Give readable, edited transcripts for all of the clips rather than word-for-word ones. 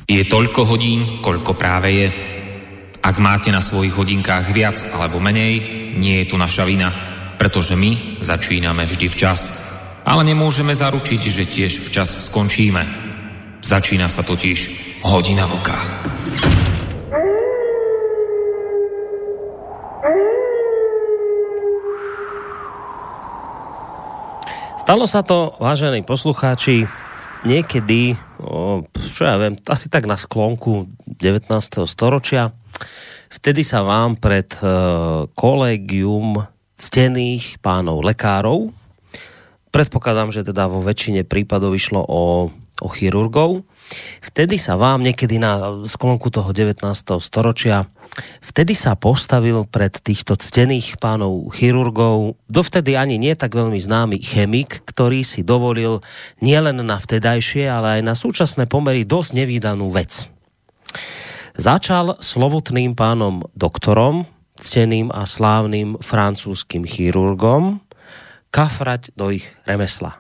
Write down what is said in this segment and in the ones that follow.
Je toľko hodín, koľko práve je. Ak máte na svojich hodinkách viac alebo menej, nie je to naša vina, pretože my začíname vždy včas. Ale nemôžeme zaručiť, že tiež včas skončíme. Začína sa totiž Hodina vlka. Stalo sa to, vážení poslucháči, niekedy, čo ja viem, asi tak na sklonku 19. storočia. Vtedy sa vám pred kolégium ctených pánov lekárov, predpokladám, že teda vo väčšine prípadov išlo o chirurgov, vtedy sa vám niekedy na sklonku toho 19. storočia vtedy sa postavil pred týchto ctených pánov chirurgov dovtedy ani nie tak veľmi známy chemik, ktorý si dovolil nielen na vtedajšie, ale aj na súčasné pomery dosť nevídanú vec. Začal slovutným pánom doktorom, cteným a slávnym francúzskym chirurgom, kafrať do ich remesla.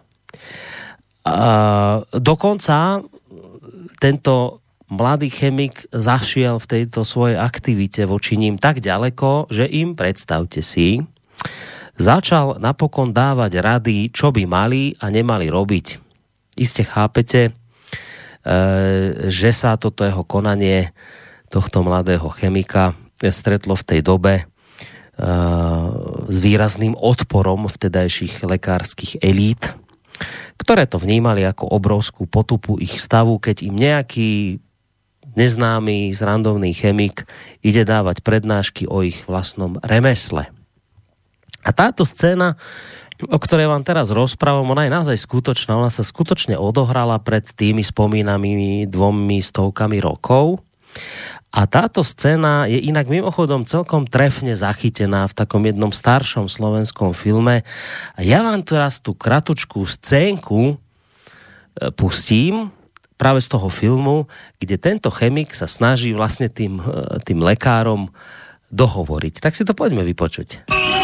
Dokonca tento mladý chemik zašiel v tejto svojej aktivite voči ním tak ďaleko, že im, predstavte si, začal napokon dávať rady, čo by mali a nemali robiť. Iste chápete, že sa toto jeho konanie tohto mladého chemika stretlo v tej dobe s výrazným odporom vtedajších lekárskych elít, ktoré to vnímali ako obrovskú potupu ich stavu, keď im nejaký neznámy, zrandovný chemik ide dávať prednášky o ich vlastnom remesle. A táto scéna, o ktorej vám teraz rozprávam, ona je naozaj skutočná. Ona sa skutočne odohrala pred tými spomínanými 200 rokov. A táto scéna je inak mimochodom celkom trefne zachytená v takom jednom staršom slovenskom filme. A ja vám teraz tú kratučkú scénku pustím práve z toho filmu, kde tento chemik sa snaží vlastne tým lekárom dohovoriť. Tak si to poďme vypočuť.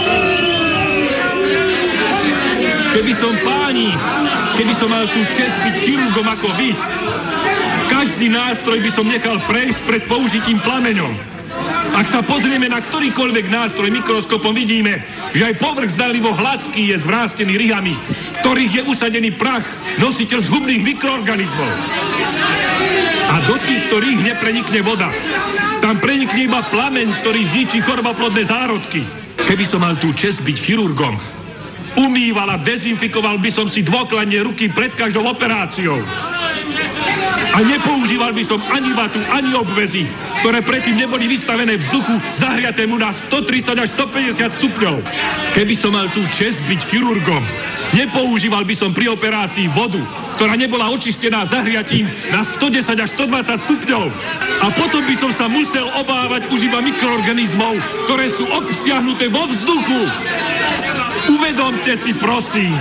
Keby som mal tú česť byť chirurgom ako vy, každý nástroj by som nechal prejsť pred použitím plameňom. Ak sa pozrieme na ktorýkoľvek nástroj mikroskopom, vidíme, že aj povrch zdanlivo hladký je zvrástený ryhami, v ktorých je usadený prach, nositeľ zhubných mikroorganizmov. A do týchto rýh neprenikne voda. Tam prenikne iba plameň, ktorý zničí choroboplodné zárodky. Keby som mal tú česť byť chirurgom, umýval a dezinfikoval by som si dôkladne ruky pred každou operáciou. A nepoužíval by som ani vatu, ani obvezy, ktoré predtým neboli vystavené vzduchu zahriatému na 130 až 150 stupňov. Keby som mal tú česť byť chirurgom, nepoužíval by som pri operácii vodu, ktorá nebola očistená zahriatím na 110 až 120 stupňov. A potom by som sa musel obávať už iba mikroorganizmov, ktoré sú obsiahnuté vo vzduchu. Uvedomte si, prosím,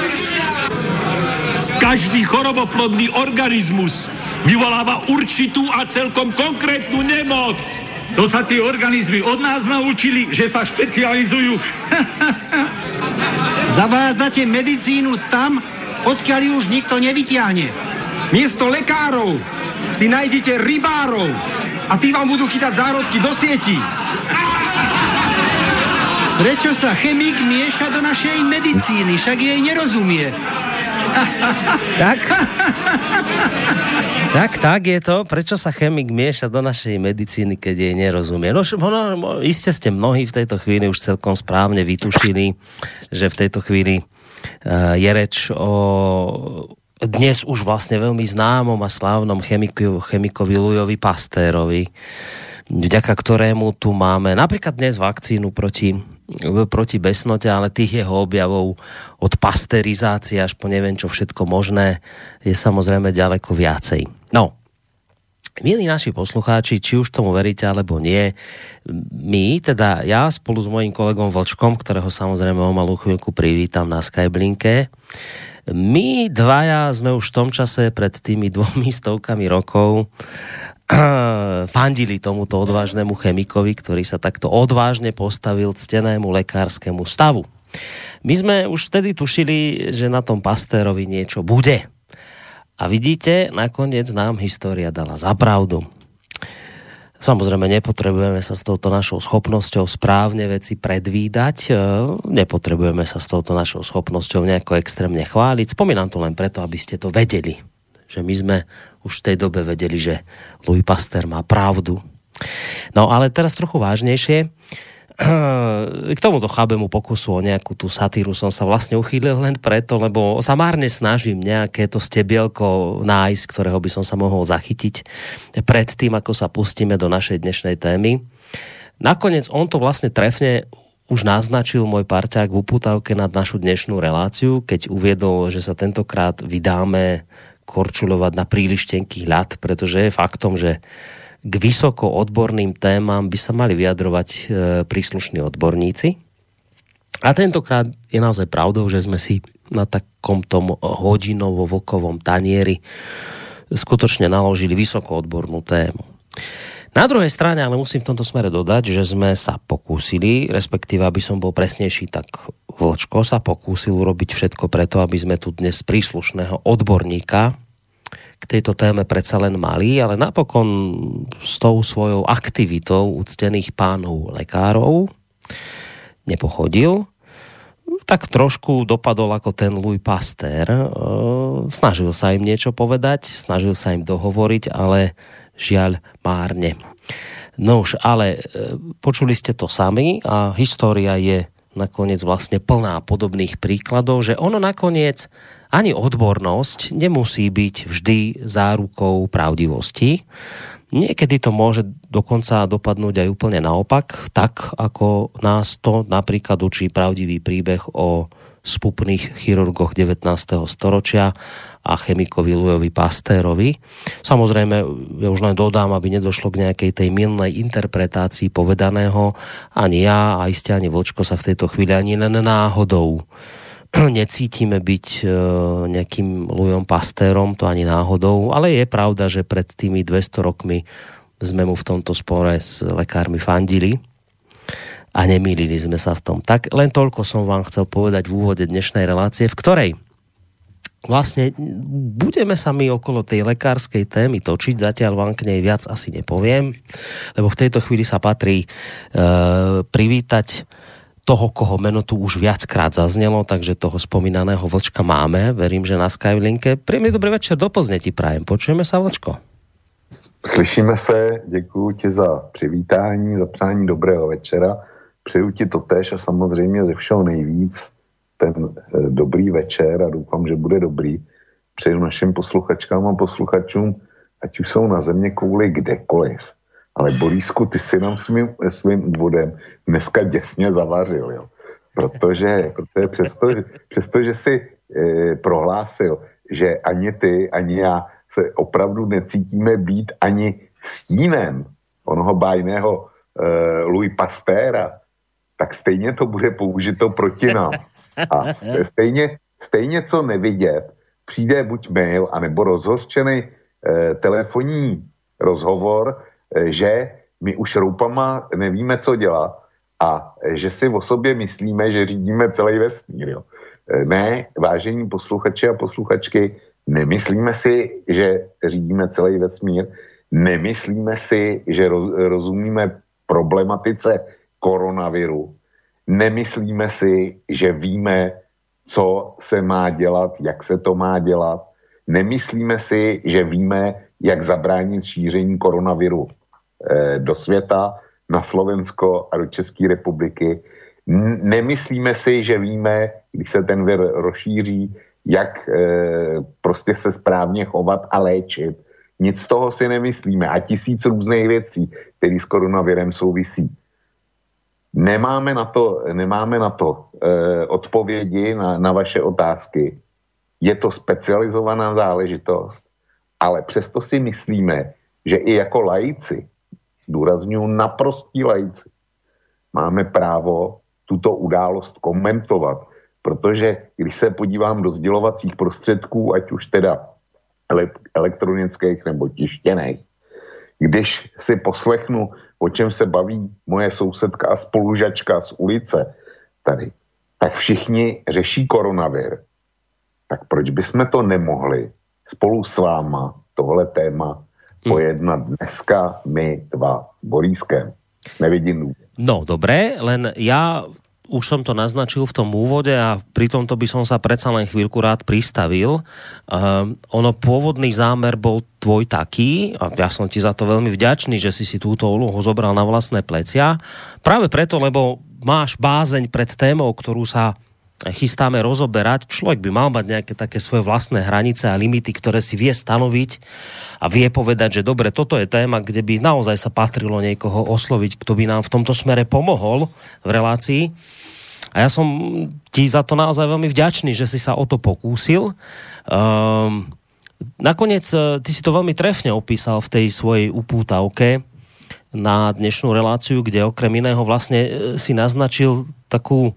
každý choroboplodný organizmus vyvoláva určitú a celkom konkrétnu nemoc. To sa tie organizmy od nás naučili, že sa špecializujú. Zavádzate medicínu tam, odkiaľ ju už nikto nevytiahne. Miesto lekárov si nájdete rybárov a tí vám budú chytať zárodky do sietí. Prečo sa chemik mieša do našej medicíny? Však jej nerozumie. Tak je to. Prečo sa chemik mieša do našej medicíny, keď jej nerozumie? No, iste ste mnohí v tejto chvíli už celkom správne vytušili, že v tejto chvíli je reč o dnes už vlastne veľmi známom a slávnom chemikovi Louisovi Pastérovi, vďaka ktorému tu máme napríklad dnes vakcínu proti besnote, ale tých jeho objavov od pasterizácie až po neviem čo všetko možné je samozrejme ďaleko viacej. No, milí naši poslucháči, či už tomu veríte alebo nie, teda ja spolu s mojím kolegom Vlčkom, ktorého samozrejme o malú chvíľku privítam na Skyblinke, my dvaja sme už v tom čase pred tými 200 rokov fandili tomuto odvážnemu chemikovi, ktorý sa takto odvážne postavil ctenému lekárskému stavu. My sme už vtedy tušili, že na tom Pastérovi niečo bude. A vidíte, nakoniec nám história dala za pravdu. Samozrejme, nepotrebujeme sa s touto našou schopnosťou správne veci predvídať, nepotrebujeme sa s touto našou schopnosťou nejako extrémne chváliť. Spomínam to len preto, aby ste to vedeli. Že my sme už v tej dobe vedeli, že Louis Pasteur má pravdu. No ale teraz trochu vážnejšie. K tomuto chábemu pokusu o nejakú tú satíru som sa vlastne uchýlil len preto, lebo sa márne snažím nejaké to stebielko nájsť, ktorého by som sa mohol zachytiť pred tým, ako sa pustíme do našej dnešnej témy. Nakoniec on to vlastne trefne už naznačil môj parťák v upútavke nad našu dnešnú reláciu, keď uviedol, že sa tentokrát vydáme korčuľovať na príliš tenký ľad, pretože je faktom, že k vysoko odborným témam by sa mali vyjadrovať príslušní odborníci. A tentokrát je naozaj pravdou, že sme si na takomto hodinovo-vlkovom tanieri skutočne naložili vysoko odbornú tému. Na druhej strane, ale musím v tomto smere dodať, že sme sa pokúsili, respektíve, aby som bol presnejší, tak Vlčko sa pokúsil urobiť všetko preto, aby sme tu dnes príslušného odborníka k tejto téme predsa len mali, ale napokon s tou svojou aktivitou úctených pánov lekárov nepochodil. Tak trošku dopadol ako ten Louis Pasteur. Snažil sa im niečo povedať, snažil sa im dohovoriť, ale žiaľ márne. No už, ale počuli ste to sami a história je nakoniec vlastne plná podobných príkladov, že ono nakoniec ani odbornosť nemusí byť vždy zárukou pravdivosti. Niekedy to môže dokonca dopadnúť aj úplne naopak, tak ako nás to napríklad učí pravdivý príbeh o spupných chirurgoch 19. storočia a chemikovi Louisovi Pasteurovi. Samozrejme, ja už len dodám, aby nedošlo k nejakej tej mylnej interpretácii povedaného. Ani ja, a iste ani Vlčko sa v tejto chvíli ani len náhodou necítime byť nejakým Louisom Pasteurom, to ani náhodou, ale je pravda, že pred tými 200 rokmi sme mu v tomto spore s lekármi fandili a nemýlili sme sa v tom. Tak len toľko som vám chcel povedať v úvode dnešnej relácie, v ktorej vlastne budeme sa my okolo tej lekárskej témy točiť, zatiaľ vám k nej viac asi nepoviem, lebo v tejto chvíli sa patrí privítať toho, koho meno tu už viackrát zaznelo, takže toho spomínaného Vlčka máme. Verím, že na Skylinke. Príjemný dobrý večer, do Plzne ti prajem. Počujeme sa, Vlčko? Slyšíme se, děkuji ti za přivítání, za přání dobrého večera. Přeju ti to též a samozřejmě ze všeho nejvíc ten dobrý večer a doufám, že bude dobrý. Přeju našim posluchačkám a posluchačům, ať už jsou na země kouli kdekoliv. Ale Borísku, ty si nám svým úvodem dneska děsně zavařil, jo. Protože přesto, že si prohlásil, že ani ty, ani já se opravdu necítíme být ani stínem onoho bájného Louis Pasteura, tak stejně to bude použito proti nám. A stejně co nevidět, přijde buď mail, anebo rozhořčený telefonní rozhovor, že my už roupama nevíme, co dělat a že si o sobě myslíme, že řídíme celý vesmír. Jo. Ne, vážení posluchači a posluchačky, nemyslíme si, že řídíme celý vesmír, nemyslíme si, že rozumíme problematice koronaviru, nemyslíme si, že víme, co se má dělat, jak se to má dělat, nemyslíme si, že víme, jak zabránit šíření koronaviru do světa, na Slovensko a do České republiky. Nemyslíme si, že víme, když se ten vir rozšíří, jak prostě se správně chovat a léčit. Nic z toho si nemyslíme a 1000 různých věcí, které s koronavirem souvisí. Nemáme na to odpovědi na vaše otázky. Je to specializovaná záležitost, ale přesto si myslíme, že i jako laici, důrazňuji naprostí laici, máme právo tuto událost komentovat, protože když se podívám do sdělovacích prostředků, ať už teda elektronických nebo tištěných, když si poslechnu, o čem se baví moje sousedka a spolužačka z ulice tady, tak všichni řeší koronavir. Tak proč bychom to nemohli spolu s váma tohle téma pojednat dneska my dva s Borískem. Nevidím. No, dobre, len ja už som to naznačil v tom úvode a pri tomto by som sa predsa len chvíľku rád pristavil. Ono pôvodný zámer bol tvoj taký, a ja som ti za to veľmi vďačný, že si túto úlohu zobral na vlastné plecia. Práve preto, lebo máš bázeň pred témou, ktorú sa chystáme rozoberať. Človek by mal mať nejaké také svoje vlastné hranice a limity, ktoré si vie stanoviť a vie povedať, že dobre, toto je téma, kde by naozaj sa patrilo niekoho osloviť, kto by nám v tomto smere pomohol v relácii. A ja som ti za to naozaj veľmi vďačný, že si sa o to pokúsil. Nakoniec ty si to veľmi trefne opísal v tej svojej upútavke na dnešnú reláciu, kde okrem iného vlastne si naznačil takú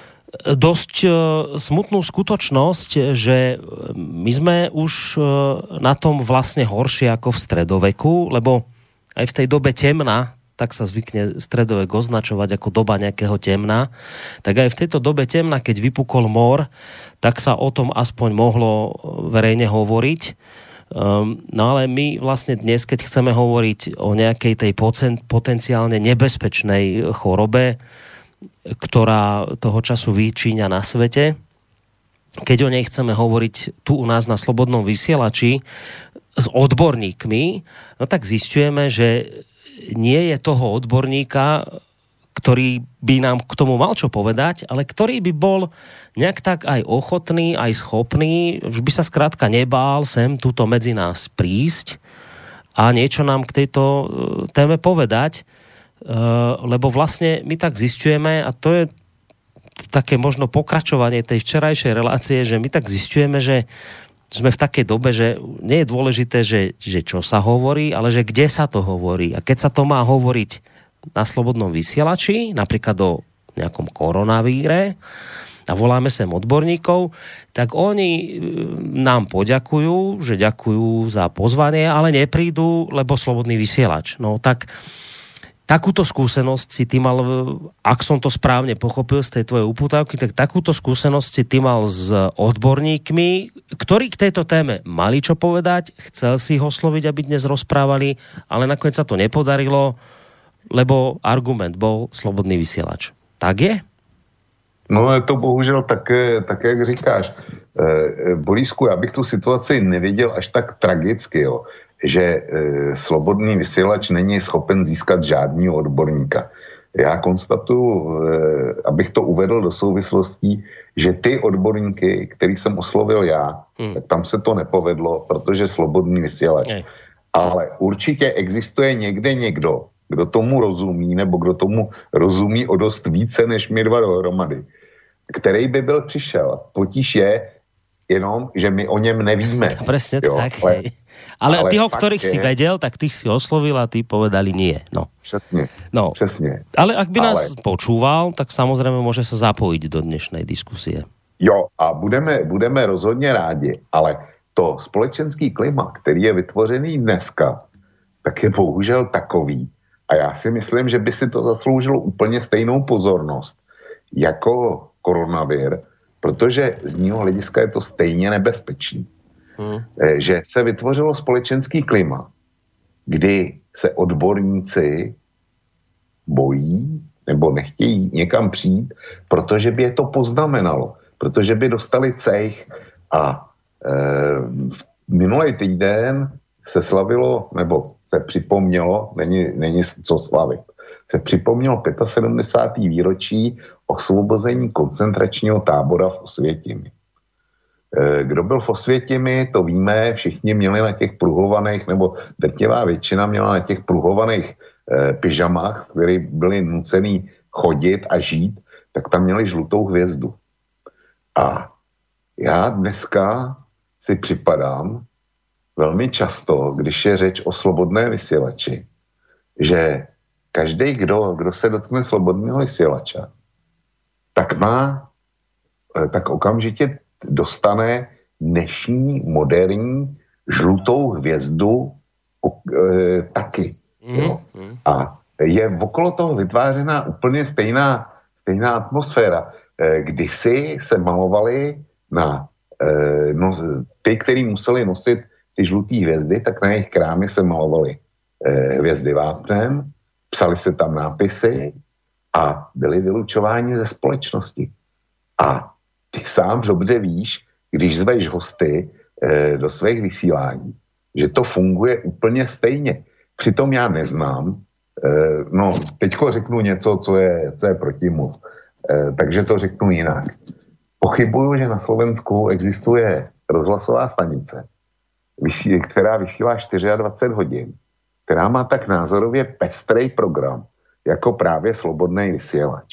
dosť smutnú skutočnosť, že my sme už na tom vlastne horšie ako v stredoveku, lebo aj v tej dobe temna, tak sa zvykne stredovek označovať ako doba nejakého temna, tak aj v tejto dobe temna, keď vypukol mor, tak sa o tom aspoň mohlo verejne hovoriť. No ale my vlastne dnes, keď chceme hovoriť o nejakej tej potenciálne nebezpečnej chorobe, ktorá toho času vyčíňa na svete. Keď o nej chceme hovoriť tu u nás na Slobodnom vysielači s odborníkmi, no tak zisťujeme, že nie je toho odborníka, ktorý by nám k tomu mal čo povedať, ale ktorý by bol nejak tak aj ochotný, aj schopný, že by sa skrátka nebál sem túto medzi nás prísť a niečo nám k tejto téme povedať. Lebo vlastne my tak zisťujeme, a to je také možno pokračovanie tej včerajšej relácie, že my tak zisťujeme, že sme v takej dobe, že nie je dôležité, že čo sa hovorí, ale že kde sa to hovorí. A keď sa to má hovoriť na Slobodnom vysielači, napríklad o nejakom koronavíre, a voláme sem odborníkov, tak oni nám poďakujú, že ďakujú za pozvanie, ale neprídu, lebo Slobodný vysielač. No tak takúto skúsenosť si ty mal, ak som to správne pochopil z tej tvojej upútavky, tak takúto skúsenosť si ty mal s odborníkmi, ktorí k tejto téme mali čo povedať, chcel si ho osloviť, aby dnes rozprávali, ale nakoniec sa to nepodarilo, lebo argument bol Slobodný vysielač. Tak je? No je to bohužel tak jak říkáš. Borísku, já bych tu situaci neviděl až tak tragicky, jo, že Slobodný vysielač není schopen získat žádného odborníka. Já konstatuju, abych to uvedl do souvislostí, že ty odborníky, který jsem oslovil já, tak tam se to nepovedlo, protože Slobodný vysielač. Ale určitě existuje někde někdo, kdo tomu rozumí, nebo kdo tomu rozumí o dost více než my dva dohromady, který by byl přišel. Potíž je jenom, že my o něm nevíme. Presne tak. Ale tí, o ktorých si vedel, tak tých si oslovil a tí povedali nie. No. Přesně. Ale ak by nás počúval, tak samozrejme môže sa zapojiť do dnešnej diskusie. Jo, a budeme rozhodně rádi, ale to společenský klima, který je vytvořený dneska, tak je bohužel takový. A já si myslím, že by si to zasloužilo úplně stejnou pozornost jako koronavir, protože z něho hlediska je to stejně nebezpečný. Že se vytvořilo společenský klima, kdy se odborníci bojí nebo nechtějí někam přijít, protože by je to poznamenalo, protože by dostali cejch. A minulý týden se slavilo, nebo se připomnělo, není co slavit, se připomnělo 75. výročí osvobození koncentračního tábora v Osvětimi. Kdo byl v Osvětimi, to víme, všichni měli na těch pruhovaných, nebo drtivá většina měla na těch pruhovaných pyžamách, které byli nucený chodit a žít, tak tam měli žlutou hvězdu. A já dneska si připadám velmi často, když je řeč o slobodné vysílači, že každý, kdo se dotkne slobodného vysílača, tak okamžitě dostane dnešní moderní žlutou hvězdu taky. Jo. A je okolo toho vytvářená úplně stejná atmosféra. Kdysi se malovali na ty, kteří museli nosit ty žlutý hvězdy, tak na jejich krámy se malovaly hvězdy vápnem, psali se tam nápisy a byli vylučováni ze společnosti. A ty sám dobře víš, když zveš hosty do svých vysílání, že to funguje úplně stejně. Přitom já neznám, teďko řeknu něco, co je protimluv, takže to řeknu jinak. Pochybuju, že na Slovensku existuje rozhlasová stanice, která vysílá 24 hodin, která má tak názorově pestrej program, jako právě Slobodný vysílač.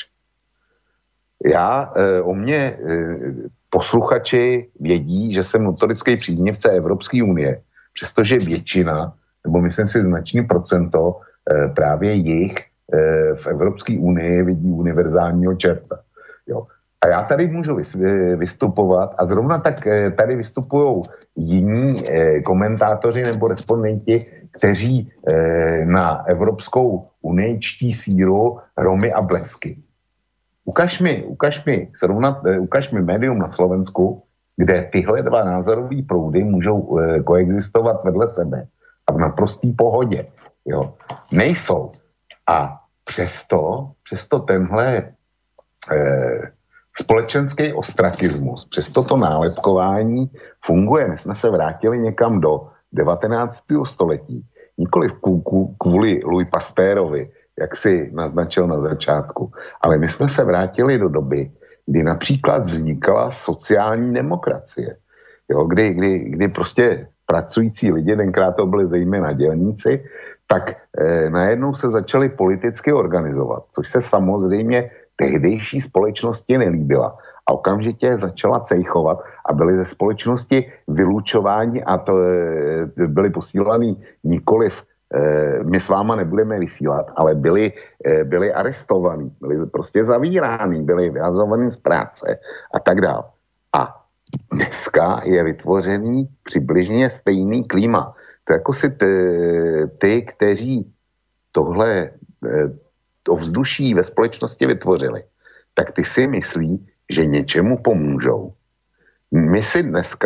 O mě posluchači vědí, že jsem notorický příznivce Evropské unie, přestože většina, nebo myslím si značný procento, právě jich v Evropské unii vidí univerzálního čerta. Jo. A já tady můžu vystupovat a zrovna tak tady vystupují jiní komentátoři nebo respondenti, kteří na Evropskou unii čtí síru Romy a blesky. Ukaž mi médium na Slovensku, kde tyhle dva názorové proudy můžou koexistovat vedle sebe a v naprostý pohodě. Jo. Nejsou. A přesto tenhle společenský ostrakismus, přesto to nálepkování funguje. My jsme se vrátili někam do 19. století. Nikoliv kvůli Louis Pasteurovi, jak si naznačil na začátku, ale my jsme se vrátili do doby, kdy například vznikala sociální demokracie. Jo, kdy prostě pracující lidi, tenkrát to byli zejména dělníci, tak najednou se začali politicky organizovat, což se samozřejmě tehdejší společnosti nelíbila. A okamžitě začala cejchovat a byli ze společnosti vylučováni a to byli posílaní nikoliv my s váma nebudeme vysílat, ale byli arestovaní, byli prostě zavíráni, byli vyhazovaní z práce a tak dále. A dneska je vytvořený přibližně stejný klima. To jako si ty, kteří to vzduší ve společnosti vytvořili, tak ty si myslí, že něčemu pomůžou. My se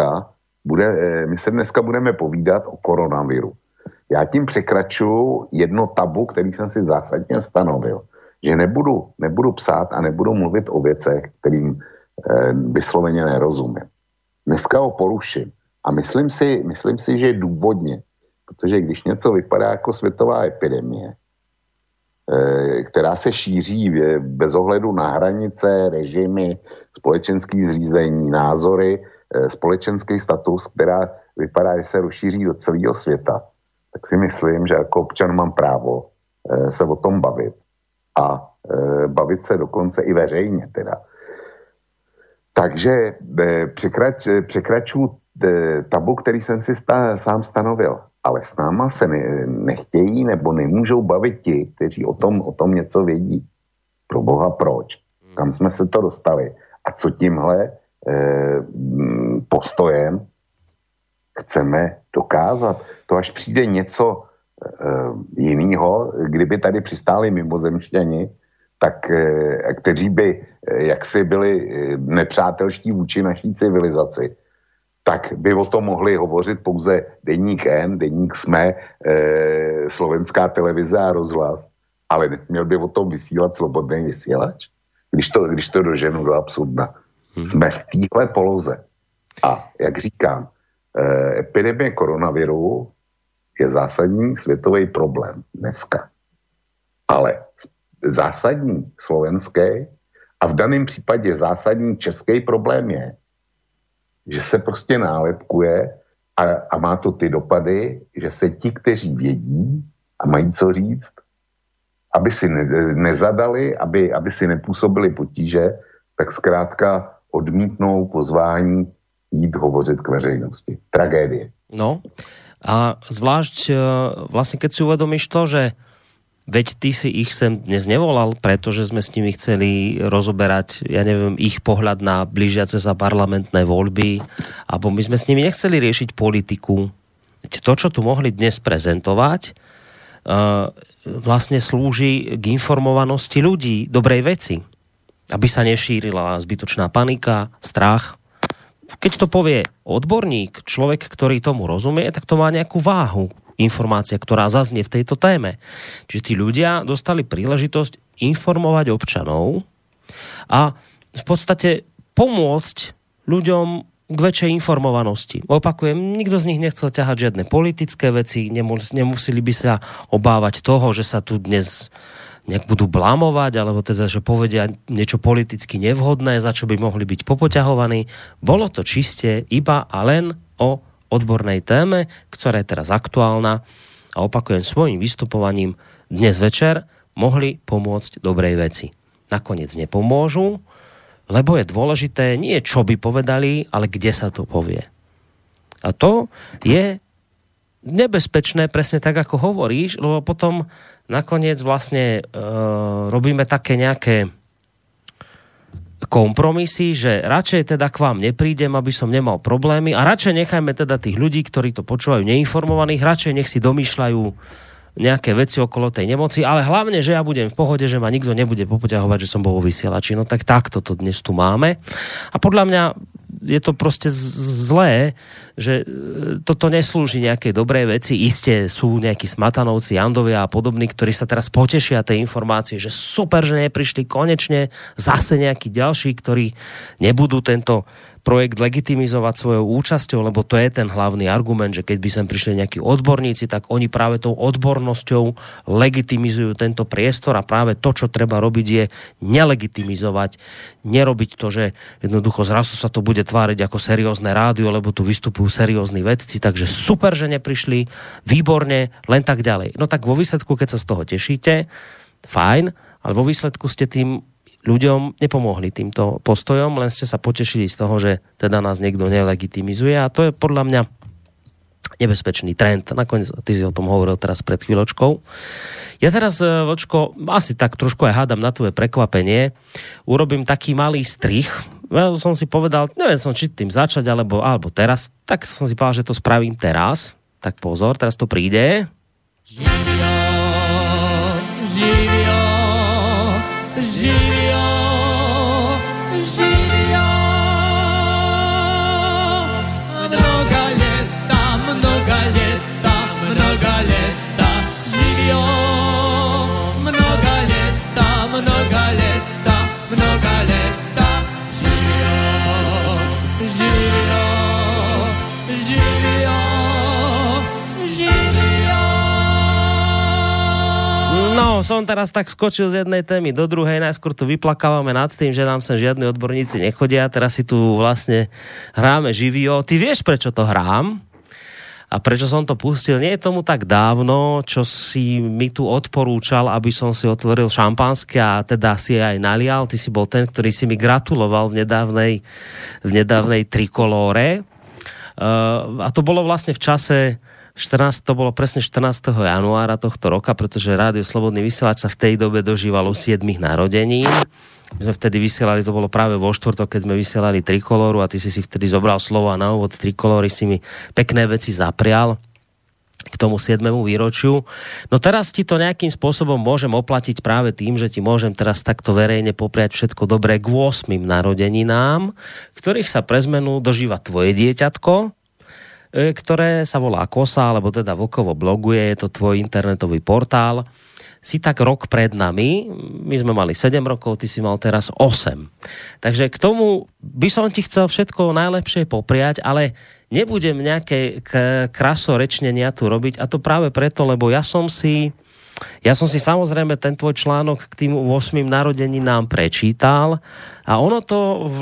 dneska budeme povídat o koronaviru. Já tím překračuju jedno tabu, který jsem si zásadně stanovil, že nebudu psát a nebudu mluvit o věcech, kterým vysloveně nerozumím. Dneska ho poruším a myslím si, že důvodně, protože když něco vypadá jako světová epidemie, která se šíří bez ohledu na hranice, režimy, společenský zřízení, názory, společenský status, která vypadá, že se rozšíří do celého světa, tak si myslím, že jako občan mám právo se o tom bavit a bavit se dokonce i veřejně teda. Takže překračuju tabu, který jsem si sám stanovil, ale s náma se nechtějí nebo nemůžou bavit ti, kteří o tom něco vědí. Pro boha proč? Kam jsme se to dostali? A co tímhle postojem chceme dokázat? To až přijde něco jiného, kdyby tady přistáli mimozemšťani, tak kteří by jaksi byli nepřátelští vůči naší civilizaci, tak by o tom mohli hovořit pouze Deník N, Deník SME, Slovenská televize a rozhlas, ale měl by o tom vysílat Slobodný vysílač, když to doženu do absurdna. Jsme v téhle poloze. A jak říkám, epidemie koronaviru je zásadní světový problém dneska. Ale zásadní slovenský a v daném případě zásadní český problém je, že se prostě nálepkuje a má to ty dopady, že se ti, kteří vědí a mají co říct, aby si nezadali, aby si nepůsobili potíže, tak zkrátka odmítnou pozvání jít hovořit k veřejnosti. Tragédie. No a zvlášť vlastne keď si uvedomíš to, že veď ty si ich sem dnes nevolal, pretože sme s nimi chceli rozoberať, ja neviem, ich pohľad na blížiace sa parlamentné voľby, alebo my sme s nimi nechceli riešiť politiku. To, čo tu mohli dnes prezentovať, vlastne slúži k informovanosti ľudí, dobrej veci, aby sa nešírila zbytočná panika, strach keď to povie odborník, človek, ktorý tomu rozumie, tak to má nejakú váhu, informácia, ktorá zaznie v tejto téme. Čiže tí ľudia dostali príležitosť informovať občanov a v podstate pomôcť ľuďom k väčšej informovanosti. Opakujem, nikto z nich nechcel ťahať žiadne politické veci, nemuseli by sa obávať toho, že sa tu dnes nejak budú blamovať, alebo teda, že povedia niečo politicky nevhodné, za čo by mohli byť popoťahovaní. Bolo to čiste iba a len o odbornej téme, ktorá je teraz aktuálna a opakujem, svojím vystupovaním dnes večer mohli pomôcť dobrej veci. Nakoniec nepomôžu, lebo je dôležité nie čo by povedali, ale kde sa to povie. A to je nebezpečné, presne tak, ako hovoríš, lebo potom nakoniec vlastne robíme také nejaké kompromisy, že radšej teda k vám neprídem, aby som nemal problémy a radšej nechajme teda tých ľudí, ktorí to počúvajú neinformovaných, radšej nech si domýšľajú nejaké veci okolo tej nemoci, ale hlavne, že ja budem v pohode, že ma nikto nebude popoťahovať, že som bol vo vysielači. No tak takto to dnes tu máme. A podľa mňa je to proste zlé, že toto neslúži nejakej dobrej veci. Isté sú nejakí smatanovci, Jandovia a podobní, ktorí sa teraz potešia tej informácie, že super, že neprišli konečne zase nejakí ďalší, ktorí nebudú tento projekt legitimizovať svojou účasťou, lebo to je ten hlavný argument, že keď by sem prišli nejakí odborníci, tak oni práve tou odbornosťou legitimizujú tento priestor a práve to, čo treba robiť, je nelegitimizovať, nerobiť to, že jednoducho zrazu sa to bude tváriť ako seriózne rádio, lebo tu vystupujú seriózni vedci, takže super, že neprišli, výborne, len tak ďalej. No tak vo výsledku, keď sa z toho tešíte, fajn, ale vo výsledku ste tým ľuďom nepomohli týmto postojom, len ste sa potešili z toho, že teda nás niekto nelegitimizuje a to je podľa mňa nebezpečný trend. Nakoniec, ty si o tom hovoril teraz pred chvíľočkou. Ja teraz, Vočko, asi tak trošku aj hádam na tvoje prekvapenie, urobím taký malý strich. Ja som si povedal, neviem som, či tým začať, alebo teraz, tak som si povedal, že to spravím teraz. Tak pozor, teraz to príde. Živio, živio, živio, živio. Mnoga leta, mnoga leta, mnoga leta. Živio, mnoga leta, mnoga leta, mnoga leta. Živio, živio, živio, živio. No, som teraz tak skočil z jednej témy do druhej, najskôr tu vyplakávame nad tým, že nám sem žiadni odborníci nechodia, teraz si tu vlastne hráme živio. Ty vieš, prečo to hrám? A prečo som to pustil? Nie je tomu tak dávno, čo si mi tu odporúčal, aby som si otvoril šampanské a teda si aj nalial. Ty si bol ten, ktorý si mi gratuloval v nedávnej trikolóre. A to bolo vlastne v čase to bolo presne 14. januára tohto roka, pretože Rádio Slobodný vysielač sa v tej dobe dožívalo 7 narodenín. My sme vtedy vysielali, to bolo práve vo štvrtok, keď sme vysielali trikolóru a ty si vtedy zobral slovo a na úvod trikolóry si mi pekné veci zaprial k tomu 7. výročiu. No teraz ti to nejakým spôsobom môžem oplatiť práve tým, že ti môžem teraz takto verejne popriať všetko dobré k 8 narodeninám, ktorých sa pre zmenu dožíva tvoje dieťatko, ktoré sa volá Kosa, alebo teda Vlkovo bloguje, je to tvoj internetový portál. Si tak rok pred nami, my sme mali 7 rokov, ty si mal teraz 8. Takže k tomu by som ti chcel všetko najlepšie popriať, ale nebudem nejaké krasorečnenia tu robiť a to práve preto, lebo ja som si samozrejme ten tvoj článok k tým 8 narodeninám prečítal a ono to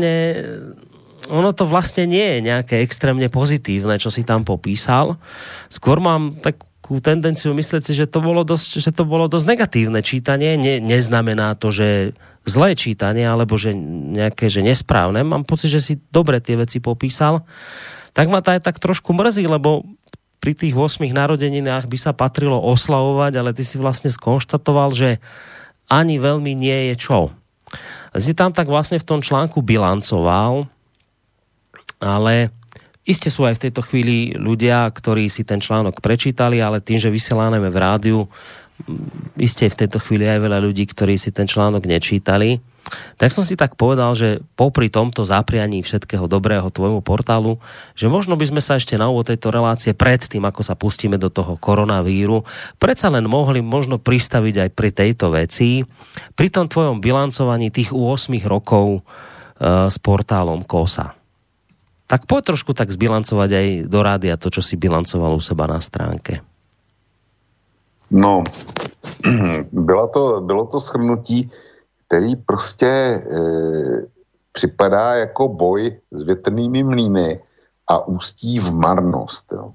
vlastne nie je nejaké extrémne pozitívne, čo si tam popísal. Skôr mám takú tendenciu myslieť si, že to bolo dosť negatívne čítanie. Neznamená to, že zlé čítanie, alebo že nejaké že nesprávne. Mám pocit, že si dobre tie veci popísal. Tak ma to aj tak trošku mrzí, lebo pri tých 8 narodeninách by sa patrilo oslavovať, ale ty si vlastne skonštatoval, že ani veľmi nie je čo. Si tam tak vlastne v tom článku bilancoval, ale iste sú aj v tejto chvíli ľudia, ktorí si ten článok prečítali, ale tým, že vysielame v rádiu, iste v tejto chvíli aj veľa ľudí, ktorí si ten článok nečítali. Tak som si tak povedal, že popri tomto zaprianí všetkého dobrého tvojmu portálu, že možno by sme sa ešte na úvod tejto relácie pred tým, ako sa pustíme do toho koronavíru, predsa len mohli možno pristaviť aj pri tejto veci, pri tom tvojom bilancovaní tých 8 rokov s portálom KOSA. Tak poď trošku tak zbilancovať aj do rádia to, čo si bilancoval u seba na stránke. No, bylo to shrnutí, který prostě připadá jako boj s větrnými mlýny a ústí v marnost. Jo.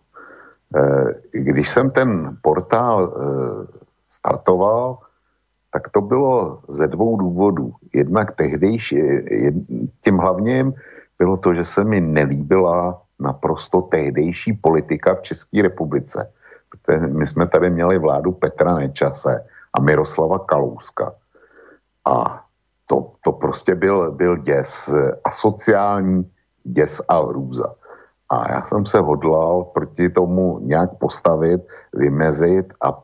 Když jsem ten portál startoval, tak to bylo ze 2 důvodů. Jednak tehdejší, tím hlavním bylo to, že se mi nelíbila naprosto tehdejší politika v České republice. Protože my jsme tady měli vládu Petra Nečase a Miroslava Kalouska. A to prostě byl děs, asociální děs a hrůza. A já jsem se hodlal proti tomu nějak postavit, vymezit a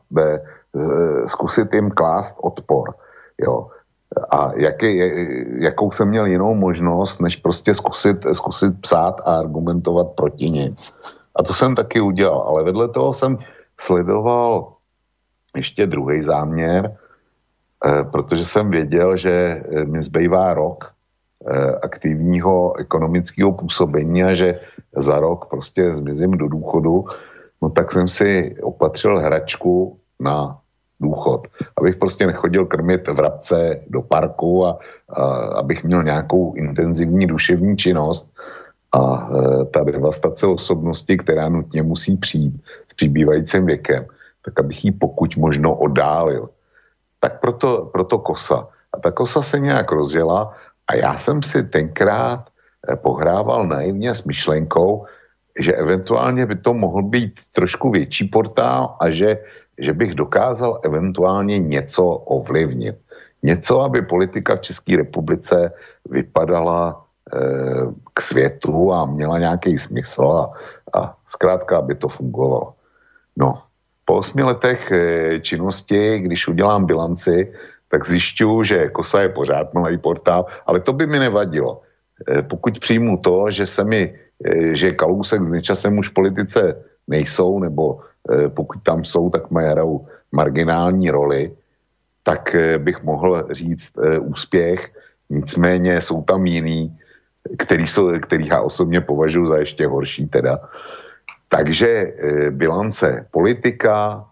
zkusit jim klást odpor. Jo. A jakou jsem měl jinou možnost, než prostě zkusit psát a argumentovat proti nim. A to jsem taky udělal, ale vedle toho jsem sledoval ještě druhý záměr, protože jsem věděl, že mi zbývá rok aktivního ekonomického působení a že za rok prostě zmizím do důchodu, no tak jsem si opatřil hračku na důchod. Abych prostě nechodil krmit vrabce do parku a abych měl nějakou intenzivní duševní činnost a ta devastace osobnosti, která nutně musí přijít s přibývajícím věkem, tak abych ji pokud možno oddálil. Tak proto KOSA. A ta KOSA se nějak rozjela a já jsem si tenkrát pohrával naivně s myšlenkou, že eventuálně by to mohl být trošku větší portál a že bych dokázal eventuálně něco ovlivnit. Něco, aby politika v České republice vypadala k světu a měla nějaký smysl a zkrátka, aby to fungovalo. No, po 8 letech činnosti, když udělám bilanci, tak zjišťuju, že KOSA je pořád malý portál, ale to by mi nevadilo. Pokud přijmu to, že Kalousek s Nečasem už v politice nejsou, nebo pokud tam jsou, tak hrajou marginální roli, tak bych mohl říct úspěch, nicméně jsou tam jiný, který já osobně považuji za ještě horší teda. Takže bilance politika,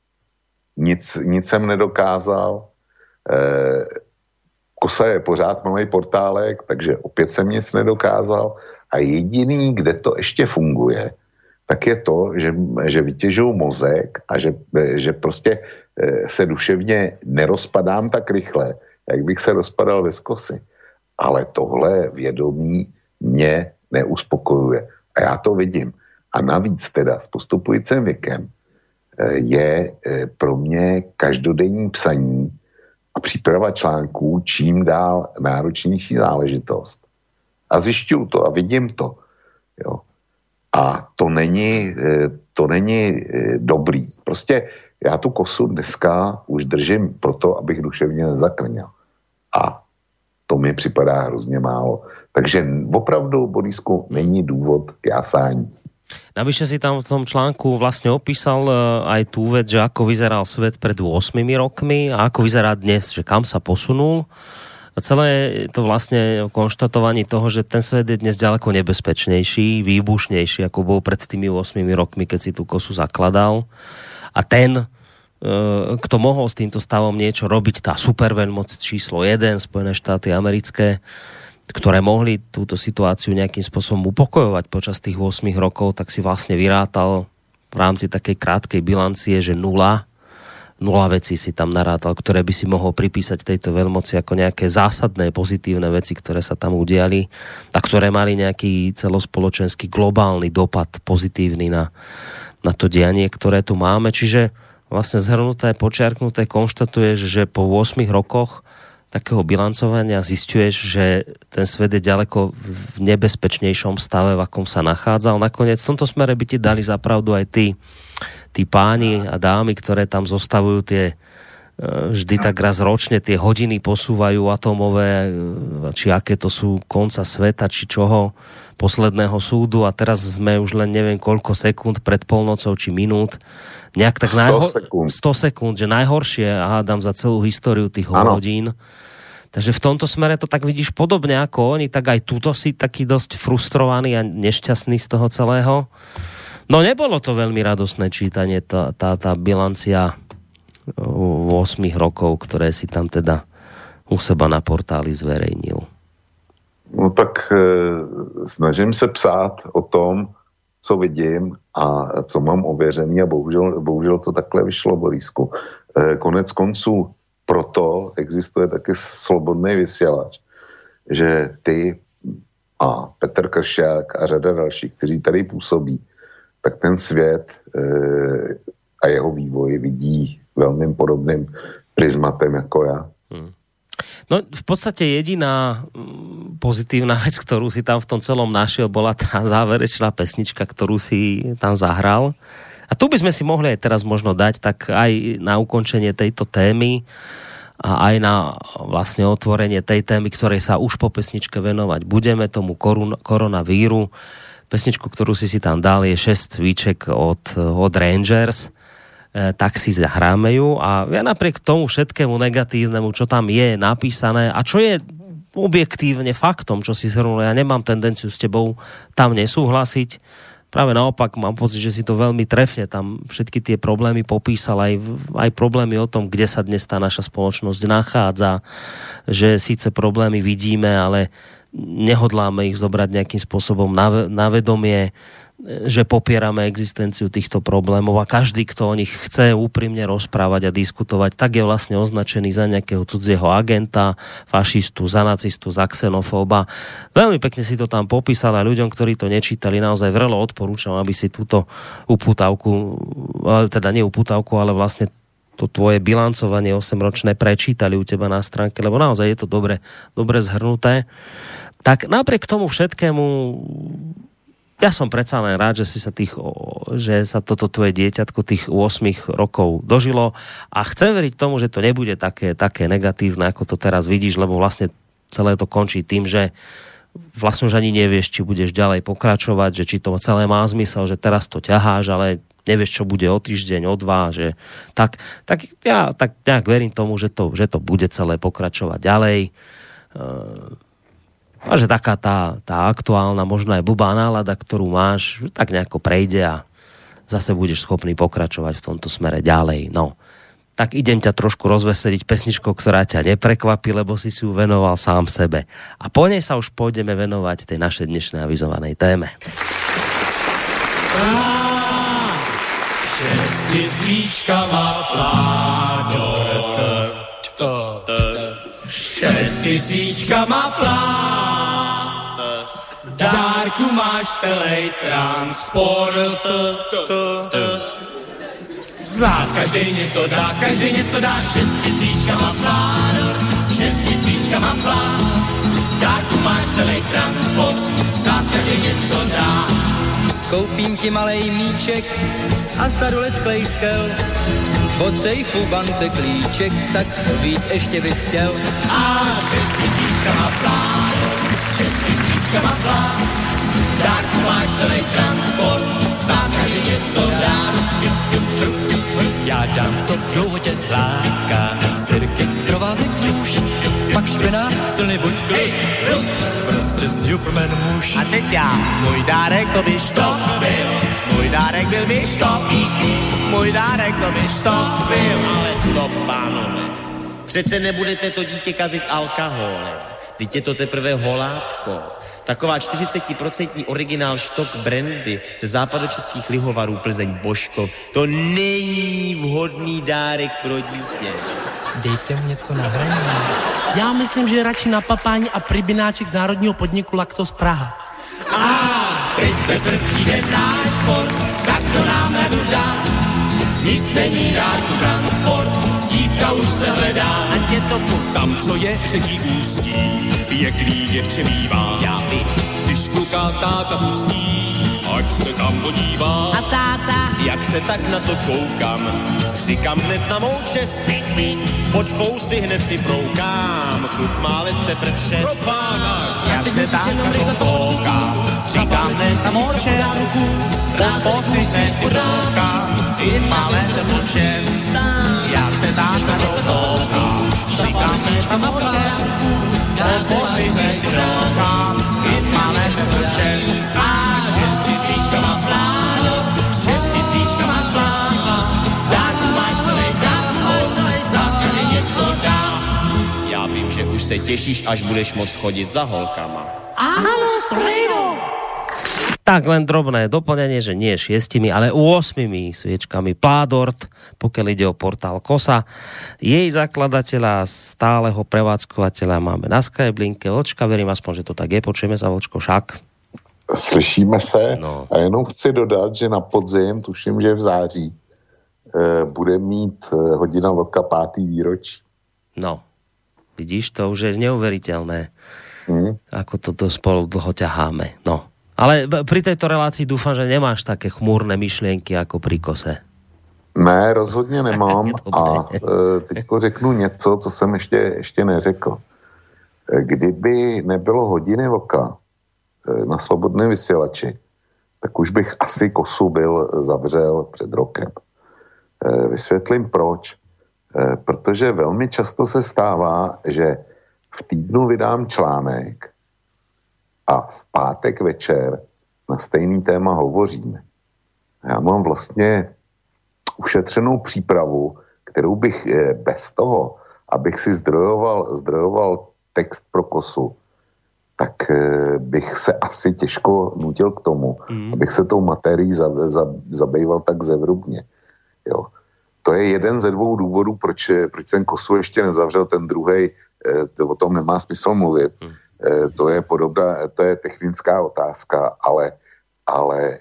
nic jsem nedokázal, KOSA je pořád malý portálek, takže opět jsem nic nedokázal a jediný, kde to ještě funguje, tak je to, že vytěžuju mozek a že prostě se duševně nerozpadám tak rychle, jak bych se rozpadal ve skosy. Ale tohle vědomí mě neuspokojuje. A já to vidím. A navíc teda s postupujícím věkem je pro mě každodenní psaní a příprava článků čím dál náročnější záležitost. A zjišťuju to a vidím to. Jo. A to není dobrý. Prostě já tu KOSu dneska už držím proto, abych duševně nezakrněl. A to mi připadá hrozně málo. Takže opravdu, Borisku, není důvod k jásání. Navyše si tam v tom článku vlastne opísal aj tú vec, že ako vyzeral svet pred 8 rokmi a ako vyzerá dnes, že kam sa posunul. A celé to vlastne konštatovanie toho, že ten svet je dnes ďaleko nebezpečnejší, výbušnejší, ako bol pred tými 8 rokmi, keď si tú KOSu zakladal. A ten, kto mohol s týmto stavom niečo robiť, tá superveľmoc číslo 1, Spojené štáty americké, ktoré mohli túto situáciu nejakým spôsobom upokojovať počas tých 8 rokov, tak si vlastne vyrátal v rámci takej krátkej bilancie, že nula vecí si tam narátal, ktoré by si mohol pripísať tejto veľmoci ako nejaké zásadné pozitívne veci, ktoré sa tam udiali a ktoré mali nejaký celospoločenský globálny dopad pozitívny na to dianie, ktoré tu máme. Čiže vlastne zhrnuté, počiarknuté konštatuješ, že po 8 rokoch takého bilancovania zisťuješ, že ten svet je ďaleko v nebezpečnejšom stave, v akom sa nachádzal. Nakoniec v tomto smere by ti dali zapravdu aj tí páni a dámy, ktoré tam zostavujú tie vždy tak raz ročne tie hodiny posúvajú atómové, či aké to sú konca sveta, či čoho, posledného súdu a teraz sme už len neviem koľko sekúnd pred polnocou, či minút. Nejak tak 100 sekúnd, že najhoršie, hádam, za celú históriu tých hodín. Takže v tomto smere to tak vidíš podobne ako oni, tak aj tuto si taký dosť frustrovaný a nešťastný z toho celého. No nebolo to veľmi radosné čítanie, tá bilancia 8 rokov, ktoré si tam teda u seba na portáli zverejnil. No tak snažím se psát o tom, co vidím a co mám ověřený a bohužel to takhle vyšlo, Borisku. Konec konců proto existuje taky slobodný vysílač, že ty a Petr Kršiak a řada dalších, kteří tady působí, tak ten svět a jeho vývoj vidí veľmi podobným prizmatem ako ja. No v podstate jediná pozitívna vec, ktorú si tam v tom celom našiel, bola tá záverečná pesnička, ktorú si tam zahral. A tu by sme si mohli aj teraz možno dať tak aj na ukončenie tejto témy a aj na vlastne otvorenie tej témy, ktorej sa už po pesničke venovať budeme, tomu koronavíru. Pesničku, ktorú si tam dal, je 6 cviček od Rangers. Tak si zahráme ju a ja napriek tomu všetkému negatívnemu, čo tam je napísané a čo je objektívne faktom, čo si zhrnul, ja nemám tendenciu s tebou tam nesúhlasiť. Práve naopak mám pocit, že si to veľmi trefne tam všetky tie problémy popísal, aj problémy o tom, kde sa dnes tá naša spoločnosť nachádza, že síce problémy vidíme, ale nehodláme ich zobrať nejakým spôsobom na vedomie, že popierame existenciu týchto problémov a každý, kto o nich chce úprimne rozprávať a diskutovať, tak je vlastne označený za nejakého cudzieho agenta, fašistu, za nacistu, za xenofóba. Veľmi pekne si to tam popísal a ľuďom, ktorí to nečítali, naozaj vrelo odporúčam, aby si túto upútavku, teda nie upútavku, ale vlastne to tvoje bilancovanie 8-ročné prečítali u teba na stránke, lebo naozaj je to dobre zhrnuté. Tak napriek tomu všetkému ja som predsa len rád, že sa toto tvoje dieťatko tých 8 rokov dožilo a chcem veriť tomu, že to nebude také negatívne, ako to teraz vidíš, lebo vlastne celé to končí tým, že vlastne už ani nevieš, či budeš ďalej pokračovať, že či to celé má zmysel, že teraz to ťaháš, ale nevieš, čo bude o týždeň, o 2, že tak ja tak nejak verím tomu, že to bude celé pokračovať ďalej. A že taká tá aktuálna, možno aj blbá nálada, ktorú máš, tak nejako prejde a zase budeš schopný pokračovať v tomto smere ďalej. No, tak idem ťa trošku rozveseliť pesničkou, ktorá ťa neprekvapí, lebo si ju venoval sám sebe. A po nej sa už pôjdeme venovať tej našej dnešnej avizovanej téme. 6 svíčkama plánovat. 6 tisíčkama plán, dárku máš celej transport. Z nás každej něco dá, 6 tisíčkama plán, 6 tisíčkama plán, dárku máš celej transport, z nás každej něco dá. Koupím ti malej míček a sadu lesklej skel, od sejfu bance klíček, tak co víc ještě bys chtěl? A 6 tisíčkama plán, 6 tisíčkama plán, dárku máš celý transport, z nás každý něco dá. Já dám, co dlouho tě láká, sirky, provázek nůž, pak špenát, silný buď kluk, prostě Superman muž. A teď já, můj dárek to by byl, můj dárek byl by můj dárek to by byl, ale stop, pánové. Přece nebudete to dítě kazit alkoholem, teď je to teprve holátko. Taková 40% originál štok brandy ze západočeských lihovarů Plzeň Božkov. To není vhodný dárek pro dítě. Dejte mu něco na hraní. Já myslím, že radši na papání a pribináček z národního podniku Lactos Praha. A teď Petr přijde náš sport, tak to nám radu dá. Nic není dárku transport, dívka už se hledá. Ať je to pust. Tam, co je řekí ústí, pěkný děvče mívá. Já vím. Když kluka táta pustí, ať se tam podívá. A táta? Jak se tak na to koukám, říkám hned na mou čest. Pod fousy hned si proukám, kluk má let teprv 6. Jak se tak na to koukám, říkám hned na mou čest. Pod fousy hned si proukám, kluk má let teprv 6. Jak se tak na to koukám, říkám hned na mou čest. Pod fousy hned si proukám, kluk má let teprv 6. A 6 svíčkama pláno, 6 svíčkama pláno, dárku máš celý dát, zdá se mi něco dá. Já vím, že už se těšíš, až budeš moct chodit za holkama. Áno, strejno! Tak len drobné doplnenie, že nie 6, ale 8 sviečkami Pládort, pokiaľ ide o portál KOSA. Jej zakladateľa, stáleho prevádzkovateľa máme na Skyblinke. Vlčka, verím aspoň, že to tak je. Počujeme sa, Vlčko, však. Slyšíme se a jenom chci dodat, že na podzim, tuším, že v září, bude mít hodina vlka 5. výročí. No, vidíš, to už je neuveriteľné, ako toto spolu dlho ťaháme. No. Ale pri tejto relácii dúfam, že nemáš také chmúrne myšlienky ako pri KOSE. Ne, rozhodně nemám a teďko řeknu něco, co jsem ještě neřekl. Kdyby nebylo hodiny vlka na Slobodném vysílači, tak už bych asi KOSu zavřel před rokem. Vysvětlím proč. Protože velmi často se stává, že v týdnu vydám článek a v pátek večer na stejný téma hovoříme. Já mám vlastně ušetřenou přípravu, kterou bych bez toho, abych si zdrojoval text pro KOSu, tak bych se asi těžko nutil k tomu, abych se tou materií zabýval tak zevrubně. Jo. To je jeden ze 2 důvodů, proč jsem KOSu ještě nezavřel, ten druhej, o tom nemá smysl mluvit. To je podobná, to je technická otázka, ale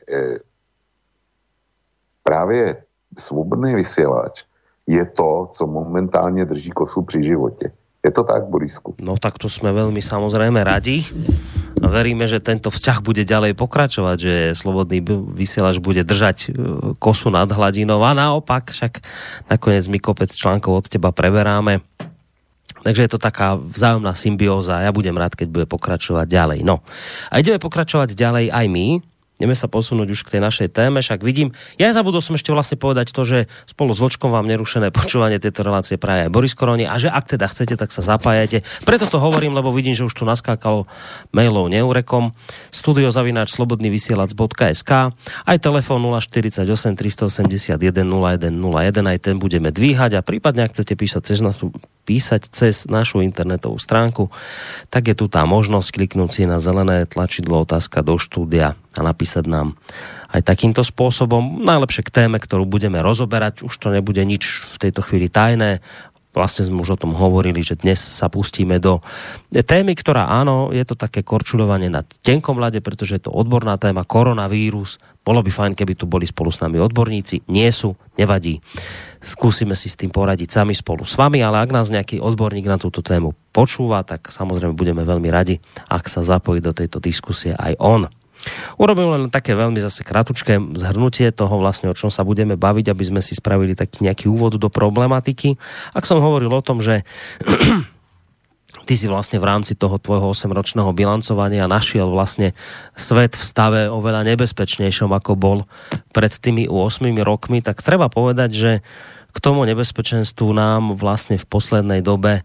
právě Svobodný vysílač je to, co momentálně drží KOSu při životě. Je to tak, Borisku? No tak to sme veľmi samozrejme radi a veríme, že tento vzťah bude ďalej pokračovať, že Slobodný vysielač bude držať KOSu nad hladinou a naopak, však nakoniec my kopec článkov od teba preberáme. Takže je to taká vzájomná symbióza a ja budem rád, keď bude pokračovať ďalej. No a ideme pokračovať ďalej aj my. Ideme sa posunúť už k tej našej téme, však vidím, ja zabudol som ešte vlastne povedať to, že spolu s Vlčkom vám nerušené počúvanie tejto relácie praje aj Boris Koroni a že ak teda chcete, tak sa zapájajte. Preto to hovorím, lebo vidím, že už tu naskákalo mailov neurekom studiozavinač.slobodnyvysielac.sk aj telefón 048 381 0101, aj ten budeme dvíhať a prípadne, ak chcete písať cez našu internetovú stránku, tak je tu tá možnosť kliknúť si na zelené tlačidlo otázka do štúdia a napísať nám aj takýmto spôsobom. Najlepšie k téme, ktorú budeme rozoberať. Už to nebude nič v tejto chvíli tajné. Vlastne sme už o tom hovorili, že dnes sa pustíme do témy, ktorá áno, je to také korčuľovanie na tenkom ľade, pretože je to odborná téma, koronavírus. Bolo by fajn, keby tu boli spolu s nami odborníci. Nie sú, nevadí. Skúsime si s tým poradiť sami spolu s vami, ale ak nás nejaký odborník na túto tému počúva, tak samozrejme budeme veľmi radi, ak sa zapojí do tejto diskusie aj on. Urobím len také veľmi zase kratučké zhrnutie toho vlastne, o čom sa budeme baviť, aby sme si spravili taký nejaký úvod do problematiky. Ak som hovoril o tom, že ty si vlastne v rámci toho tvojho 8-ročného bilancovania našiel vlastne svet v stave oveľa nebezpečnejšom, ako bol pred tými 8 rokmi, tak treba povedať, že k tomu nebezpečenstvu nám vlastne v poslednej dobe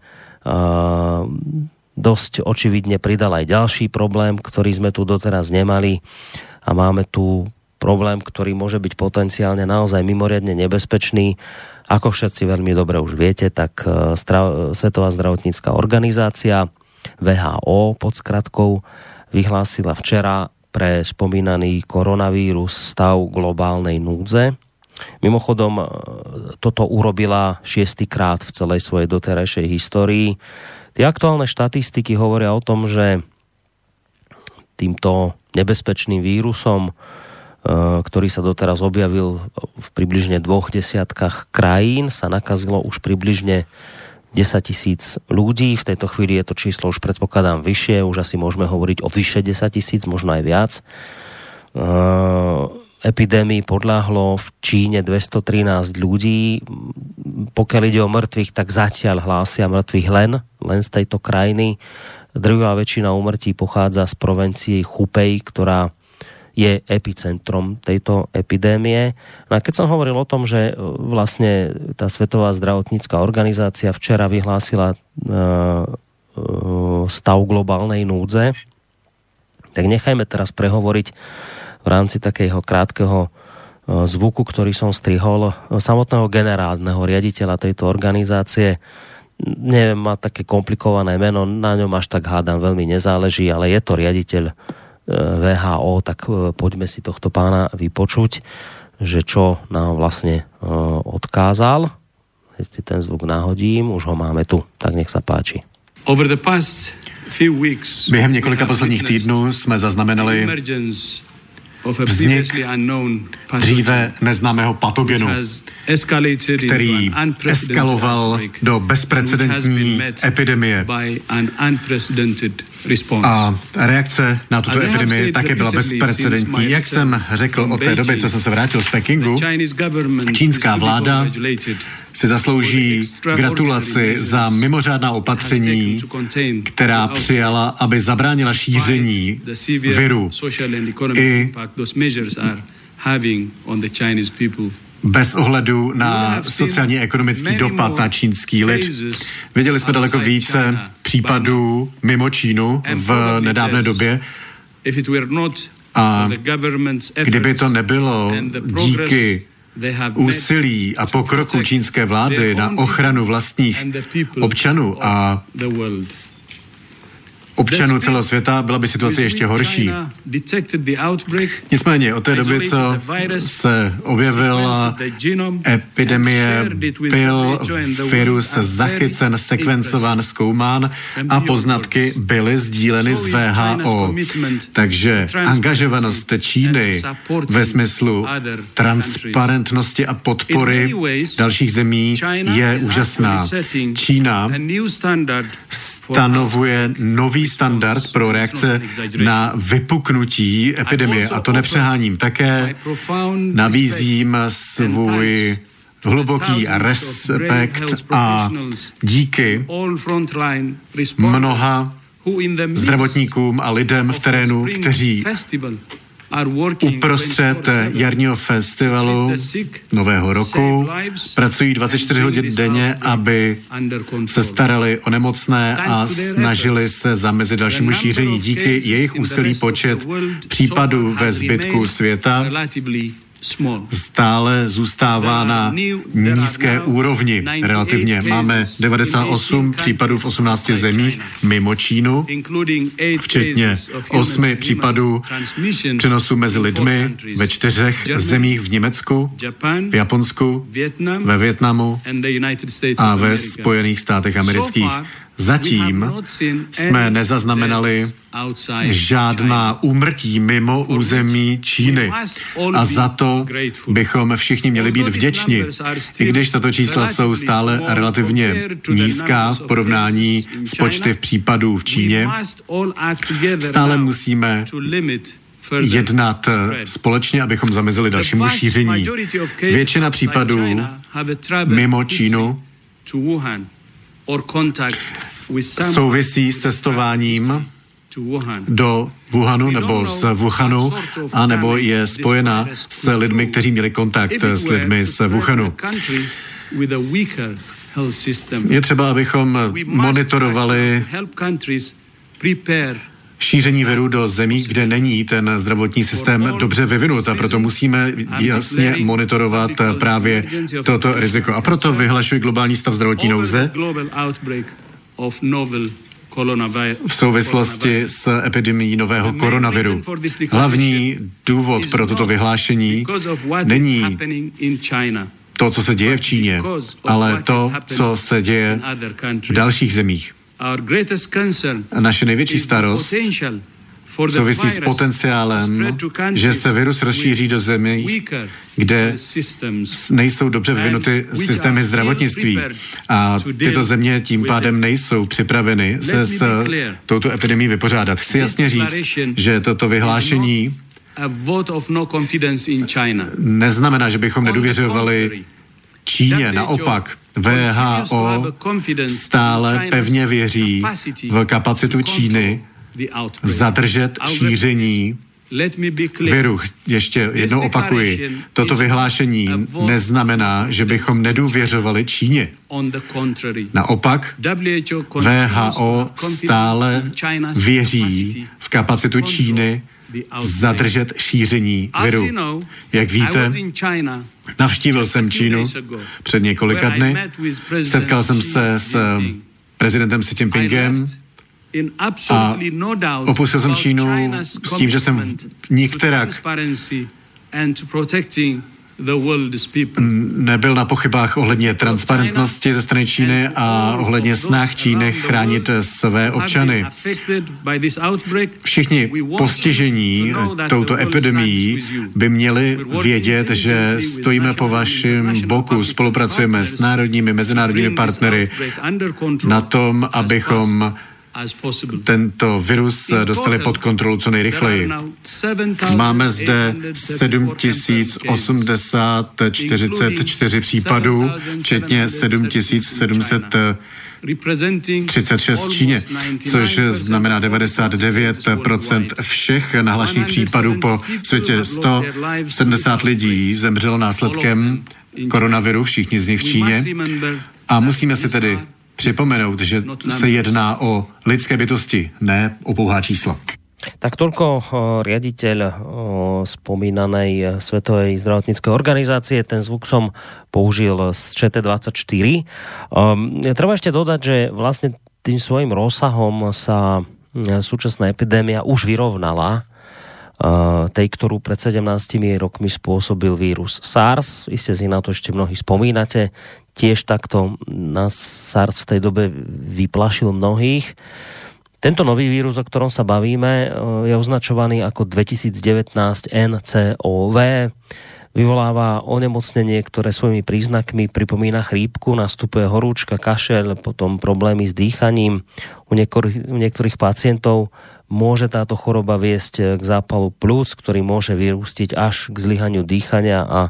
dosť očividne pridal aj ďalší problém, ktorý sme tu doteraz nemali a máme tu problém, ktorý môže byť potenciálne naozaj mimoriadne nebezpečný. Ako všetci veľmi dobre už viete, tak Svetová zdravotnícka organizácia WHO pod skratkou vyhlásila včera pre spomínaný koronavírus stav globálnej núdze. Mimochodom, toto urobila 6. krát v celej svojej doterajšej histórii. Tie aktuálne štatistiky hovoria o tom, že týmto nebezpečným vírusom, ktorý sa doteraz objavil v približne 20 krajín, sa nakazilo už približne 10 000 ľudí. V tejto chvíli je to číslo už predpokladám vyššie, už asi môžeme hovoriť o vyše 10 000, možno aj viac. epidémii podľahlo v Číne 213 ľudí. Pokiaľ ide o mŕtvych, tak zatiaľ hlásia mŕtvych len z tejto krajiny. Drvivá väčšina úmrtí pochádza z provincie Hubei, ktorá je epicentrom tejto epidémie. No a keď som hovoril o tom, že vlastne tá Svetová zdravotnícka organizácia včera vyhlásila stav globálnej núdze, tak nechajme teraz prehovoriť v rámci takého krátkeho zvuku, ktorý som strihol, samotného generálneho riaditeľa tejto organizácie. Neviem, má také komplikované meno, na ňom až tak hádam veľmi nezáleží, ale je to riaditeľ VHO, tak poďme si tohto pána vypočuť, že čo nám vlastne odkázal. Keď si ten zvuk nahodím, už ho máme tu, tak nech sa páči. Během několika posledních týdnů jsme zaznamenali vznik dříve neznámého patogenu, který eskaloval do bezprecedentní epidemie. A reakce na tuto epidemii také byla bezprecedentní. Jak jsem řekl od té doby, co jsem se vrátil z Pekingu, čínská vláda si zaslouží gratulaci za mimořádná opatření, která přijala, aby zabránila šíření viru i bez ohledu na sociálně ekonomický dopad na čínský lid. Viděli jsme daleko více případů mimo Čínu v nedávné době a kdyby to nebylo díky úsilí a pokroku čínské vlády na ochranu vlastních občanů a občanů celého světa, byla by situace ještě horší. Nicméně od té doby, co se objevila epidemie, byl virus zachycen, sekvencován, zkoumán a poznatky byly sdíleny s VHO. Takže angažovanost Číny ve smyslu transparentnosti a podpory dalších zemí je úžasná. Čína stanovuje nový standard pro reakce na vypuknutí epidemie. A to nepřeháním. Také nabízím svůj hluboký respekt a díky mnoha zdravotníkům a lidem v terénu, kteří uprostřed jarního festivalu Nového roku pracují 24 hodin denně, aby se starali o nemocné a snažili se zamezit dalšímu šíření. Díky jejich úsilí počet případů ve zbytku světa stále zůstává na nízké úrovni relativně. Máme 98 případů v 18 zemích mimo Čínu, včetně 8 případů přenosu mezi lidmi ve 4 zemích v Německu, v Japonsku, ve Vietnamu a ve Spojených státech amerických. Zatím jsme nezaznamenali žádná úmrtí mimo území Číny a za to bychom všichni měli být vděční. I když tato čísla jsou stále relativně nízká v porovnání s počty případů v Číně, stále musíme jednat společně, abychom zamezili dalšímu šíření. Většina případů mimo Čínu souvisí s cestováním do Wuhanu nebo z Wuhanu, anebo je spojena s lidmi, kteří měli kontakt s lidmi z Wuhanu. Je třeba, abychom monitorovali šíření viru do zemí, kde není ten zdravotní systém dobře vyvinut a proto musíme jasně monitorovat právě toto riziko. A proto vyhlašuji globální stav zdravotní nouze v souvislosti s epidemií nového koronaviru. Hlavní důvod pro toto vyhlášení není to, co se děje v Číně, ale to, co se děje v dalších zemích. Naše největší starost souvisí s potenciálem, že se virus rozšíří do zemí, kde nejsou dobře vyvinuty systémy zdravotnictví. A tyto země tím pádem nejsou připraveny se s touto epidemií vypořádat. Chci jasně říct, že toto vyhlášení neznamená, že bychom nedůvěřovali Číně. Naopak, WHO stále pevně věří v kapacitu Číny zadržet šíření viru. Ještě jednou opakuji, toto vyhlášení neznamená, že bychom nedůvěřovali Číně. Naopak, WHO stále věří v kapacitu Číny zadržet šíření viru. Jak víte, navštívil jsem Čínu před několika dny, setkal jsem se s prezidentem Xi Jinpingem a opustil jsem Čínu s tím, že jsem nikterak nebyl na pochybách ohledně transparentnosti ze strany Číny a ohledně snah Číny chránit své občany. Všichni postižení touto epidemií by měli vědět, že stojíme po vašem boku, spolupracujeme s národními, mezinárodními partnery na tom, abychom tento virus dostali pod kontrolu co nejrychleji. Máme zde 7044 případů, včetně 7736 v Číně, což znamená 99% všech nahlášených případů po světě. 170 lidí zemřelo následkem koronaviru, všichni z nich v Číně. A musíme si tedy připomenout, že se jedná o lidské bytosti, ne o pouhá čísla. Tak toľko riaditeľ spomínanej Svetovej zdravotníckej organizácie. Ten zvuk som použil z ČT24. Treba ešte dodať, že vlastne tým svojim rozsahom sa súčasná epidémia už vyrovnala tej, ktorú pred 17 rokmi spôsobil vírus SARS. Iste si na to ešte mnohí spomínate. Tiež takto nás SARS v tej dobe vyplašil mnohých. Tento nový vírus, o ktorom sa bavíme, je označovaný ako 2019 NCOV. Vyvoláva onemocnenie, ktoré svojimi príznakmi pripomína chrípku, nastupuje horúčka, kašeľ, potom problémy s dýchaním. U niektorých pacientov môže táto choroba viesť k zápalu plúc, ktorý môže vyústiť až k zlyhaniu dýchania a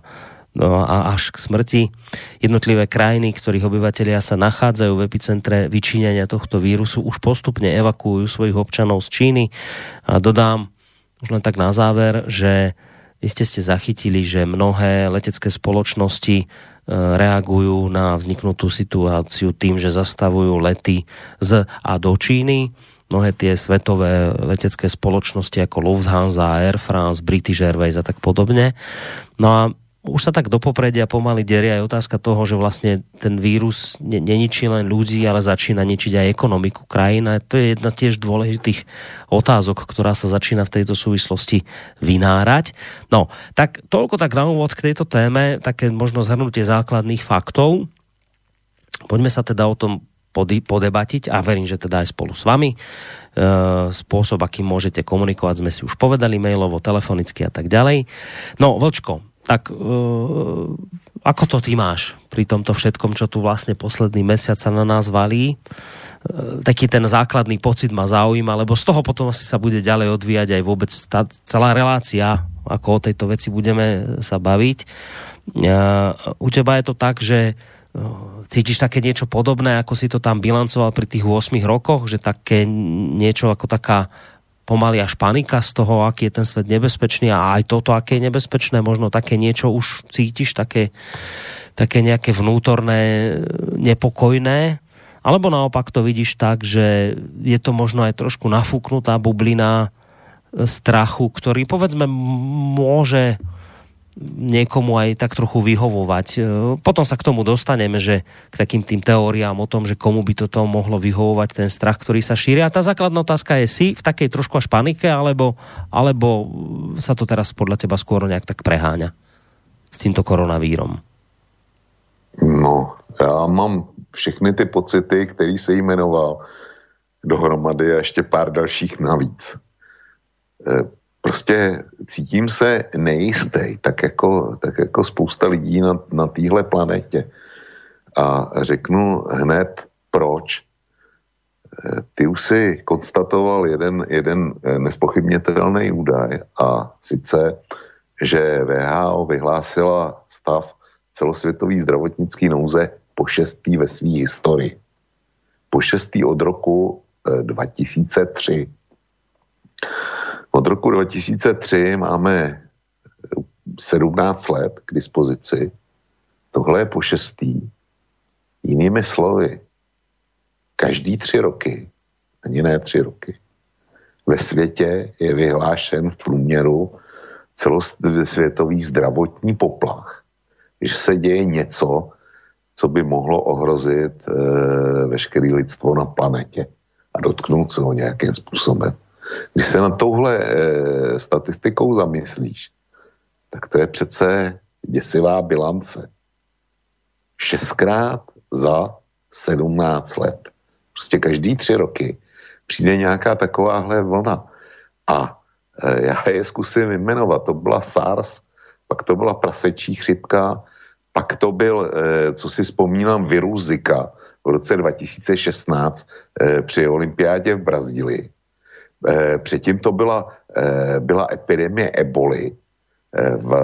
až k smrti. Jednotlivé krajiny, ktorých obyvatelia sa nachádzajú v epicentre vyčíňania tohto vírusu, už postupne evakuujú svojich občanov z Číny. A dodám už len tak na záver, že iste ste zachytili, že mnohé letecké spoločnosti reagujú na vzniknutú situáciu tým, že zastavujú lety z a do Číny. Mnohé tie svetové letecké spoločnosti ako Lufthansa, Air France, British Airways a tak podobne. No a už sa tak do popredia pomaly derie aj otázka toho, že vlastne ten vírus neničí len ľudí, ale začína ničiť aj ekonomiku krajín. A to je jedna z tiež dôležitých otázok, ktorá sa začína v tejto súvislosti vynárať. No, tak toľko tak na úvod k tejto téme, také možno zhrnutie základných faktov. Poďme sa teda o tom podebatiť a verím, že teda aj spolu s vami. Spôsob, akým môžete komunikovať, sme si už povedali mailovo, telefonicky a tak ďalej. No, Vlčko, tak ako to ty máš pri tomto všetkom, čo tu vlastne posledný mesiac sa na nás valí? Taký ten základný pocit ma zaujíma, lebo z toho potom asi sa bude ďalej odvíjať aj vôbec celá relácia, ako o tejto veci budeme sa baviť. U teba je to tak, že cítiš také niečo podobné, ako si to tam bilancoval pri tých 8 rokoch, že také niečo ako taká pomaly až panika z toho, aký je ten svet nebezpečný a aj toto, aké je nebezpečné, možno také niečo už cítiš, také nejaké vnútorné, nepokojné, alebo naopak to vidíš tak, že je to možno aj trošku nafúknutá bublina strachu, ktorý povedzme môže niekomu aj tak trochu vyhovovať. Potom sa k tomu dostaneme, že k takým tým teóriám o tom, že komu by toto mohlo vyhovovať, ten strach, ktorý sa šíri. A tá základná otázka je, si v takej trošku až panike, alebo sa to teraz podľa teba skôr nejak tak preháňa s týmto koronavírom? No, já mám všechny ty pocity, který se jmenoval dohromady a ještě pár dalších navíc. Prostě cítím se nejistý, tak jako spousta lidí na téhle planetě. A řeknu hned proč. ty už si konstatoval jeden nespochybnitelný údaj, a sice, že WHO vyhlásila stav celosvětový zdravotnický nouze po 6. ve své historii. Po 6. od roku 2003. Od roku 2003 máme 17 let k dispozici. Tohle je po 6. Jinými slovy, každý 3 roky, ani ne 3 roky, ve světě je vyhlášen v průměru celosvětový zdravotní poplach, že se děje něco, co by mohlo ohrozit veškeré lidstvo na planetě a dotknout se ho nějakým způsobem. Když se na touhle statistikou zamyslíš, tak to je přece děsivá bilance. 6krát za 17 let. Prostě každý 3 roky přijde nějaká takováhle vlna. A já je zkusím jmenovat. To byla SARS, pak to byla prasečí chřipka, pak to byl, co si vzpomínám, virus Zika v roce 2016 při olympiádě v Brazílii. Předtím to byla epidemie eboli v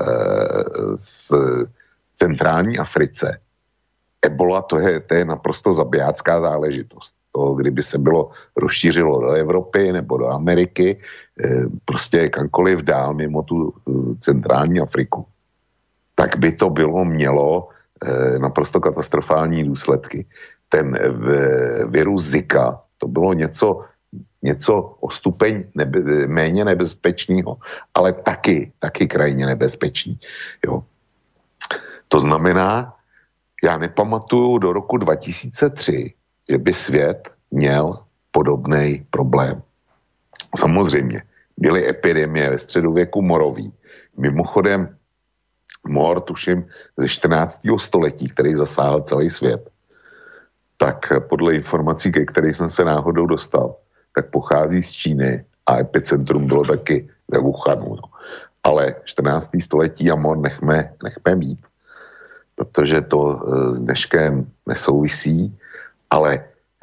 centrální Africe. Ebola to je naprosto zabijácká záležitost. To, kdyby se rozšířilo do Evropy nebo do Ameriky, prostě kamkoliv dál mimo tu centrální Afriku, tak by to mělo naprosto katastrofální důsledky. Ten virus Zika, to bylo něco o stupeň méně nebezpečného, ale taky krajně nebezpečný. Jo. To znamená, já nepamatuju do roku 2003, že by svět měl podobný problém. Samozřejmě, byly epidemie ve středověku morový. Mimochodem, mor, tuším, ze 14. století, který zasáhl celý svět, tak podle informací, ke kterých jsem se náhodou dostal, tak pochází z Číny a epicentrum bylo taky ve Wuhanu. No. Ale 14. století a mor nechme být, protože to s dneškem nesouvisí, ale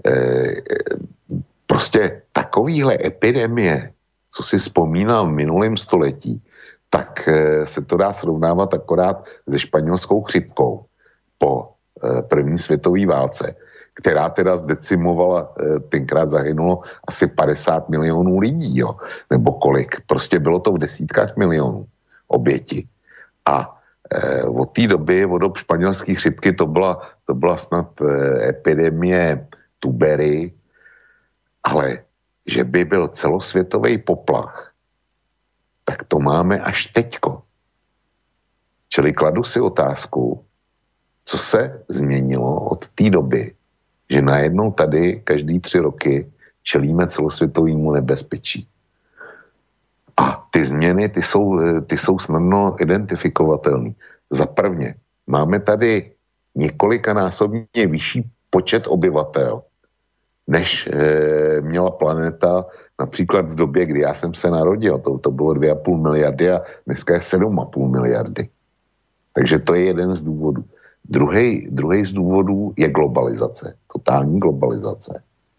prostě takovýhle epidemie, co si vzpomínal v minulém století, tak se to dá srovnávat akorát se španělskou chřipkou po první světové válce, která teda zdecimovala, tenkrát zahynulo asi 50 milionů lidí, jo, nebo kolik. Prostě bylo to v desítkách milionů oběti. A od té doby, od dob španělské chřipky, to byla snad epidemie tubery, ale že by byl celosvětový poplach, tak to máme až teďko. Čili kladu si otázku, co se změnilo od té doby, že najednou tady každý 3 roky čelíme celosvětovému nebezpečí. A ty změny, ty jsou snadno identifikovatelné. Za prvně, máme tady několikanásobně vyšší počet obyvatel, než měla planeta například v době, kdy já jsem se narodil. To bylo 2,5 miliardy a dneska je 7,5 miliardy. Takže to je jeden z důvodů. Druhý z důvodů je globalizace, totální globalizace.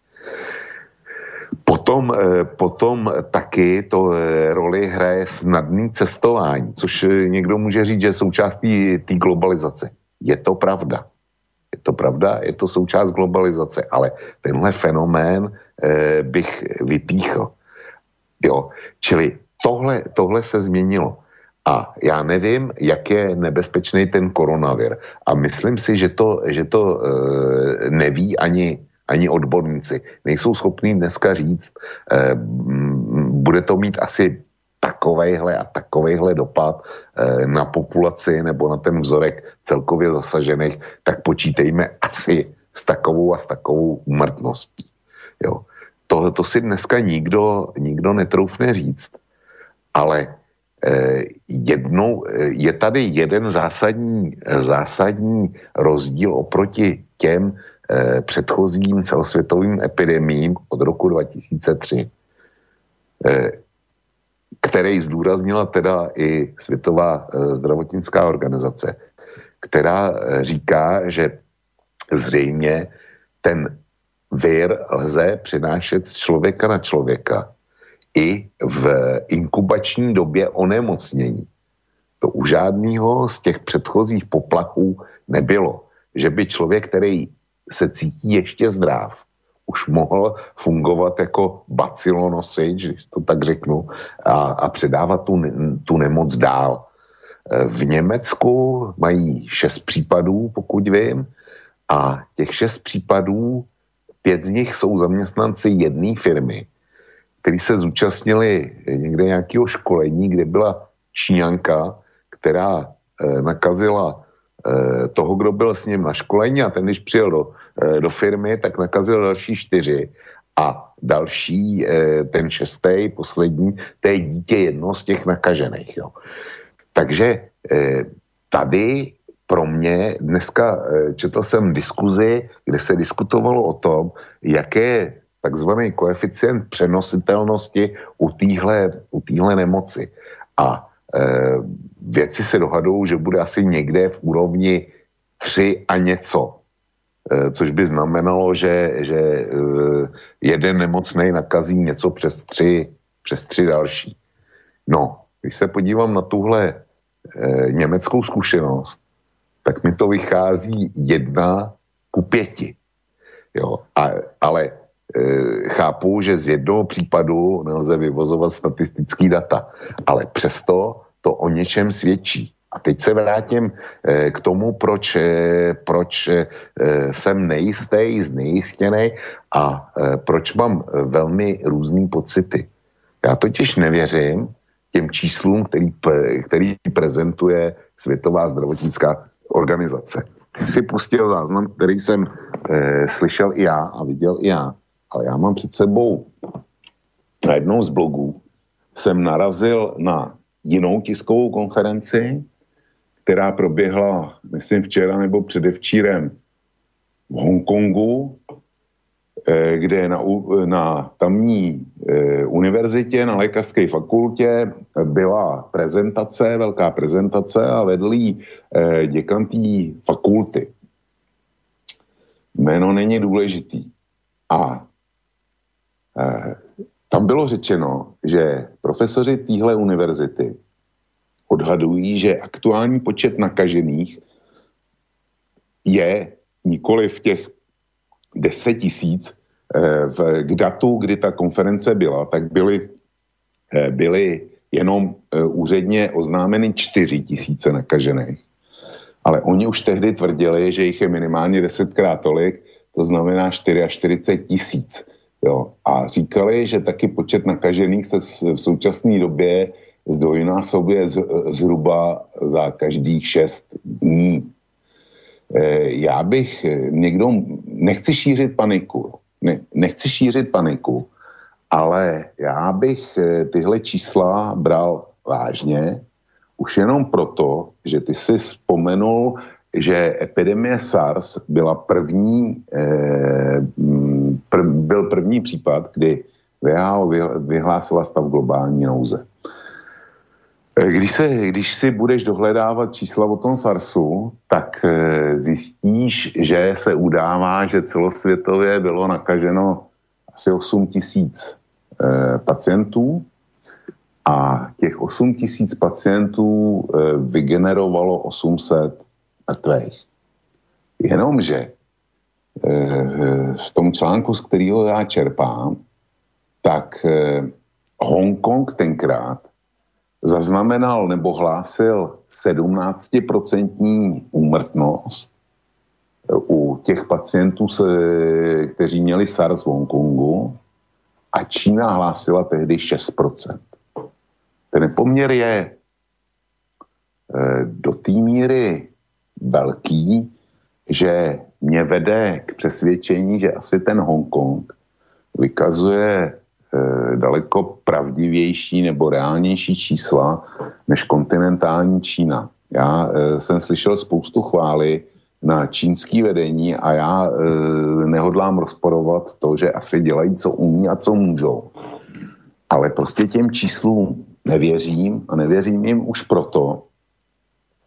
Potom taky to roli hraje snadný cestování, což někdo může říct, že je součástí té globalizace. Je to pravda. Je to součást globalizace, ale tenhle fenomén bych vypíchl. Jo, čili tohle se změnilo. A já nevím, jak je nebezpečný ten koronavir. A myslím si, že to neví ani odborníci. Nejsou schopní dneska říct, bude to mít asi takovejhle dopad na populaci nebo na ten vzorek celkově zasažených, tak počítejme asi s takovou úmrtností. Jo. To si dneska nikdo netroufne říct. Ale je tady jeden zásadní rozdíl oproti těm předchozím celosvětovým epidemiím od roku 2003, který zdůraznila teda i Světová zdravotnická organizace, která říká, že zřejmě ten vir lze přinášet z člověka na člověka i v inkubační době onemocnění. To u žádného z těch předchozích poplachů nebylo, že by člověk, který se cítí ještě zdrav, už mohl fungovat jako bacilonosič, když to tak řeknu, a předávat tu nemoc dál. V Německu mají 6 případů, pokud vím, a těch 6 případů, 5 z nich jsou zaměstnanci jedné firmy, kteří se zúčastnili někde nějakého školení, kde byla Číňanka, která nakazila toho, kdo byl s ním na školení, a ten, když přijel do firmy, tak nakazil další 4 a další, ten 6., poslední, to je dítě jedno z těch nakažených. Jo. Takže tady pro mě dneska četl jsem diskuzi, kde se diskutovalo o tom, jaké je takzvaný koeficient přenositelnosti u téhle nemoci. A věci se dohadují, že bude asi někde v úrovni 3 a něco. Což by znamenalo, že jeden nemocnej nakazí něco přes 3 další. No, když se podívám na tuhle německou zkušenost, tak mi to vychází 1:5. Jo, ale chápu, že z jednoho případu nelze vyvozovat statistický data, ale přesto to o něčem svědčí. A teď se vrátím k tomu, proč jsem nejistý, znejistěný a proč mám velmi různý pocity. Já totiž nevěřím těm číslům, který prezentuje Světová zdravotnická organizace. Si pustil záznam, který jsem slyšel i já a viděl i já, ale já mám před sebou na jednou z blogů jsem narazil na jinou tiskovou konferenci, která proběhla, myslím, včera nebo předevčírem v Hongkongu, kde na tamní univerzitě, na lékařské fakultě byla prezentace, velká prezentace a vedl jí děkan té fakulty. Jméno není důležitý. A tam bylo řečeno, že profesoři téhle univerzity odhadují, že aktuální počet nakažených je nikoli v těch 10 000. K datu, kdy ta konference byla, tak byly jenom úředně oznámeny 4 000 nakažených. Ale oni už tehdy tvrdili, že jich je minimálně 10krát tolik, to znamená 44 000. Jo. A říkali, že taky počet nakažených se v současné době zdvojnásobuje zhruba za každých 6 dní. Já bych nechci šířit paniku, ale já bych tyhle čísla bral vážně, už jenom proto, že ty si vzpomenul, že epidemie SARS byla byl první případ, kdy WHO vyhlásila stav globální nouze. Když si budeš dohledávat čísla o tom SARSu, tak zjistíš, že se udává, že celosvětově bylo nakaženo asi 8 000 pacientů a těch 8 000 pacientů vygenerovalo 800 mrtvých. Jenomže v tom článku, z kterého já čerpám, tak Hongkong tenkrát zaznamenal nebo hlásil 17% úmrtnost u těch pacientů, kteří měli SARS v Hongkongu, a Čína hlásila tehdy 6%. Ten nepoměr je do té míry velký, že mě vede k přesvědčení, že asi ten Hongkong vykazuje daleko pravdivější nebo reálnější čísla než kontinentální Čína. Já jsem slyšel spoustu chvály na čínský vedení a já nehodlám rozporovat to, že asi dělají, co umí a co můžou. Ale prostě těm číslům nevěřím a nevěřím jim už proto,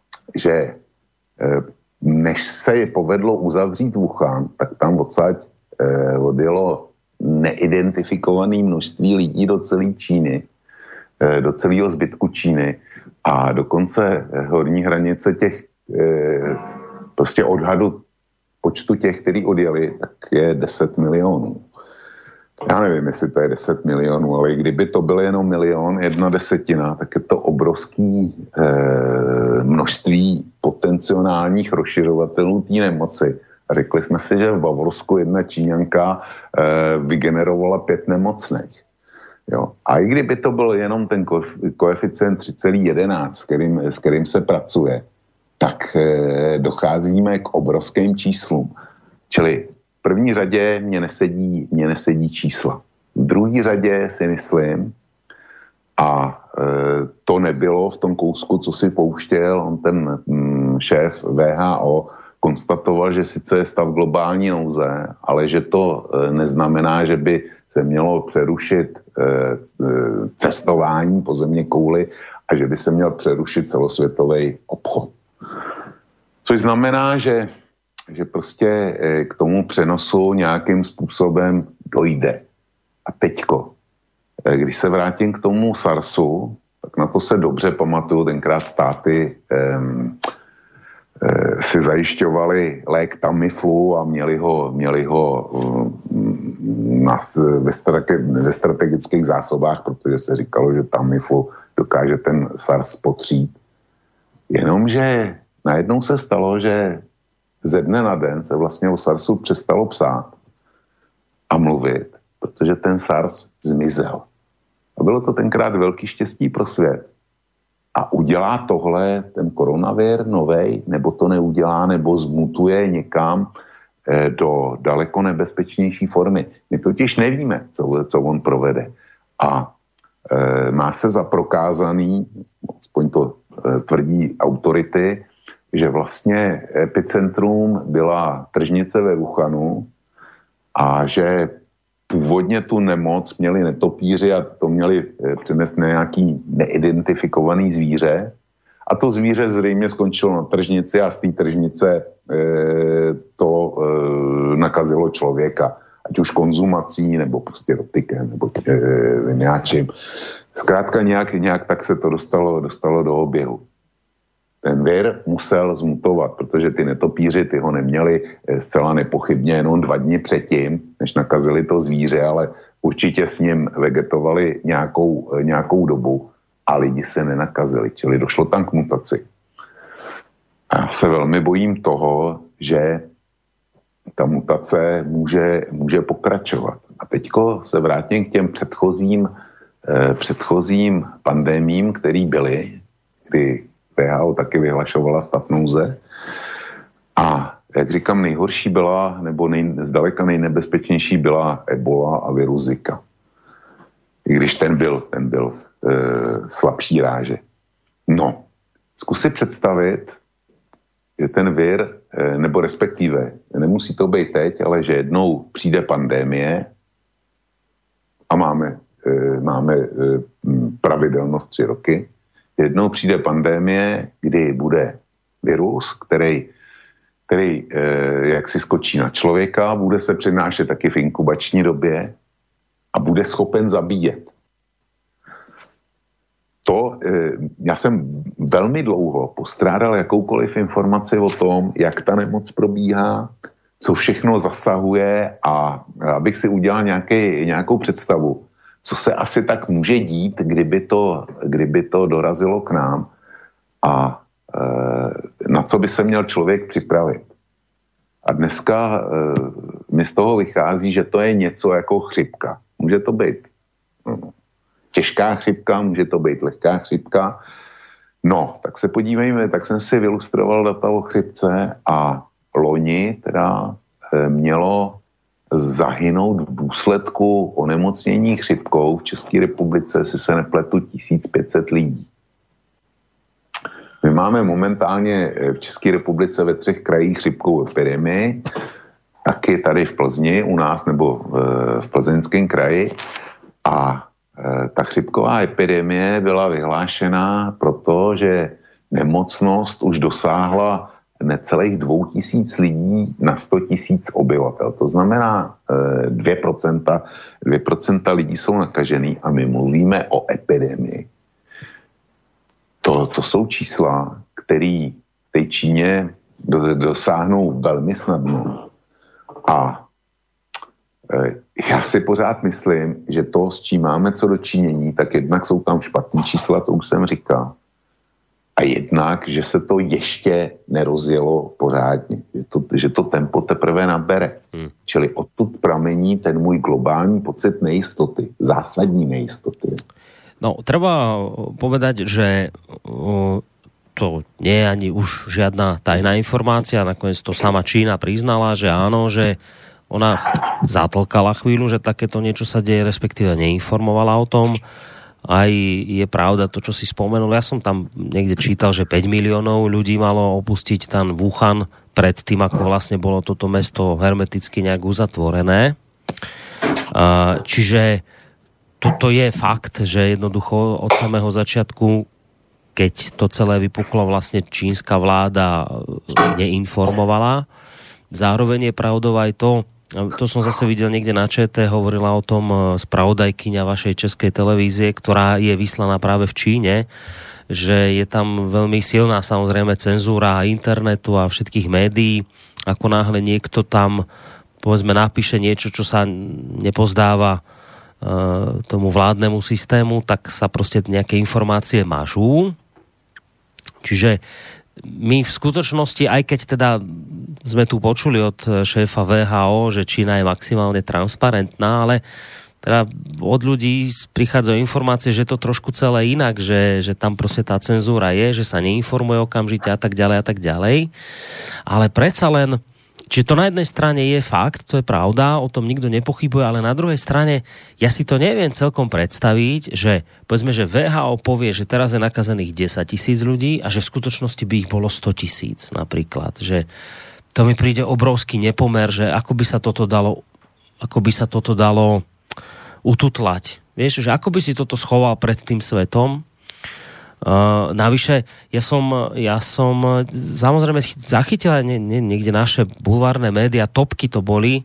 že než se je povedlo uzavřít Wuhan, tak tam odsaď odjelo neidentifikované množství lidí do celé Číny, do celého zbytku Číny a dokonce horní hranice těch prostě odhadu počtu těch, kteří odjeli, tak je 10 milionů. Já nevím, jestli to je 10 milionů, ale kdyby to byl jenom 1 1/10, tak je to obrovský množství potenciálních rozšiřovatelů té nemoci. A řekli jsme si, že v Bavorsku jedna Číňanka vygenerovala 5 nemocných. Jo. A i kdyby to byl jenom ten koeficient 3,11, s kterým se pracuje, tak docházíme k obrovským číslům. Čili v první řadě mě nesedí čísla. V druhé řadě si myslím, a to nebylo v tom kousku, co si pouštěl, on ten šéf VHO konstatoval, že sice je stav globální nouze, ale že to neznamená, že by se mělo přerušit cestování po zeměkouli a že by se měl přerušit celosvětový obchod. Což znamená, že prostě k tomu přenosu nějakým způsobem dojde. A teďko, když se vrátím k tomu SARSu, tak na to se dobře pamatuju, tenkrát státy si zajišťovali lék Tamiflu a měli ho ve strategických zásobách, protože se říkalo, že Tamiflu dokáže ten SARS potřít. Jenomže najednou se stalo, že ze dne na den se vlastně o SARSu přestalo psát a mluvit, protože ten SARS zmizel. A bylo to tenkrát velký štěstí pro svět. A udělá tohle ten koronavir novej, nebo to neudělá, nebo zmutuje někam do daleko nebezpečnější formy. My totiž nevíme, co on provede. A má se za prokázaný, aspoň to tvrdí autority, že vlastně epicentrum byla tržnice ve Wuhanu a že původně tu nemoc měli netopíři a to měli přenést na nějaký neidentifikovaný zvíře a to zvíře zřejmě skončilo na tržnici a z té tržnice to nakazilo člověka. Ať už konzumací, nebo prostě dotykem, nebo něčím. Zkrátka nějak tak se to dostalo do oběhu. Ten vir musel zmutovat, protože ty netopíři, ty ho neměli zcela nepochybně jenom 2 dny předtím, než nakazili to zvíře, ale určitě s ním vegetovali nějakou dobu a lidi se nenakazili, čili došlo tam k mutaci. A já se velmi bojím toho, že ta mutace může pokračovat. A teďko se vrátím k těm předchozím pandemím, které byly, kdy WHO taky vyhlašovala stav nouze. A jak říkám, nejhorší byla, nebo zdaleka nejnebezpečnější byla Ebola a virus Zika. I když ten byl slabší ráže. No, zkus si představit, že ten vir, nebo respektive, nemusí to být teď, ale že jednou přijde pandemie a máme pravidelnost 3 roky, jednou přijde pandemie, kdy bude virus, který jak si skočí na člověka, bude se přenášet taky v inkubační době a bude schopen zabíjet. Já jsem velmi dlouho postrádal jakoukoliv informaci o tom, jak ta nemoc probíhá, co všechno zasahuje a abych si udělal nějakou představu, co se asi tak může dít, kdyby to dorazilo k nám a na co by se měl člověk připravit. A dneska mi z toho vychází, že to je něco jako chřipka. Může to být těžká chřipka, může to být lehká chřipka. No, tak se podívejme, tak jsem si vylustroval data o chřipce a loni teda mělo zahynout v důsledku onemocnění chřipkou v České republice, si se nepletu, 1500 lidí. My máme momentálně v České republice ve 3 krajích chřipkovou epidemii, taky tady v Plzni u nás nebo v Plzeňském kraji a ta chřipková epidemie byla vyhlášena proto, že nemocnost už dosáhla necelých 2000 lidí na 100 000 obyvatel. To znamená 2% lidí jsou nakažený a my mluvíme o epidemii. To jsou čísla, které v té Číně dosáhnou velmi snadno. A já si pořád myslím, že to, s čím máme co dočinění, tak jednak jsou tam špatný čísla, to už jsem říkal. A jednak, že se to ještě nerozjelo pořádně. Že to tempo teprve nabere. Čili odtud pramení ten můj globální pocit nejistoty. Zásadní nejistoty. No, treba povedať, že to nie je ani už žiadna tajná informácia. Nakoniec to sama Čína priznala, že áno, že ona zatlkala chvíľu, že takéto niečo sa deje, respektíve neinformovala o tom. Aj je pravda to, čo si spomenul. Ja som tam niekde čítal, že 5 miliónov ľudí malo opustiť ten Wuhan pred tým, ako vlastne bolo toto mesto hermeticky nejak uzatvorené. Čiže toto je fakt, že jednoducho od samého začiatku, keď to celé vypuklo, vlastne čínska vláda neinformovala. Zároveň je pravdou aj to som zase videl niekde na ČT, hovorila o tom spravodajkyňa vašej českej televízie, ktorá je vyslaná práve v Číne, že je tam veľmi silná samozrejme cenzúra internetu a všetkých médií. Ako náhle niekto tam povedzme napíše niečo, čo sa nepozdáva tomu vládnemu systému, tak sa proste nejaké informácie mažú. Čiže my v skutočnosti, aj keď teda sme tu počuli od šéfa VHO, že Čína je maximálne transparentná, ale teda od ľudí prichádzajú informácie, že to trošku celé inak, že tam proste tá cenzúra je, že sa neinformuje okamžite a tak ďalej. Ale predsa len, či to na jednej strane je fakt, to je pravda, o tom nikto nepochybuje, ale na druhej strane ja si to neviem celkom predstaviť, že povedzme, že VHO povie, že teraz je nakazených 10 000 ľudí a že v skutočnosti by ich bolo 100 000 napríklad. Že to mi príde obrovský nepomer, že ako by sa toto dalo ututlať. Vieš, že ako by si toto schoval pred tým svetom. Navyše, ja som samozrejme zachytil niekde naše bulvárne médiá, topky to boli,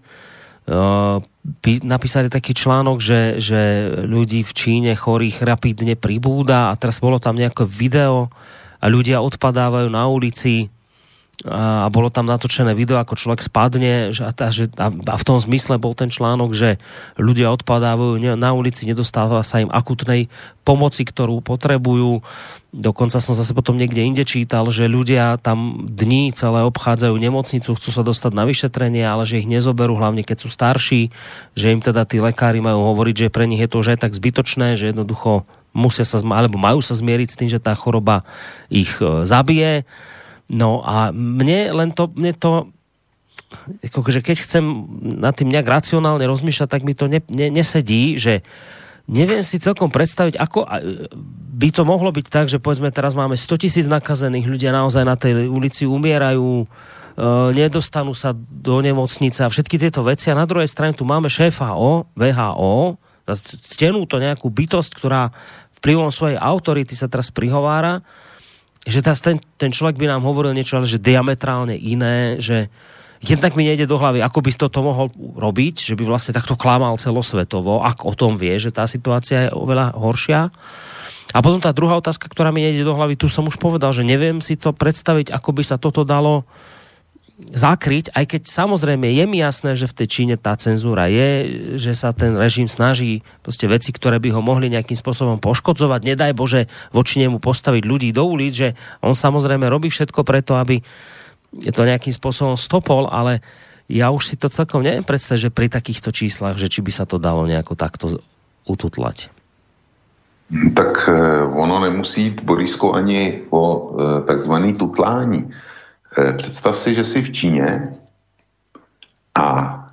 napísali taký článok, že ľudí v Číne chorých rapidne pribúda a teraz bolo tam nejaké video a ľudia odpadávajú na ulici a bolo tam natočené video, ako človek spadne a v tom zmysle bol ten článok, že ľudia odpadávajú na ulici, nedostáva sa im akutnej pomoci, ktorú potrebujú. Dokonca som zase potom niekde inde čítal, že ľudia tam dní celé obchádzajú nemocnicu, chcú sa dostať na vyšetrenie, ale že ich nezoberú, hlavne keď sú starší, že im teda tí lekári majú hovoriť, že pre nich je to už aj tak zbytočné, že jednoducho majú sa zmieriť s tým, že tá choroba ich zabije. No a mne to akože keď chcem nad tým nejak racionálne rozmýšľať, tak mi to nesedí, že neviem si celkom predstaviť, ako by to mohlo byť tak, že povedzme teraz máme 100 000 nakazených, ľudia naozaj na tej ulici umierajú, nedostanú sa do nemocnice a všetky tieto veci a na druhej strane tu máme šéfa VHO, ctenú to nejakú bytosť, ktorá vplyvom svojej autority sa teraz prihovára, že ten človek by nám hovoril niečo, ale že diametrálne iné, že jednak mi nejde do hlavy, ako by toto mohol robiť, že by vlastne takto klamal celosvetovo, ak o tom vie, že tá situácia je oveľa horšia. A potom tá druhá otázka, ktorá mi nejde do hlavy, tu som už povedal, že neviem si to predstaviť, ako by sa toto dalo zakryť, aj keď samozrejme je mi jasné, že v tej Číne tá cenzúra je, že sa ten režim snaží proste veci, ktoré by ho mohli nejakým spôsobom poškodzovať, nedaj Bože voči nemu postaviť ľudí do ulic, že on samozrejme robí všetko preto, aby je to nejakým spôsobom stopol, ale ja už si to celkom neviem predstaviť, že pri takýchto číslach, že či by sa to dalo nejako takto ututlať. Tak ono nemusí jít, Borisko, ani o takzvaný tutlání. Představ si, že jsi v Číně a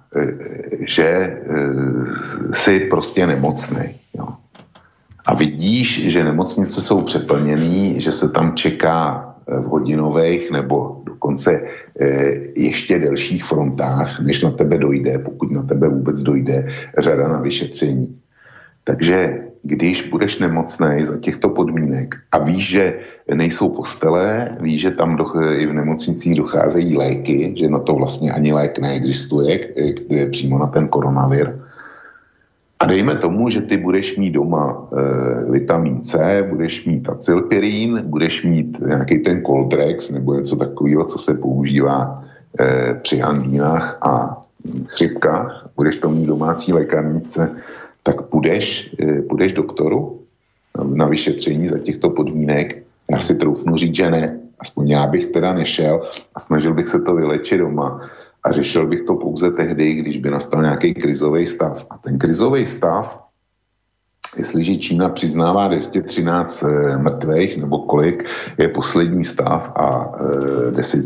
že jsi prostě nemocný. Jo. A vidíš, že nemocnice jsou přeplněný, že se tam čeká v hodinových nebo dokonce ještě delších frontách, než na tebe dojde, pokud na tebe vůbec dojde, řada na vyšetření. Takže když budeš nemocnej za těchto podmínek a víš, že nejsou postele, víš, že tam i v nemocnicích docházejí léky, že na to vlastně ani lék neexistuje, přímo na ten koronavir. A dejme tomu, že ty budeš mít doma vitamin C, budeš mít acylpirín, budeš mít nějaký ten Coldrex nebo něco takového, co se používá při angínách a chřipkách, budeš to mít domácí lékárnice, tak půjdeš doktoru na vyšetření za těchto podmínek. Já si troufnu říct, že ne. Aspoň já bych teda nešel a snažil bych se to vylečit doma. A řešil bych to pouze tehdy, když by nastal nějaký krizový stav. A ten krizový stav, jestliže Čína přiznává 213 mrtvých, nebo kolik je poslední stav a 10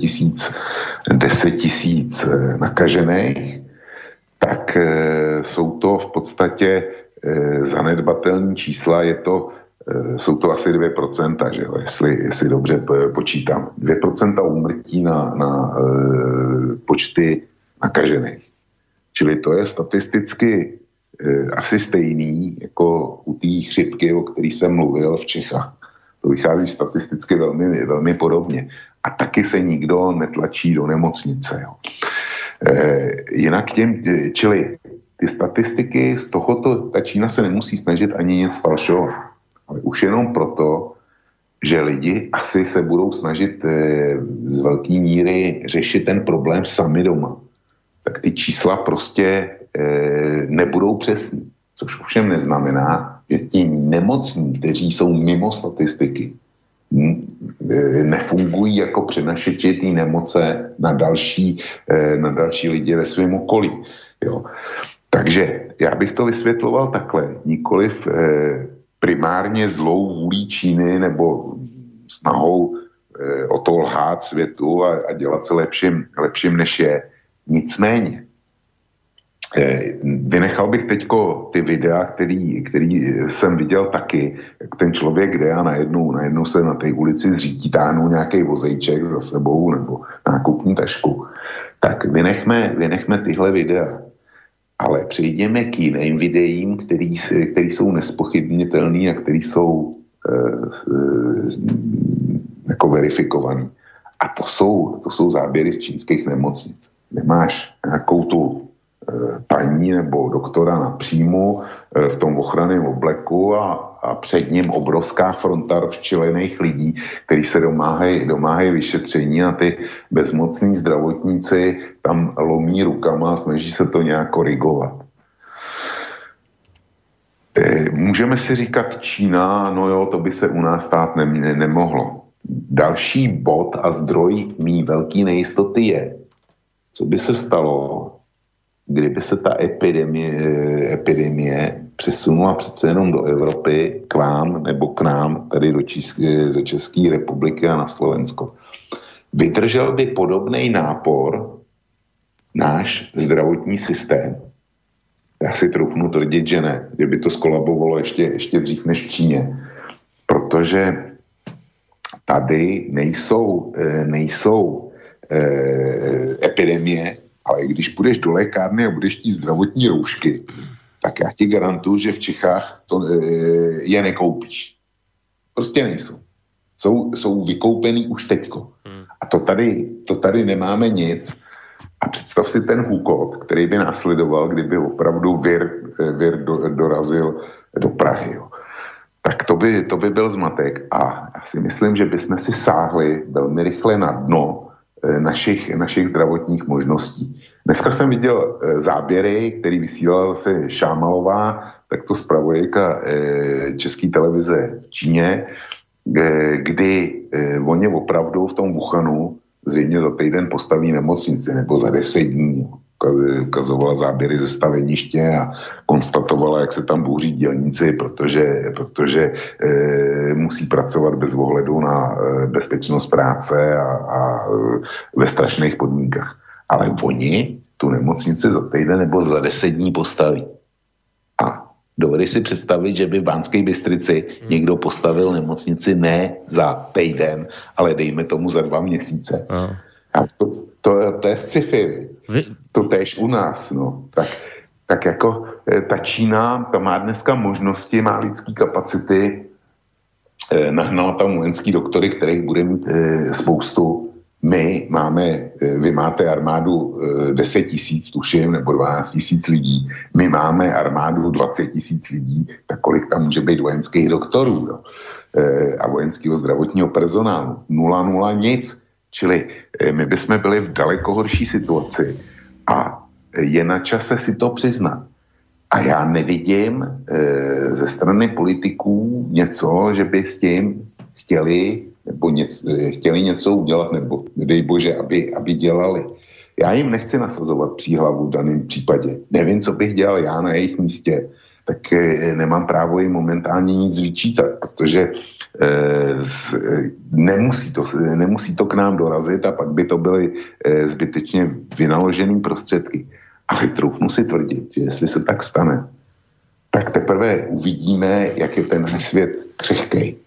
tisíc nakažených, tak jsou to v podstatě zanedbatelné čísla, jsou to asi 2%, že jo, jestli dobře počítám. 2% úmrtí na počty nakažených. Čili to je statisticky asi stejný jako u té chřipky, o který jsem mluvil v Čechách. To vychází statisticky velmi, velmi podobně. A taky se nikdo netlačí do nemocnice. Jo. Jinak čili ty statistiky z tohoto, ta Čína se nemusí snažit ani nic falšovat. Ale už jenom proto, že lidi asi se budou snažit z velké míry řešit ten problém sami doma. Tak ty čísla prostě nebudou přesný. Což ovšem neznamená, že ti nemocní, kteří jsou mimo statistiky, nefungují jako přenašeči té nemoce na další lidi ve svém okolí. Jo. Takže já bych to vysvětloval takhle. Nikoliv primárně zlou vůlí Číny nebo snahou o to lhát světu a dělat se lepším než je. Nicméně, vynechal bych teďko ty videa, který jsem viděl taky, jak ten člověk jde a najednou se na té ulici zřítí, táhnou nějaký vozejček za sebou nebo nákupní tašku. Tak vynechme tyhle videa. Ale přejdeme k jiným videím, který jsou nespochybnitelný a který jsou jako verifikovaný. A to jsou záběry z čínských nemocnic. Nemáš nějakou tu paní nebo doktora na příjmu v tom ochranném obleku a před ním obrovská fronta rozčilených lidí, kteří se domáhají vyšetření a ty bezmocní zdravotníci tam lomí rukama a snaží se to nějak korigovat. Můžeme si říkat Čína, no jo, to by se u nás stát nemohlo. Další bod a zdroj mý velký nejistoty je, co by se stalo, kdyby se ta epidemie přesunula přece jenom do Evropy, k vám nebo k nám, tady do České republiky a na Slovensko. Vydržel by podobný nápor náš zdravotní systém? Já si troufnu tvrdit, že ne. Že by to skolabovalo ještě dřív než v Číně. Protože tady nejsou epidemie, ale když půjdeš do lékárny a budeš chtít zdravotní roušky, tak já ti garantuju, že v Čechách je nekoupíš. Prostě nejsou. Jsou vykoupený už teďko. A to tady nemáme nic. A představ si ten hůkot, který by následoval, kdyby opravdu vir dorazil do Prahy. Jo. Tak to by byl zmatek. A já si myslím, že bychom si sáhli velmi rychle na dno našich zdravotních možností. Dneska jsem viděl záběry, který vysílala zase Šámalová, tak to zpravodajka České televize v Číně, kdy oni opravdu v tom Wuhanu zřejmě za týden postaví nemocnici nebo za 10 dní. Ukazovala záběry ze staveniště a konstatovala, jak se tam bouří dělníci, protože musí pracovat bez ohledu na bezpečnost práce a ve strašných podmínkách. Ale oni tu nemocnici za týden nebo za 10 dní postaví. A dovedeš si představit, že by v Banské Bystrici někdo postavil nemocnici ne za týden, ale dejme tomu za 2 měsíce. A to je sci-fi. To též u nás, no. Tak tak jako ta Čína, ta má dneska možnosti, má lidský kapacity, nahnala tam vojenský doktory, kterých bude mít spoustu. Vy máte armádu 10 000, tuším, nebo 12 000 lidí. My máme armádu 20 000 lidí, tak kolik tam může být vojenských doktorů, no? A vojenského zdravotního personálu. 0 nic. Čili my bychom byli v daleko horší situaci a je na čase si to přiznat. A já nevidím ze strany politiků něco, že by s tím chtěli něco udělat, nebo nedej bože, aby dělali. Já jim nechci nasazovat příhlavu v daném případě. Nevím, co bych dělal já na jejich místě, tak nemám právo jim momentálně nic vyčítat, protože nemusí to k nám dorazit a pak by to byly zbytečně vynaložené prostředky. Ale troufnu si tvrdit, že jestli se tak stane, tak teprve uvidíme, jak je ten náš svět křehkej.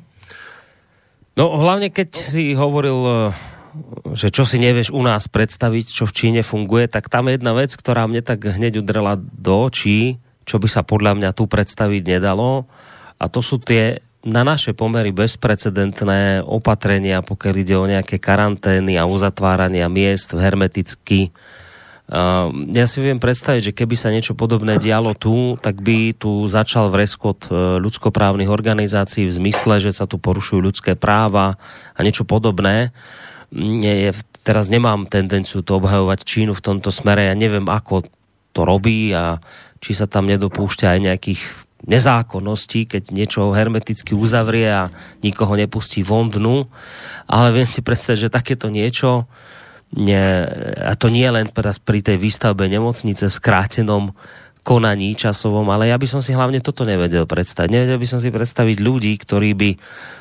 No hlavne keď si hovoril, že čo si nevieš u nás predstaviť, čo v Číne funguje, tak tam je jedna vec, ktorá mne tak hneď udrela do očí, čo by sa podľa mňa tu predstaviť nedalo, a to sú tie na naše pomery bezprecedentné opatrenia, pokiaľ ide o nejaké karantény a uzatvárania miest hermeticky. Ja si viem predstaviť, že keby sa niečo podobné dialo tu, tak by tu začal vreskot ľudskoprávnych organizácií v zmysle, že sa tu porušujú ľudské práva a niečo podobné. Teraz nemám tendenciu to obhajovať Čínu v tomto smere. Ja neviem, ako to robí a či sa tam nedopúšťa aj nejakých nezákonností, keď niečo hermeticky uzavrie a nikoho nepustí von dnu. Ale viem si predstaviť, že takéto niečo a to nie len pri tej výstavbe nemocnice v skrátenom konaní časovom, ale ja by som si hlavne toto nevedel predstaviť. Nevedel by som si predstaviť ľudí, ktorí by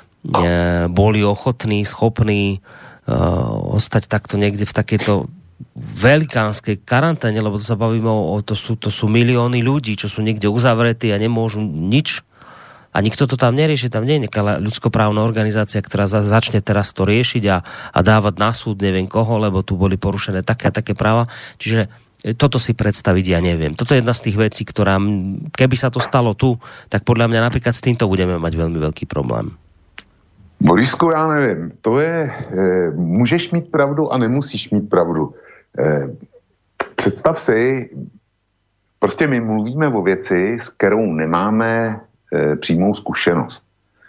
boli ochotní, schopní ostať takto niekde v takejto velikánskej karanténe, lebo to sa bavíme to sú milióny ľudí, čo sú niekde uzavretí a nemôžu nič. A nikto to tam nerieši, tam nie je nejaká ľudskoprávna organizácia, ktorá začne teraz to riešiť a dávať na súd neviem koho, lebo tu boli porušené také a také práva. Čiže toto si predstaviť ja neviem. Toto je jedna z tých vecí, ktorá, keby sa to stalo tu, tak podľa mňa napríklad s týmto budeme mať veľmi veľký problém. Borisku, já nevím. To je, můžeš mít pravdu a nemusíš mít pravdu. Představ si, prostě my mluvíme o věci, s kterou nemáme přímou zkušenost.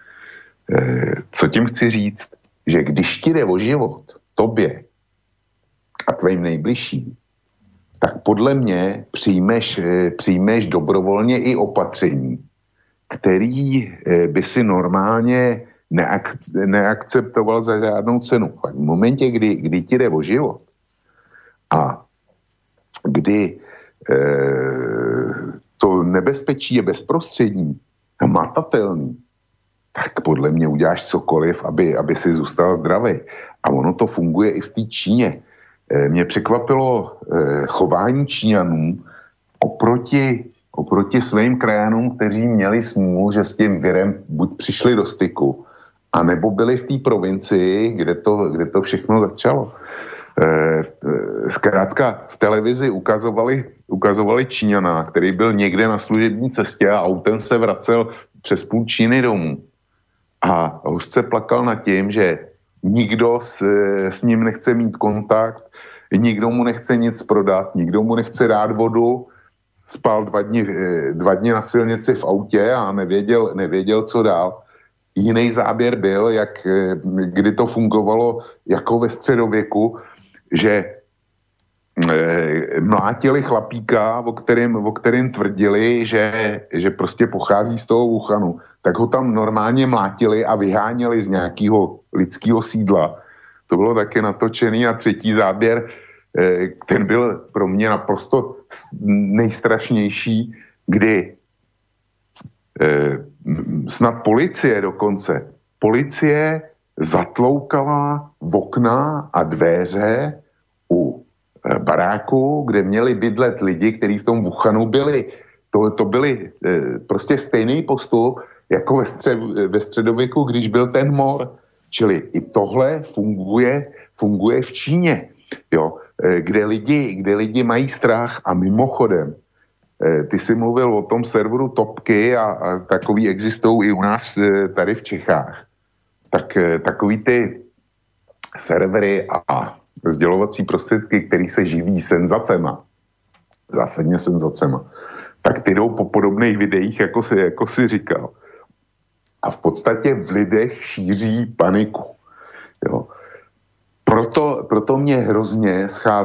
Co tím chci říct? Že když ti jde o život, tobě a tvým nejbližším, tak podle mě přijmeš dobrovolně i opatření, který by si normálně neakceptoval za žádnou cenu. V momentě, kdy ti jde o život a kdy to nebezpečí je bezprostřední, matatelný, tak podle mě uděláš cokoliv, aby si zůstal zdravý. A ono to funguje i v té Číně. Mě překvapilo chování Číňanů oproti svým krajanům, kteří měli smůlu, že s tím virem buď přišli do styku, anebo byli v té provincii, kde to všechno začalo. Zkrátka v televizi ukazovali Číňana, který byl někde na služební cestě a autem se vracel přes půl Číny domů. A hořce plakal nad tím, že nikdo s ním nechce mít kontakt, nikdo mu nechce nic prodat, nikdo mu nechce dát vodu, spal 2 dny na silnici v autě a nevěděl, co dál. Jiný záběr byl, kdy to fungovalo jako ve středověku, že mlátili chlapíka, o kterém tvrdili, že prostě pochází z toho Wuhanu, tak ho tam normálně mlátili a vyháněli z nějakého lidského sídla. To bylo taky natočený. A třetí záběr, ten byl pro mě naprosto nejstrašnější, kdy snad policie zatloukala v okna a dveře u baráku, kde měli bydlet lidi, kteří v tom Wuhanu byli. To byly prostě stejný postup jako ve středověku, když byl ten mor. Čili i tohle funguje v Číně, jo, kde lidi mají strach. A mimochodem, ty jsi mluvil o tom serveru Topky a takový existují i u nás tady v Čechách. Tak takový ty servery a sdělovací prostředky, který se živí senzacema, zásadně senzacema, tak ty jdou po podobných videích, jako si říkal. A v podstatě v lidech šíří paniku. Jo. Proto mě hrozně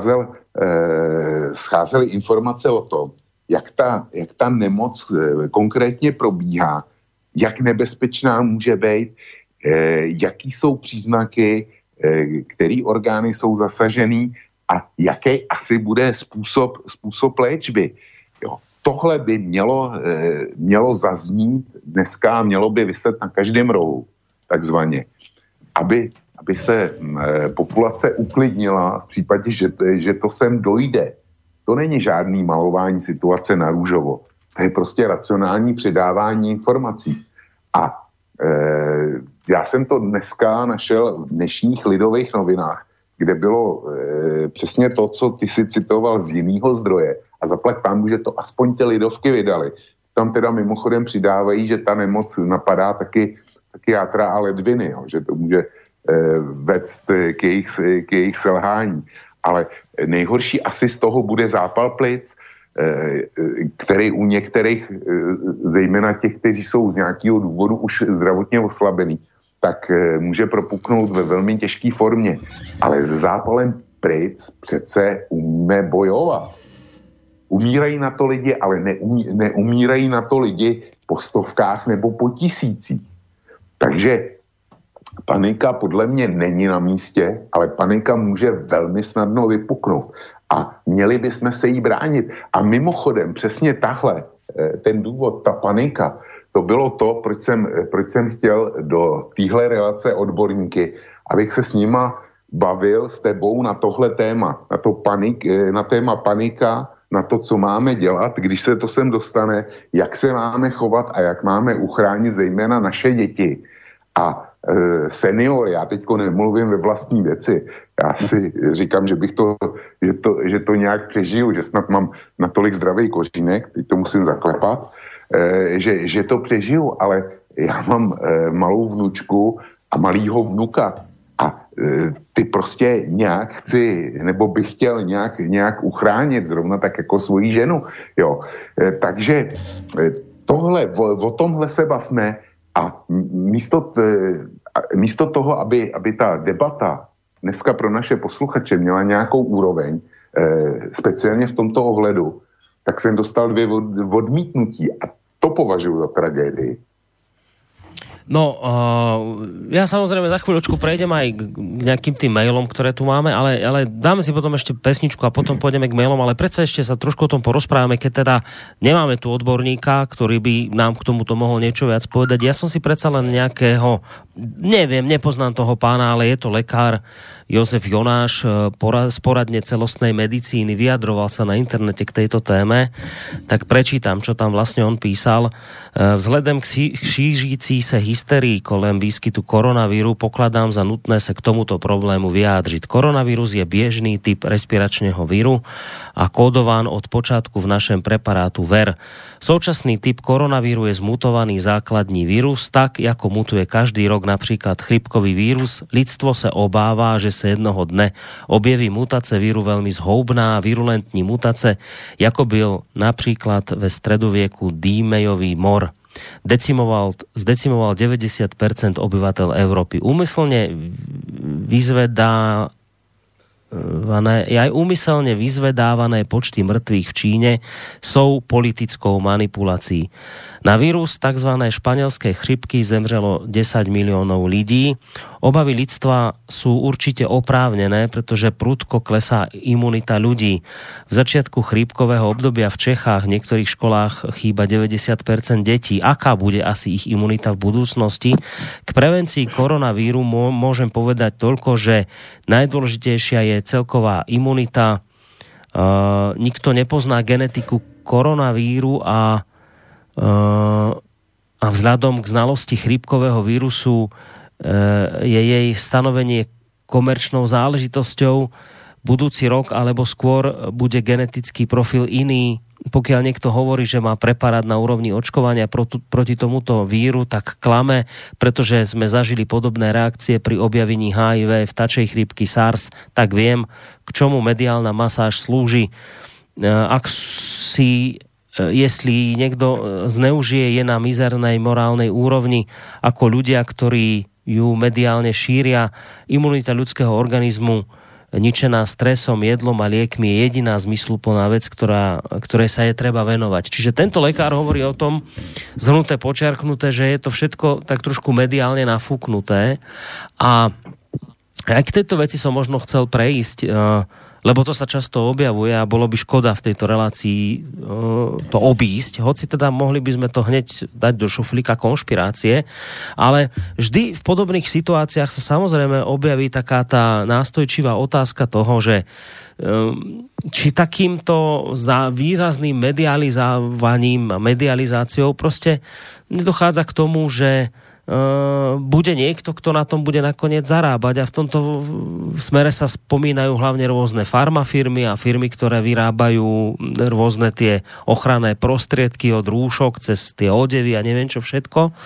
scházely informace o tom, jak ta nemoc konkrétně probíhá, jak nebezpečná může být, jaký jsou příznaky, který orgány jsou zasažený a jaký asi bude způsob léčby. Jo. Tohle by mělo zaznít dneska, mělo by vyset na každém rohu, takzvaně, aby se populace uklidnila v případě, že to sem dojde. To není žádný malování situace na růžovo. To je prostě racionální předávání informací. A já jsem to dneska našel v dnešních Lidových novinách, kde bylo přesně to, co ty si citoval z jiného zdroje. A zaplať pánbůh, že to aspoň ty Lidovky vydali. Tam teda mimochodem přidávají, že ta nemoc napadá taky játra a ledviny, jo, že to může vést k jejich selhání. Ale nejhorší asi z toho bude zápal plic, který u některých, zejména těch, kteří jsou z nějakého důvodu už zdravotně oslabený, tak může propuknout ve velmi těžké formě. Ale s zápalem plic přece umíme bojovat. Umírají na to lidi, ale neumírají na to lidi po stovkách nebo po tisících. Takže panika podle mě není na místě, ale panika může velmi snadno vypuknout. A měli bychom se jí bránit. A mimochodem, přesně tahle, ten důvod, ta panika, to bylo to, proč jsem chtěl do téhle relace odborníky, abych se s nima bavil s tebou na tohle téma, na téma panika, na to, co máme dělat, když se to sem dostane, jak se máme chovat a jak máme uchránit zejména naše děti. A seniory, já teďko nemluvím ve vlastní věci, já si říkám, že to nějak přežiju, že snad mám natolik zdravý kořínek, teď to musím zaklepat, že to přežiju, ale já mám malou vnučku a malýho vnuka a ty prostě nějak chci, nebo bych chtěl nějak uchránit, zrovna tak jako svoji ženu, jo. Takže o tomhle se bavme a místo toho, aby ta debata dneska pro naše posluchače měla nějakou úroveň, speciálně v tomto ohledu, tak jsem dostal 2 odmítnutí a to považuji za tragédii. No, ja samozrejme za chvíľočku prejdem aj k nejakým tým mailom, ktoré tu máme, ale dáme si potom ešte pesničku a potom pôjdeme k mailom, ale predsa ešte sa trošku o tom porozprávame, keď teda nemáme tu odborníka, ktorý by nám k tomuto mohol niečo viac povedať. Ja som si predsa len nejakého, neviem, nepoznám toho pána, ale je to lekár Jozef Jonáš z poradne celostnej medicíny, vyjadroval sa na internete k tejto téme, tak prečítam, čo tam vlastne on písal. Vzhledem k šířící se hysterii kolem výskytu koronavíru pokladám za nutné sa k tomuto problému vyjádřiť. Koronavírus je biežný typ respiračného víru a kódován od počátku v našem preparátu VER. Současný typ koronavíru je zmutovaný základní vírus, tak ako mutuje každý rok napríklad chrypkový vírus. Lidstvo sa obáva, že sa jednoho dne objeví mutace víru veľmi zhoubná, virulentní mutace, ako byl napríklad ve stredovieku Dímejový mor. Zdecimoval 90% obyvateľ Európy. Úmyselne vyzvedávané počty mŕtvych v Číne sú politickou manipulácií. Na vírus tzv. Španielskej chřipky zemřelo 10 miliónov lidí. Obavy lidstva sú určite oprávnené, pretože prudko klesá imunita ľudí. V začiatku chrípkového obdobia v Čechách v niektorých školách chýba 90% detí. Aká bude asi ich imunita v budúcnosti? K prevencii koronavíru môžem povedať toľko, že najdôležitejšia je celková imunita. Nikto nepozná genetiku koronavíru a vzhľadom k znalosti chrípkového vírusu je jej stanovenie komerčnou záležitosťou. Budúci rok alebo skôr bude genetický profil iný pokiaľ niekto hovorí, že má preparát na úrovni očkovania proti tomuto víru, tak klame, pretože sme zažili podobné reakcie pri objavení HIV, vtačej chrípky, SARS, tak viem, k čomu mediálna masáž slúži. Jestli niekto zneužije, je na mizernej morálnej úrovni ako ľudia, ktorí ju mediálne šíria. Imunita ľudského organizmu ničená stresom, jedlom a liekmi je jediná zmysluplná vec, ktorej sa je treba venovať. Čiže tento lekár hovorí o tom, zhrnuté, počiarknuté, že je to všetko tak trošku mediálne nafúknuté. A aj k tejto veci som možno chcel prejsť, lebo to sa často objavuje a bolo by škoda v tejto relácii to obísť, hoci teda mohli by sme to hneď dať do šuflíka konšpirácie, ale vždy v podobných situáciách sa samozrejme objaví taká tá nástojčivá otázka toho, že či takýmto výrazným medializovaním a medializáciou proste nedochádza k tomu, že bude niekto, kto na tom bude nakoniec zarábať, a v tomto smere sa spomínajú hlavne rôzne farmafirmy a firmy, ktoré vyrábajú rôzne tie ochranné prostriedky od rúšok cez tie odevy a neviem čo všetko.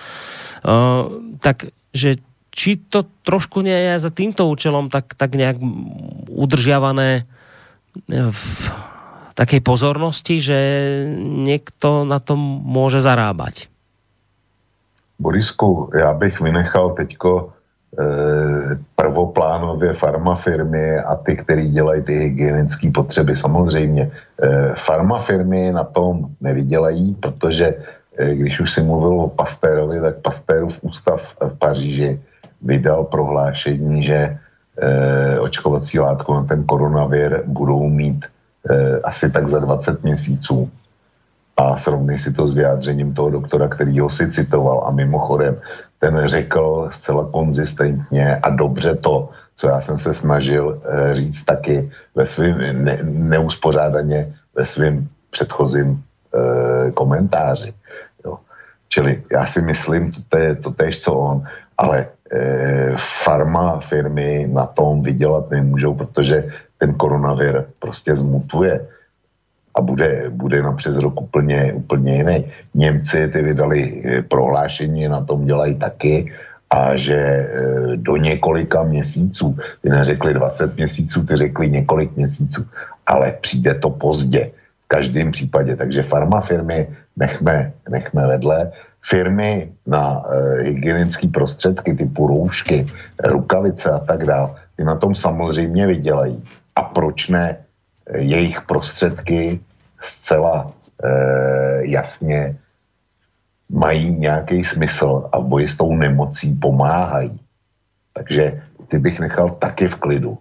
Takže či to trošku nie je za týmto účelom tak nejak udržiavané v takej pozornosti, že niekto na tom môže zarábať? Borisku, já bych vynechal teďko prvoplánově farmafirmy a ty, který dělají ty hygienické potřeby. Samozřejmě farmafirmy na tom nevydělají, protože když už si mluvil o Pasteurovi, tak Pasteurův ústav v Paříži vydal prohlášení, že očkovací látku na ten koronavir budou mít asi tak za 20 měsíců. A srovnej si to s vyjádřením toho doktora, který ho si citoval, a mimochodem ten řekl zcela konzistentně a dobře to, co já jsem se snažil říct taky ve svým neuspořádaně ve svým předchozím komentáři. Jo. Čili já si myslím, to též co on, ale farma firmy na tom vydělat nemůžou, protože ten koronavir prostě zmutuje a bude na přes rok úplně jiný. Němci ty vydali prohlášení, na tom dělají taky, a že do několika měsíců, ty neřekli 20 měsíců, ty řekli několik měsíců, ale přijde to pozdě v každém případě, takže farmafirmy nechme vedle. Firmy na hygienické prostředky typu roušky, rukavice a tak dále, ty na tom samozřejmě vydělají. A proč ne? Jejich prostředky zcela jasně mají nějaký smysl a v boji s tou nemocí pomáhají. Takže ty bych nechal taky v klidu.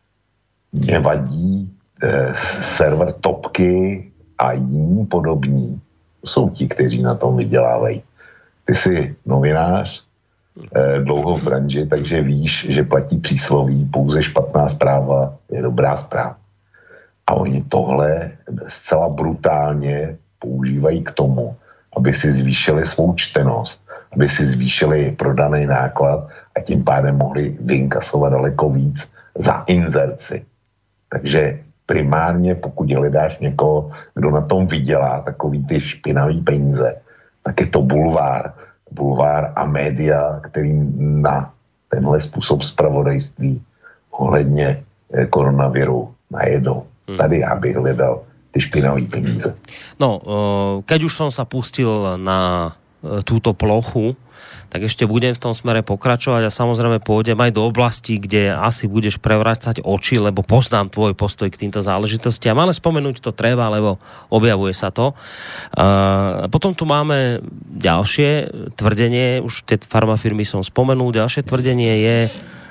Mě vadí server Topky a jiní podobní. To jsou ti, kteří na tom vydělávají. Ty jsi novinář, dlouho v branži, takže víš, že platí přísloví, pouze špatná zpráva je dobrá zpráva. A oni tohle zcela brutálně používají k tomu, aby si zvýšili svou čtenost, aby si zvýšili prodaný náklad a tím pádem mohli vyinkasovat daleko víc za inzerci. Takže primárně, pokud hledáš někoho, kdo na tom vydělá takový ty špinavý peníze, tak je to bulvár a média, který na tenhle způsob zpravodajství ohledně koronaviru najedou. Tady já bych hledal ty špinavé peníze. No, keď už som sa pustil na túto plochu, tak ešte budem v tom smere pokračovať a samozrejme pôjdem aj do oblasti, kde asi budeš prevracať oči, lebo poznám tvoj postoj k týmto záležitostiam, ale spomenúť to treba, lebo objavuje sa to. Potom tu máme ďalšie tvrdenie, už tie farmafirmy som spomenul, ďalšie tvrdenie je,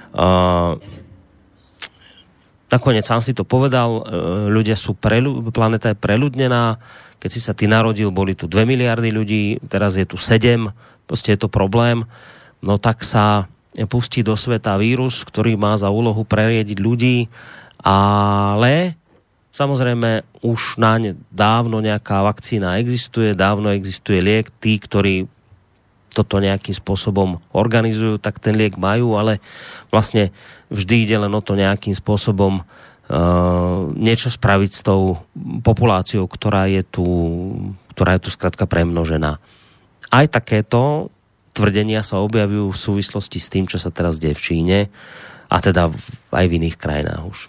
nakoniec sám si to povedal, ľudia sú planéta je preľudnená, keď si sa ty narodil, boli tu 2 miliardy ľudí, teraz je tu 7, proste je to problém, no tak sa pustí do sveta vírus, ktorý má za úlohu preriediť ľudí, ale samozrejme už naň dávno nejaká vakcína existuje, dávno existuje liek, tí, ktorí toto nejakým spôsobom organizujú, tak ten liek majú, ale vlastne vždy ide len o to nejakým spôsobom niečo spraviť s tou populáciou, ktorá je tu skrátka premnožená. Aj takéto tvrdenia sa objavujú v súvislosti s tým, čo sa teraz deje v Číne a teda aj v iných krajinách už.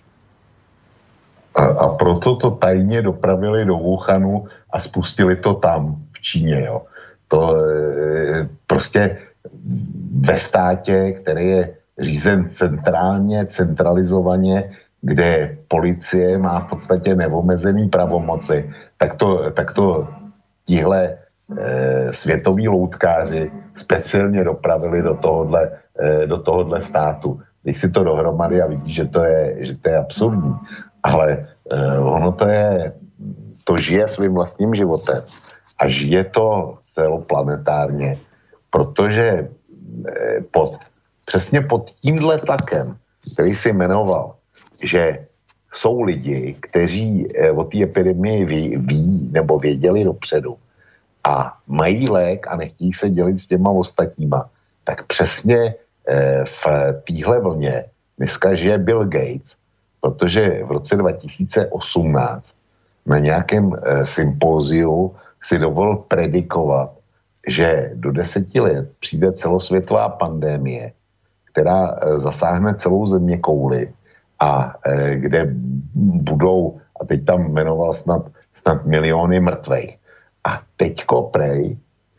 A proto to tajně dopravili do Wuhanu a spustili to tam v Číně. Jo. To prostě ve státě, který je řízen centrálně, centralizovaně, kde policie má v podstatě neomezený pravomoci, tak to tihle světoví loutkáři speciálně dopravili do tohohle státu. Když si to dohromady a vidíš, že to je absurdní. Ale ono to žije svým vlastním životem a žije to celoplanetárně, protože přesně pod tímhle tlakem, který si jmenoval, že jsou lidi, kteří o té epidemii ví nebo věděli dopředu a mají lék a nechtějí se dělit s těma ostatníma, tak přesně v téhle vlně dneska žije Bill Gates, protože v roce 2018 na nějakém sympóziu si dovolil predikovat, že do 10 let přijde celosvětová pandemie, která zasáhne celou zeměkouli a kde budou, a teď tam jmenoval snad miliony mrtvých. A teďko prej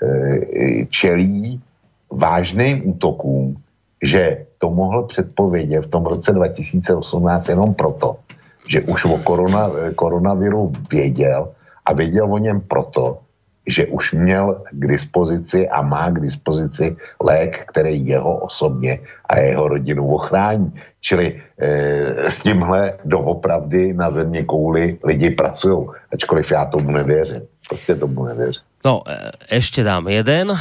čelí vážným útokům, že to mohl předpovědět v tom roce 2018 jenom proto, že už o koronaviru věděl a věděl o něm proto, že už měl k dispozici a má k dispozici lék, který jeho osobně a jeho rodinu ochrání. Čili s tímhle doopravdy na země kouli lidi pracují, ačkoliv já tomu nevěřím. Prostě tomu nevěřím. No, ešte dám jeden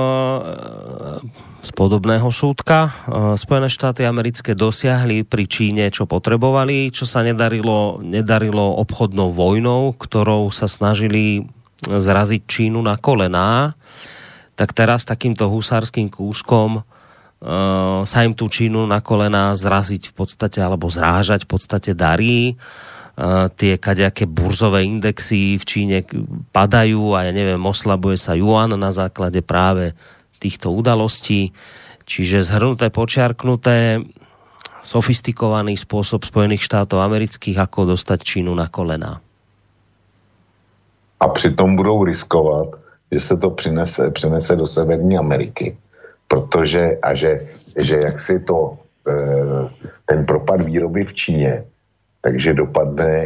z podobného súdka. Spojené štáty americké dosiahli pri Číne, čo potrebovali, čo sa nedarilo obchodnou vojnou, ktorou sa snažili zraziť Čínu na kolená, tak teraz takýmto husárským kúskom sa im tú Čínu na kolená zraziť v podstate, alebo zrážať v podstate darí. Tie kadejaké burzové indexy v Číne padajú a ja neviem, oslabuje sa juan na základe práve týchto udalostí. Čiže zhrnuté, počiarknuté, sofistikovaný spôsob Spojených štátov amerických, ako dostať Čínu na kolená. A přitom budou riskovat, že se to přenese do Severní Ameriky. Protože, že jak si to, ten propad výroby v Číně, takže dopadne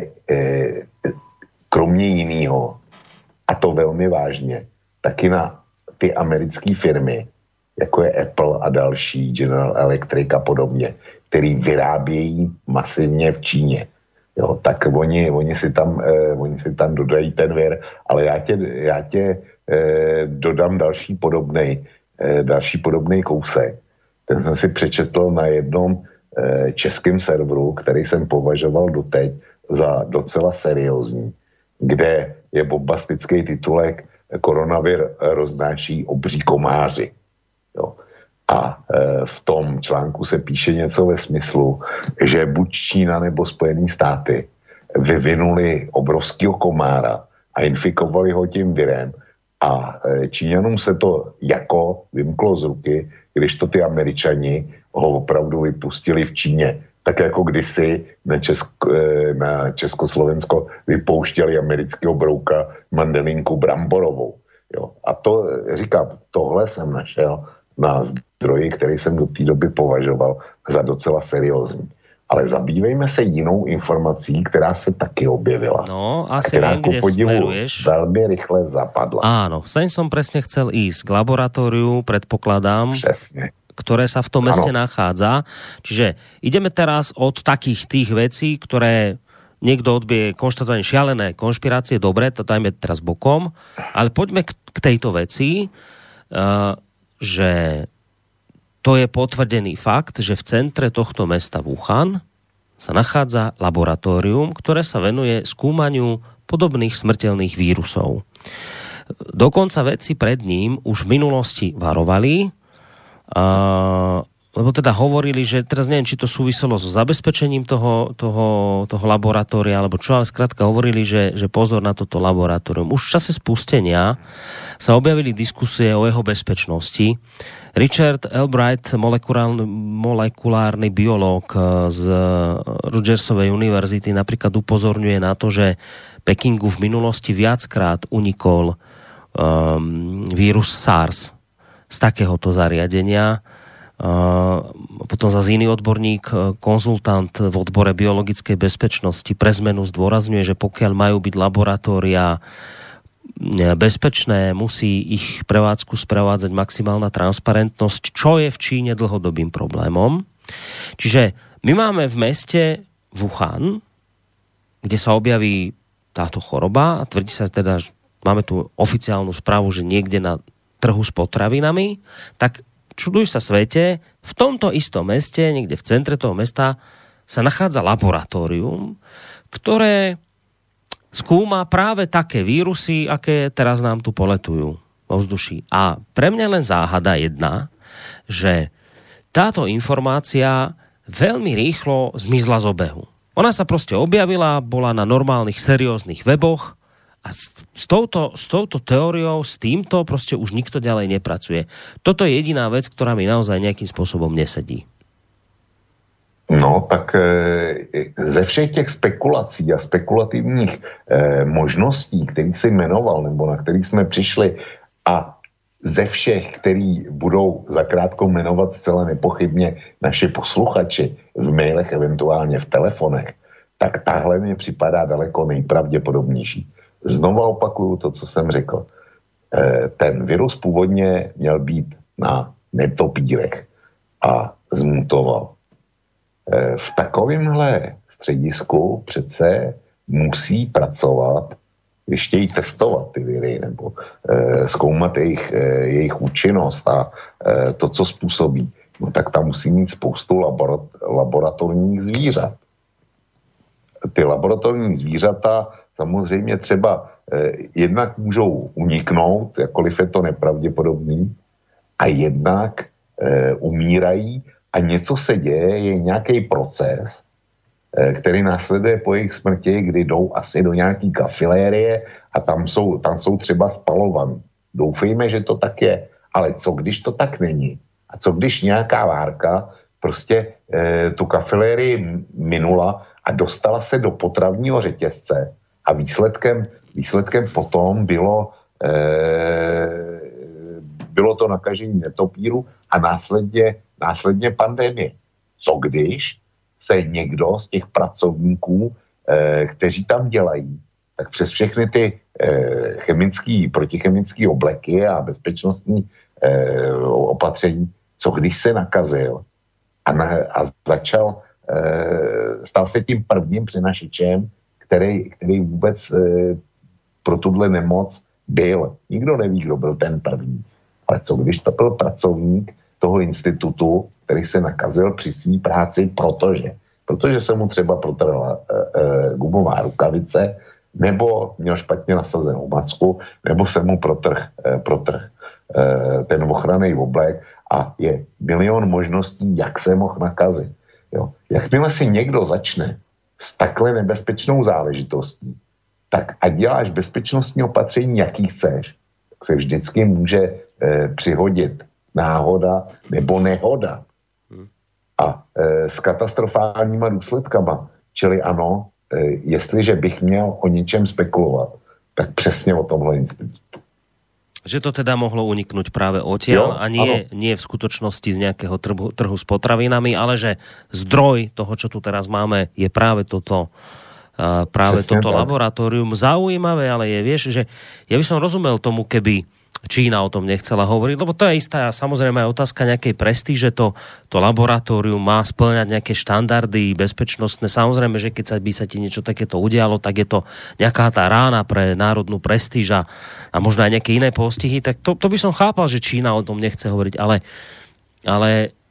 kromě jiného, a to velmi vážně, taky na ty americké firmy, jako je Apple a další, General Electric a podobně, který vyrábějí masivně v Číně. Jo, tak oni si tam dodají ten vir, ale já tě dodám další podobnej kousek. Ten jsem si přečetl na jednom českém serveru, který jsem považoval doteď za docela seriózní, kde je bombastický titulek Koronavir roznáší obří komáři. Jo. A v tom článku se píše něco ve smyslu, že buď Čína nebo Spojené státy vyvinuli obrovského komára a infikovali ho tím virem a Číňanům se to jako vymklo z ruky, když to ty Američani ho opravdu vypustili v Číně. Tak jako kdysi na Československo vypouštěli amerického brouka mandelinku bramborovou. Jo. A to, říkám, tohle jsem našel na zdroji, který jsem do té doby považoval za docela seriózní. Ale zabývejme se jinou informací, která se taky objevila. No, asi viem, kde smeruješ. Veľmi rýchle zapadla. Áno, sem som presne chcel ísť. K laboratóriu, predpokladám, presne, ktoré sa v tom meste nachádza. Čiže ideme teraz od takých tých vecí, ktoré niekto odbije konštatovanie šialené konšpirácie, dobre, to dajme teraz bokom, ale poďme k tejto veci, že to je potvrdený fakt, že v centre tohto mesta Wuhan sa nachádza laboratórium, ktoré sa venuje skúmaniu podobných smrteľných vírusov. Dokonca vedci pred ním už v minulosti varovali, lebo teda hovorili, že teraz neviem, či to súviselo so zabezpečením toho laboratória, alebo čo, ale skrátka hovorili, že pozor na toto laboratórium. Už v čase spustenia sa objavili diskusie o jeho bezpečnosti. Richard Albright, molekulárny biológ z Rutgersovej univerzity, napríklad upozorňuje na to, že Pekingu v minulosti viackrát unikol vírus SARS z takéhoto zariadenia. Potom zase iný odborník, konzultant v odbore biologickej bezpečnosti pre zmenu zdôrazňuje, že pokiaľ majú byť laboratória bezpečné, musí ich prevádzku sprevádzať maximálna transparentnosť, čo je v Číne dlhodobým problémom. Čiže my máme v meste Wuhan, kde sa objaví táto choroba a tvrdí sa teda, máme tu oficiálnu správu, že niekde na trhu s potravinami, tak čuduj sa svete, v tomto istom meste, niekde v centre toho mesta, sa nachádza laboratórium, ktoré skúma práve také vírusy, aké teraz nám tu poletujú vo vzduší. A pre mňa len záhada jedna, že táto informácia veľmi rýchlo zmizla z obehu. Ona sa proste objavila, bola na normálnych, serióznych weboch, a s touto teóriou, s týmto proste už nikto ďalej nepracuje. Toto je jediná vec, ktorá mi naozaj nejakým spôsobom nesedí. No, tak ze všech těch spekulací a spekulativních možností, kterých jsi jmenoval, nebo na kterých jsme přišli, a ze všech, který budou zakrátko jmenovat zcela nepochybně naši posluchači v mailech, eventuálně v telefonech, tak tahle mi připadá daleko nejpravděpodobnější. Znova opakuju to, co jsem řekl. Ten virus původně měl být na netopírech a zmutoval. V takovémhle středisku přece musí pracovat, když chtějí testovat ty viry nebo zkoumat jejich účinnost a to, co způsobí, no tak tam musí mít spoustu laboratorních zvířat. Ty laboratorní zvířata samozřejmě třeba jednak můžou uniknout, jakkoliv je to nepravděpodobný, a jednak umírají a něco se děje, je nějaký proces, který následuje po jejich smrti, kdy jdou asi do nějaký kafilérie a tam jsou třeba spalovaní. Doufejme, že to tak je, ale co když to tak není? A co když nějaká várka prostě tu kafilérii minula a dostala se do potravního řetězce a výsledkem potom bylo to nakažení netopíru a následně pandemie. Co když se někdo z těch pracovníků, kteří tam dělají, tak přes všechny ty protichemické obleky a bezpečnostní opatření, co když se nakazil a stal se tím prvním přenašičem, který vůbec pro tuhle nemoc byl. Nikdo neví, kdo byl ten první. Ale co když to byl pracovník toho institutu, který se nakazil při své práci, protože se mu třeba protrhla gumová rukavice, nebo měl špatně nasazenou macku, nebo se mu protrh ten ochranný oblek a je milion možností, jak se mohl nakazit. Jo. Jakmile si někdo začne s takhle nebezpečnou záležitostí, tak ať děláš bezpečnostní opatření, jaký chceš, tak se vždycky může přihodit náhoda nebo nehoda. A s katastrofálníma důsledkama. Čili ano, jestliže bych měl o něčem spekulovat, tak přesně o tomhle institutu. Že to teda mohlo uniknúť práve odtiaľ a nie v skutočnosti z nejakého trhu s potravinami, ale že zdroj toho, čo tu teraz máme, je práve toto laboratórium. Zaujímavé, ale je, vieš, že ja by som rozumel tomu, keby Čína o tom nechcela hovoriť, lebo to je istá, samozrejme aj otázka nejakej prestíže, to laboratórium má spĺňať nejaké štandardy bezpečnostné. Samozrejme, že keď by sa ti niečo takéto udialo, tak je to nejaká tá rána pre národnú prestíž a možno aj nejaké iné postihy, tak to by som chápal, že Čína o tom nechce hovoriť, ale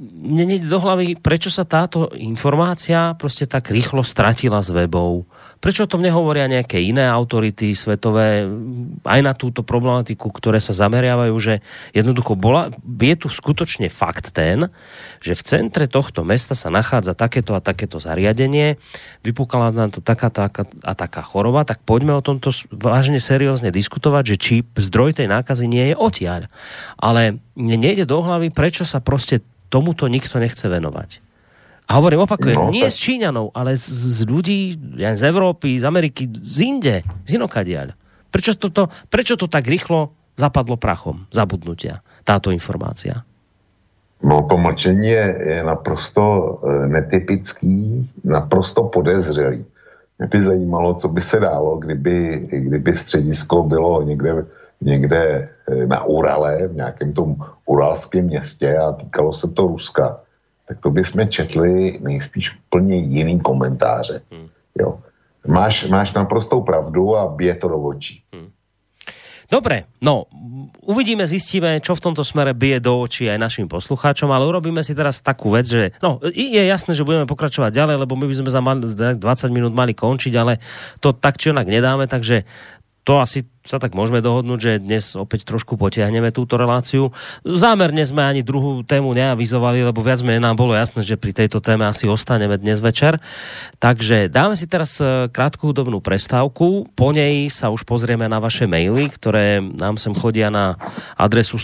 mne nejde do hlavy, prečo sa táto informácia proste tak rýchlo stratila z webov. Prečo o tom nehovoria nejaké iné autority svetové aj na túto problematiku, ktoré sa zameriavajú, že jednoducho je tu skutočne fakt ten, že v centre tohto mesta sa nachádza takéto a takéto zariadenie, vypukala nám tu taká choroba, tak poďme o tomto vážne seriózne diskutovať, že či zdroj tej nákazy nie je odtiaľ. Ale mne nejde do hlavy, prečo sa proste tomuto nikto nechce venovať. A hovorím, opakujem, nie z Číňanov, ale z ľudí z Európy, z Ameriky, z inde, z inokadiaľ. Prečo to tak rýchlo zapadlo prachom zabudnutia, táto informácia? No to mlčení je naprosto netypický, naprosto podezřelý. Mě by zajímalo, co by se dálo, kdyby středisko bylo někde na Urale, v nějakém tom uralském městě a týkalo se to Ruska. Tak to bychom četli nejspíš úplně jiný komentáře. Jo. Máš naprostou pravdu a bije to do očí. Dobre, no, uvidíme, zistíme, čo v tomto smere bije do očí aj našim poslucháčom, ale urobíme si teraz takú vec, že je jasné, že budeme pokračovať ďalej, lebo my by sme za 20 minút mali končiť, ale to tak či onak nedáme, takže to asi sa tak môžeme dohodnúť, že dnes opäť trošku potiahneme túto reláciu. Zámerne sme ani druhú tému neavizovali, lebo viac menej nám bolo jasné, že pri tejto téme asi ostaneme dnes večer. Takže dáme si teraz krátku hudobnú prestávku. Po nej sa už pozrieme na vaše maily, ktoré nám sem chodia na adresu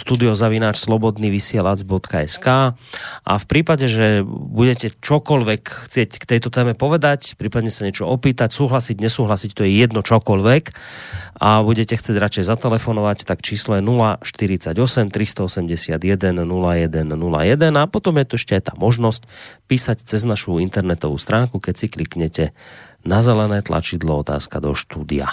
studio@slobodnyvysielac.sk a v prípade, že budete čokoľvek chcieť k tejto téme povedať, prípadne sa niečo opýtať, súhlasiť, nesúhlasiť, to je jedno čokoľvek a budete chcieť radšej zatelefonovať, tak číslo je 048 381 0101 a potom je tu ešte aj tá možnosť písať cez našu internetovú stránku, keď si kliknete na zelené tlačidlo otázka do štúdia.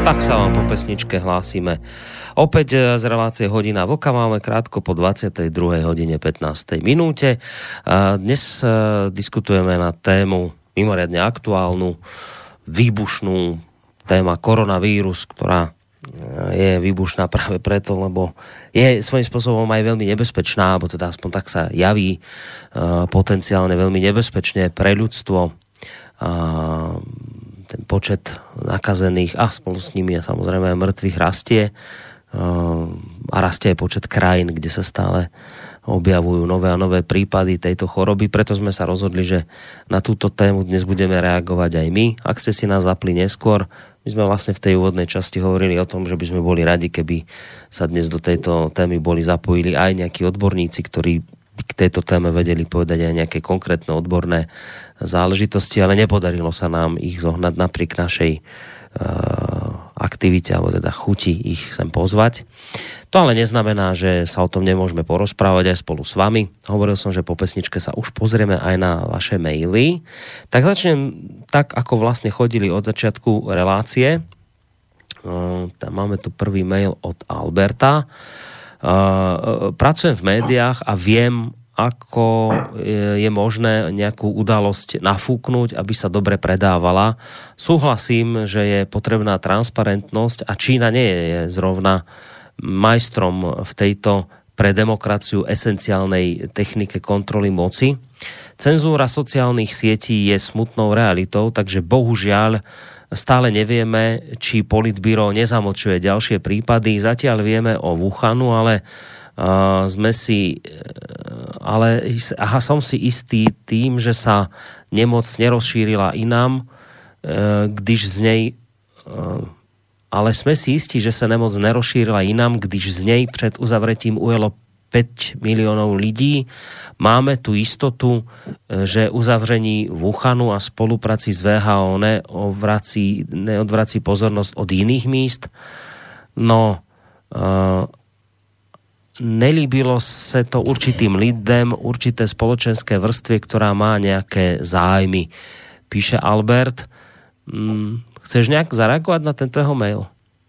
Tak sa vám po pesničke hlásime. Opäť z relácie Hodina vlka máme krátko po 22:15 minúte. Dnes diskutujeme na tému mimoriadne aktuálnu, výbušnú, téma koronavírus, ktorá je výbušná práve preto, lebo je svojím spôsobom aj veľmi nebezpečná, alebo teda aspoň tak sa javí potenciálne veľmi nebezpečne pre ľudstvo. Ten počet nakazených a spolu s nimi a samozrejme aj mŕtvych rastie a rastie aj počet krajín, kde sa stále objavujú nové a nové prípady tejto choroby. Preto sme sa rozhodli, že na túto tému dnes budeme reagovať aj my. Ak ste si nás zapli neskôr, my sme vlastne v tej úvodnej časti hovorili o tom, že by sme boli radi, keby sa dnes do tejto témy boli zapojili aj nejakí odborníci, ktorí k tejto téme vedeli povedať aj nejaké konkrétne odborné záležitosti, ale nepodarilo sa nám ich zohnať napriek našej aktivite, alebo teda chuti ich sem pozvať. To ale neznamená, že sa o tom nemôžeme porozprávať aj spolu s vami. Hovoril som, že po pesničke sa už pozrieme aj na vaše maily. Tak začnem tak, ako vlastne chodili od začiatku relácie. Tam máme tu prvý mail od Alberta. Pracujem v médiách a viem, ako je možné nejakú udalosť nafúknuť, aby sa dobre predávala. Súhlasím, že je potrebná transparentnosť a Čína nie je zrovna majstrom v tejto pre demokraciu esenciálnej technike kontroly moci. Cenzúra sociálnych sietí je smutnou realitou, takže bohužiaľ stále nevieme, či Politbíro nezamlčuje ďalšie prípady. Zatiaľ vieme o Wuhanu, ale som si istý tým, že sa nemoc nerozšírila inám, ale sme si istí, že sa nemoc nerozšírila inám, když z nej pred uzavretím ujelo 5 miliónov ľudí. Máme tu istotu, že uzavření Wuhanu a spolupráci s VHO neodvrací pozornosť od iných míst. No, nelíbilo sa to určitým lidem, určité spoločenské vrstvie, ktorá má nejaké zájmy. Píše Albert. Chceš nějak zareagovat na tento jeho mail?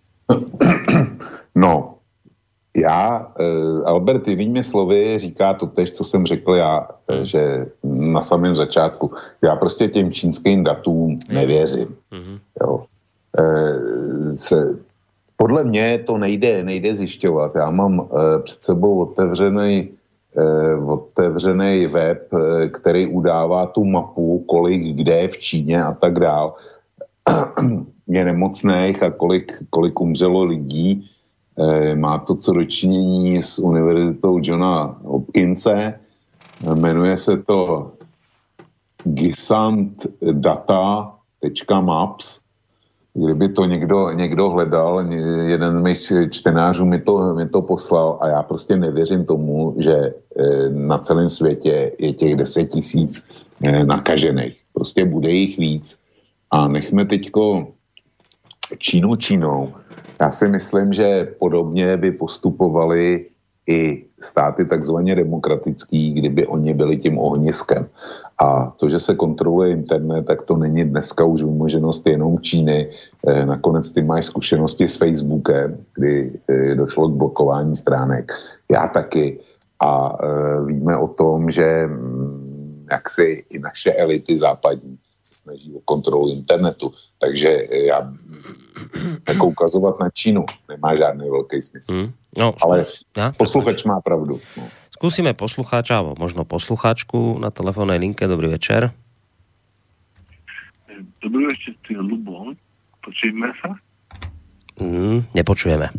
No, Albert jinými slovy říká to tež, co jsem řekl já, že na samém začátku. Já prostě těm čínským datům nevěřím. Jo. Podle mě to nejde zjišťovat. Já mám před sebou otevřený web, který udává tu mapu, kolik kde je v Číně a tak dál. Je nemocných a kolik umřelo lidí. Má to co dočinění s univerzitou Johna Hopkinse. Jmenuje se to gisantdata.maps. Kdyby to někdo hledal, jeden z mých čtenářů mi to poslal a já prostě nevěřím tomu, že na celém světě je těch 10 000 nakažených. Prostě bude jich víc. A nechme teďko Čínou. Já si myslím, že podobně by postupovali i státy takzvaně demokratický, kdyby oni byli tím ohniskem. A to, že se kontroluje internet, tak to není dneska už vymoženost jenom Číny. Nakonec ty máš zkušenosti s Facebookem, kdy došlo k blokování stránek. Já taky. A víme o tom, že jak si i naše elity západní se snaží o kontrolu internetu. Takže já jako ukazovat na Čínu nemá žádný velký smysl. No, ale posluchač má pravdu. No. Skúsime poslucháča, alebo možno poslucháčku na telefónnej linke. Dobrý večer. Dobrý večer, ty Lubo. Počujeme sa? Nepočujeme.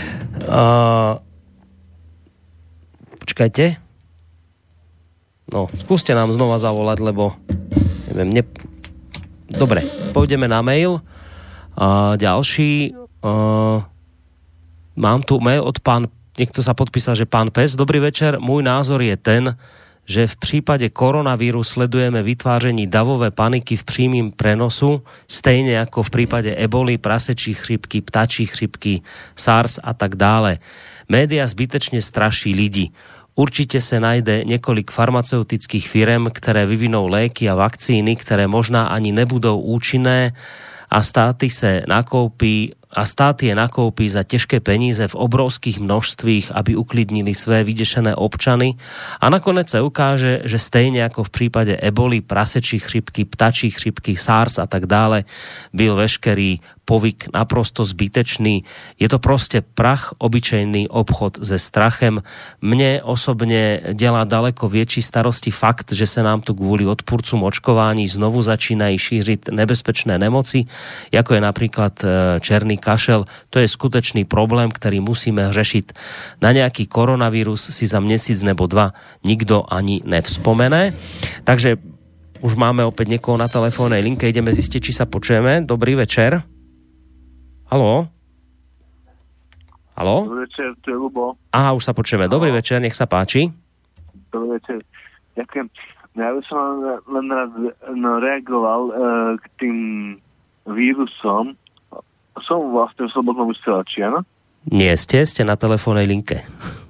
Počkajte. No, skúste nám znova zavolať, lebo neviem, Dobre, pôjdeme na mail. Ďalší. Mám tu mail od niekto sa podpísal, že pán Pes. Dobrý večer, môj názor je ten, že v prípade koronavíru sledujeme vytváření davové paniky v prímym prenosu, stejne ako v prípade eboli, prasečí chřipky, ptačí chřipky, SARS a tak dále. Média zbytečne straší lidi. Určite sa najde niekoľko farmaceutických firem, ktoré vyvinou léky a vakcíny, ktoré možná ani nebudou účinné a státy sa nakoupí a stát je nakúpi za ťažké peníze v obrovských množstvích, aby uklidnili své vydešené občany a nakoniec sa ukáže, že stejne ako v prípade eboli, prasečí chřipky, ptačí chřipky, SARS a tak dále, byl veškerý povyk naprosto zbytečný. Je to proste prach, obyčejný obchod se strachem. Mne osobne delá daleko väčší starosti fakt, že sa nám tu kvôli odpúrcom očkování znovu začínají šířiť nebezpečné nemoci, ako je napríklad černý kašel. To je skutečný problém, ktorý musíme řešiť. Na nejaký koronavírus si za měsíc nebo dva nikto ani nevzpomene. Takže už máme opäť niekoho na telefónnej linke. Ideme zistiť, či sa počujeme. Dobrý večer. Haló? Haló? Dobrý večer, to je Lubo. Aha, už sa počujeme. Dobrý večer, nech sa páči. Dobrý večer. Ďakujem. Ja by som len rád reagoval k tým vírusom. Som vlastne v slobodnom vysielači, áno? Nie, ste na telefónnej linke.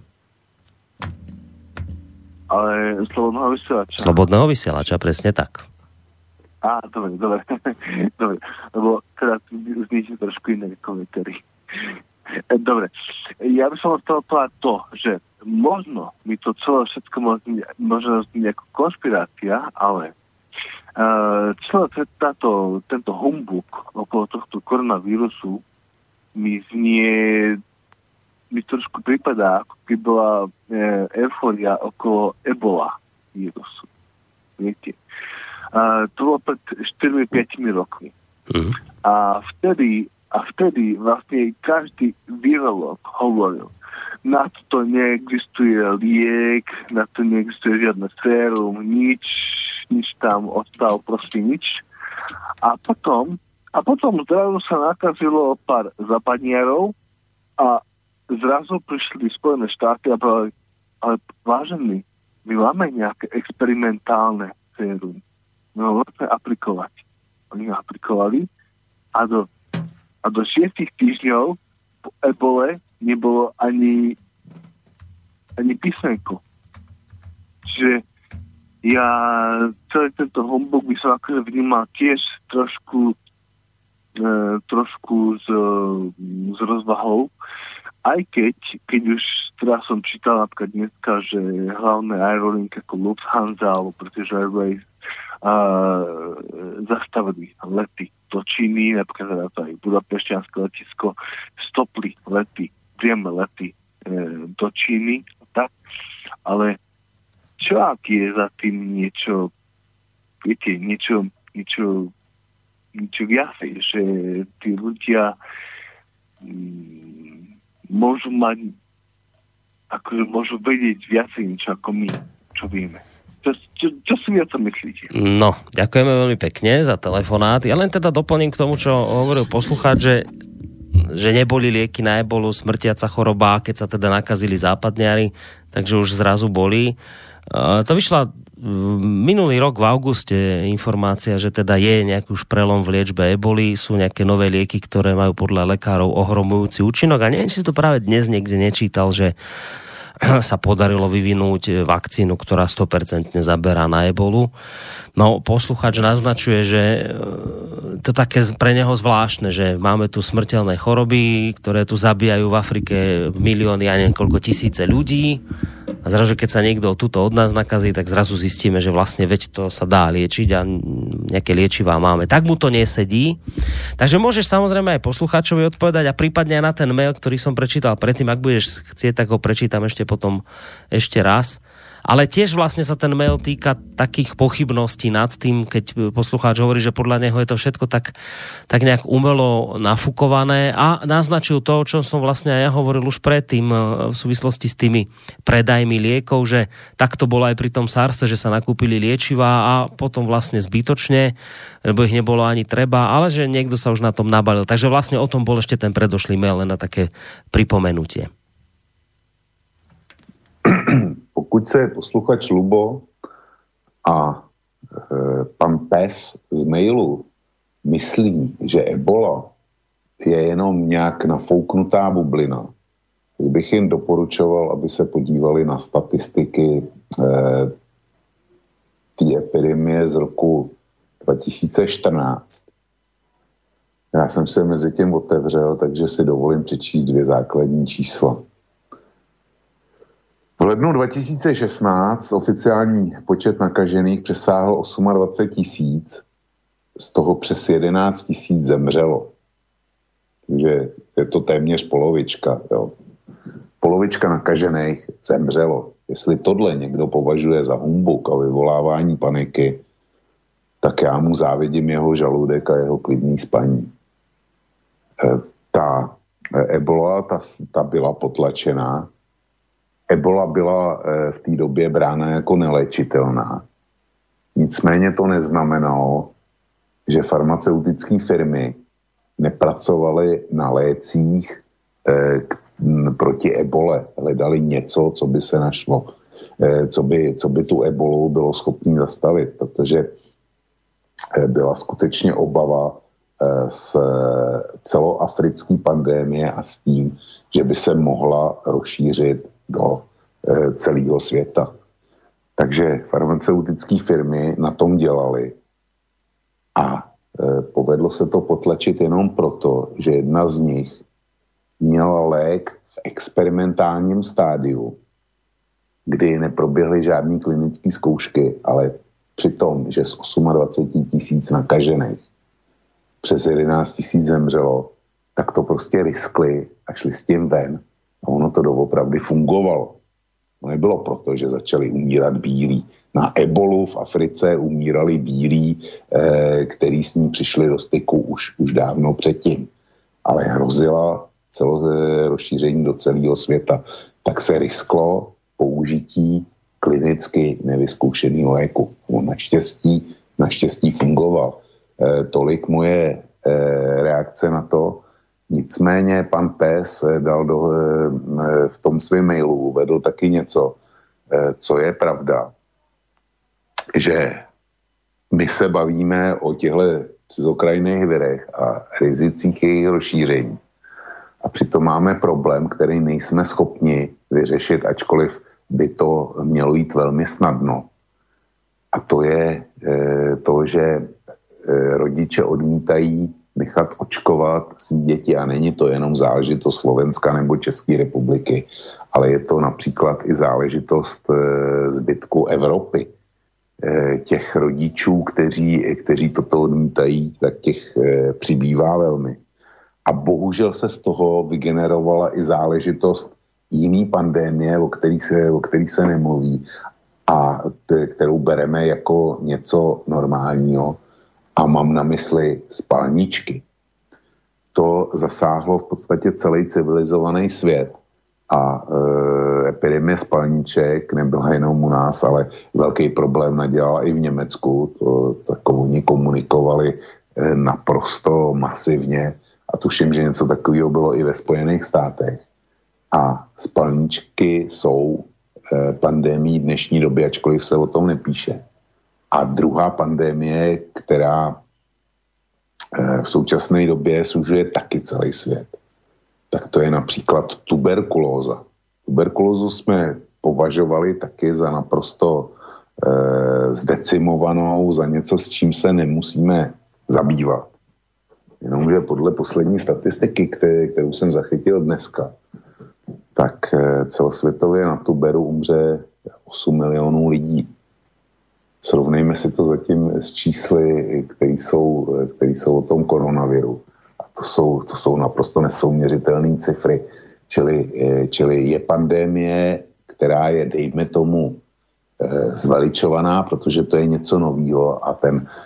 Ale slobodného vysielača. Slobodného vysielača, presne tak. Dobre. Dobre, lebo teda zníte trošku iné komentári. Dobre, ja by som chcel povedať to, že možno mi to celé všetko možno znieť ako konšpirácia, ale celé tento humbuk okolo tohto koronavírusu mi trošku prípadá, ako keby bola eufória okolo ebola vírusu. Viete? To bolo pred 4-5 rokmi. A vtedy vlastne každý virológ hovoril, na to neexistuje liek, na to neexistuje žiadne sérum, nič tam ostalo, proste nič. A potom zrazu sa nakazilo pár západniarov a zrazu prišli Spojené štáty a povedali, ale vážení, my máme nejaké experimentálne sérum. No, môžeme aplikovať. Oni ho aplikovali a do 6 týždňov po ebole nebolo ani písmenko. Čiže ja celý tento humbug by som akože vnímal tiež trošku s rozvahou, aj keď už teraz som čítal napríklad dneska, že hlavné aerolinky ako Lufthansa alebo British Airways zastavili lety do Číny, napríklad aj Budapešťanské letisko, stopli lety, priame lety do Číny, tak, ale čo ak je za tým niečo, viete, niečo viacej, že tí ľudia môžu mať, akože môžu vedieť viacej niečo ako my, čo vieme. Čo si vy o tom myslíte? No, ďakujeme veľmi pekne za telefonát. Ja len teda doplním k tomu, čo hovoril poslucháč, že neboli lieky na ebolu, smrtiaca choroba, keď sa teda nakazili západniari, takže už zrazu boli. To vyšla minulý rok v auguste informácia, že teda je nejaký už prelom v liečbe eboli, sú nejaké nové lieky, ktoré majú podľa lekárov ohromujúci účinok a neviem, či si to práve dnes niekde nečítal, že sa podarilo vyvinúť vakcínu, ktorá 100% zaberá na ebolu. No, posluchač naznačuje, že to také pre neho zvláštne, že máme tu smrteľné choroby, ktoré tu zabíjajú v Afrike milióny a niekoľko tisíce ľudí. A zrazu, keď sa niekto tuto od nás nakazí, tak zrazu zistíme, že vlastne veď to sa dá liečiť a nejaké liečivá máme. Tak mu to nesedí. Takže môžeš samozrejme aj poslucháčovi odpovedať a prípadne aj na ten mail, ktorý som prečítal predtým. Ak budeš chcieť, tak ho prečítam potom ešte raz. Ale tiež vlastne sa ten mail týka takých pochybností nad tým, keď poslucháč hovorí, že podľa neho je to všetko tak nejak umelo nafúkované a naznačil to, o čom som vlastne aj ja hovoril už predtým v súvislosti s tými predajmi liekov, že tak to bolo aj pri tom SARSe, že sa nakúpili liečivá a potom vlastne zbytočne, lebo ich nebolo ani treba, ale že niekto sa už na tom nabalil. Takže vlastne o tom bol ešte ten predošlý mail, len na také pripomenutie. Pokud se posluchač Lubo a pan Pes z mailu myslí, že ebola je jenom nějak nafouknutá bublina, tak bych jim doporučoval, aby se podívali na statistiky té epidemie z roku 2014. Já jsem se mezi tím otevřel, takže si dovolím přečíst 2 základní čísla. V lednu 2016 oficiální počet nakažených přesáhl 28 000, z toho přes 11 000 zemřelo. Takže je to téměř polovička. Jo. Polovička nakažených zemřelo. Jestli tohle někdo považuje za humbuk a vyvolávání paniky, tak já mu závidím jeho žaludek a jeho klidný spaní. Ta ebola, ta byla potlačená. Ebola byla v té době brána jako neléčitelná. Nicméně to neznamenalo, že farmaceutické firmy nepracovaly na lécích proti ebole. Hledali něco, co by se našlo, co by tu ebolu bylo schopné zastavit, protože byla skutečně obava z celoafrické pandémie a s tím, že by se mohla rozšířit do celého světa. Takže farmaceutické firmy na tom dělaly a povedlo se to potlačit jenom proto, že jedna z nich měla lék v experimentálním stádiu, kdy neproběhly žádné klinické zkoušky, ale při tom, že z 28 000 nakažených přes 11 000 zemřelo, tak to prostě riskli a šli s tím ven. A ono to doopravdy fungovalo. To nebylo proto, že začali umírat bílí. Na ebolu v Africe umírali bílí, který s ní přišli do styku už dávno předtím. Ale hrozila rozšíření do celého světa. Tak se risklo použití klinicky nevyzkoušeného léku. On naštěstí fungoval. Tolik moje reakce na to. Nicméně pan Pes dal v tom svém mailu uvedl taky něco, co je pravda, že my se bavíme o těchto cizokrajných virech a rizicích jejich rozšíření. A přitom máme problém, který nejsme schopni vyřešit, ačkoliv by to mělo jít velmi snadno. A to je to, že rodiče odmítají nechat očkovat svý děti a není to jenom záležitost Slovenska nebo České republiky, ale je to například i záležitost zbytku Evropy. Těch rodičů, kteří toto odmítají, tak těch přibývá velmi. A bohužel se z toho vygenerovala i záležitost jiný pandémie, o který se nemluví a kterou bereme jako něco normálního. A mám na mysli spalničky. To zasáhlo v podstatě celý civilizovaný svět a epidemie spalniček nebyla jenom u nás, ale velký problém nadělala i v Německu. Oni komunikovali naprosto masivně a tuším, že něco takového bylo i ve Spojených státech. A spalničky jsou pandemií dnešní doby, ačkoliv se o tom nepíše. A druhá pandemie, která v současné době sužuje taky celý svět, tak to je například tuberkulóza. Tuberkulózu jsme považovali taky za naprosto zdecimovanou, za něco, s čím se nemusíme zabývat. Jenomže podle poslední statistiky, kterou jsem zachytil dneska, tak celosvětově na tuberu umře 8 milionů lidí. Srovnejme si to zatím s čísly, které jsou o tom koronaviru. A to jsou naprosto nesouměřitelné cifry. Čili je pandemie, která je, dejme tomu, zveličovaná, protože to je něco novýho a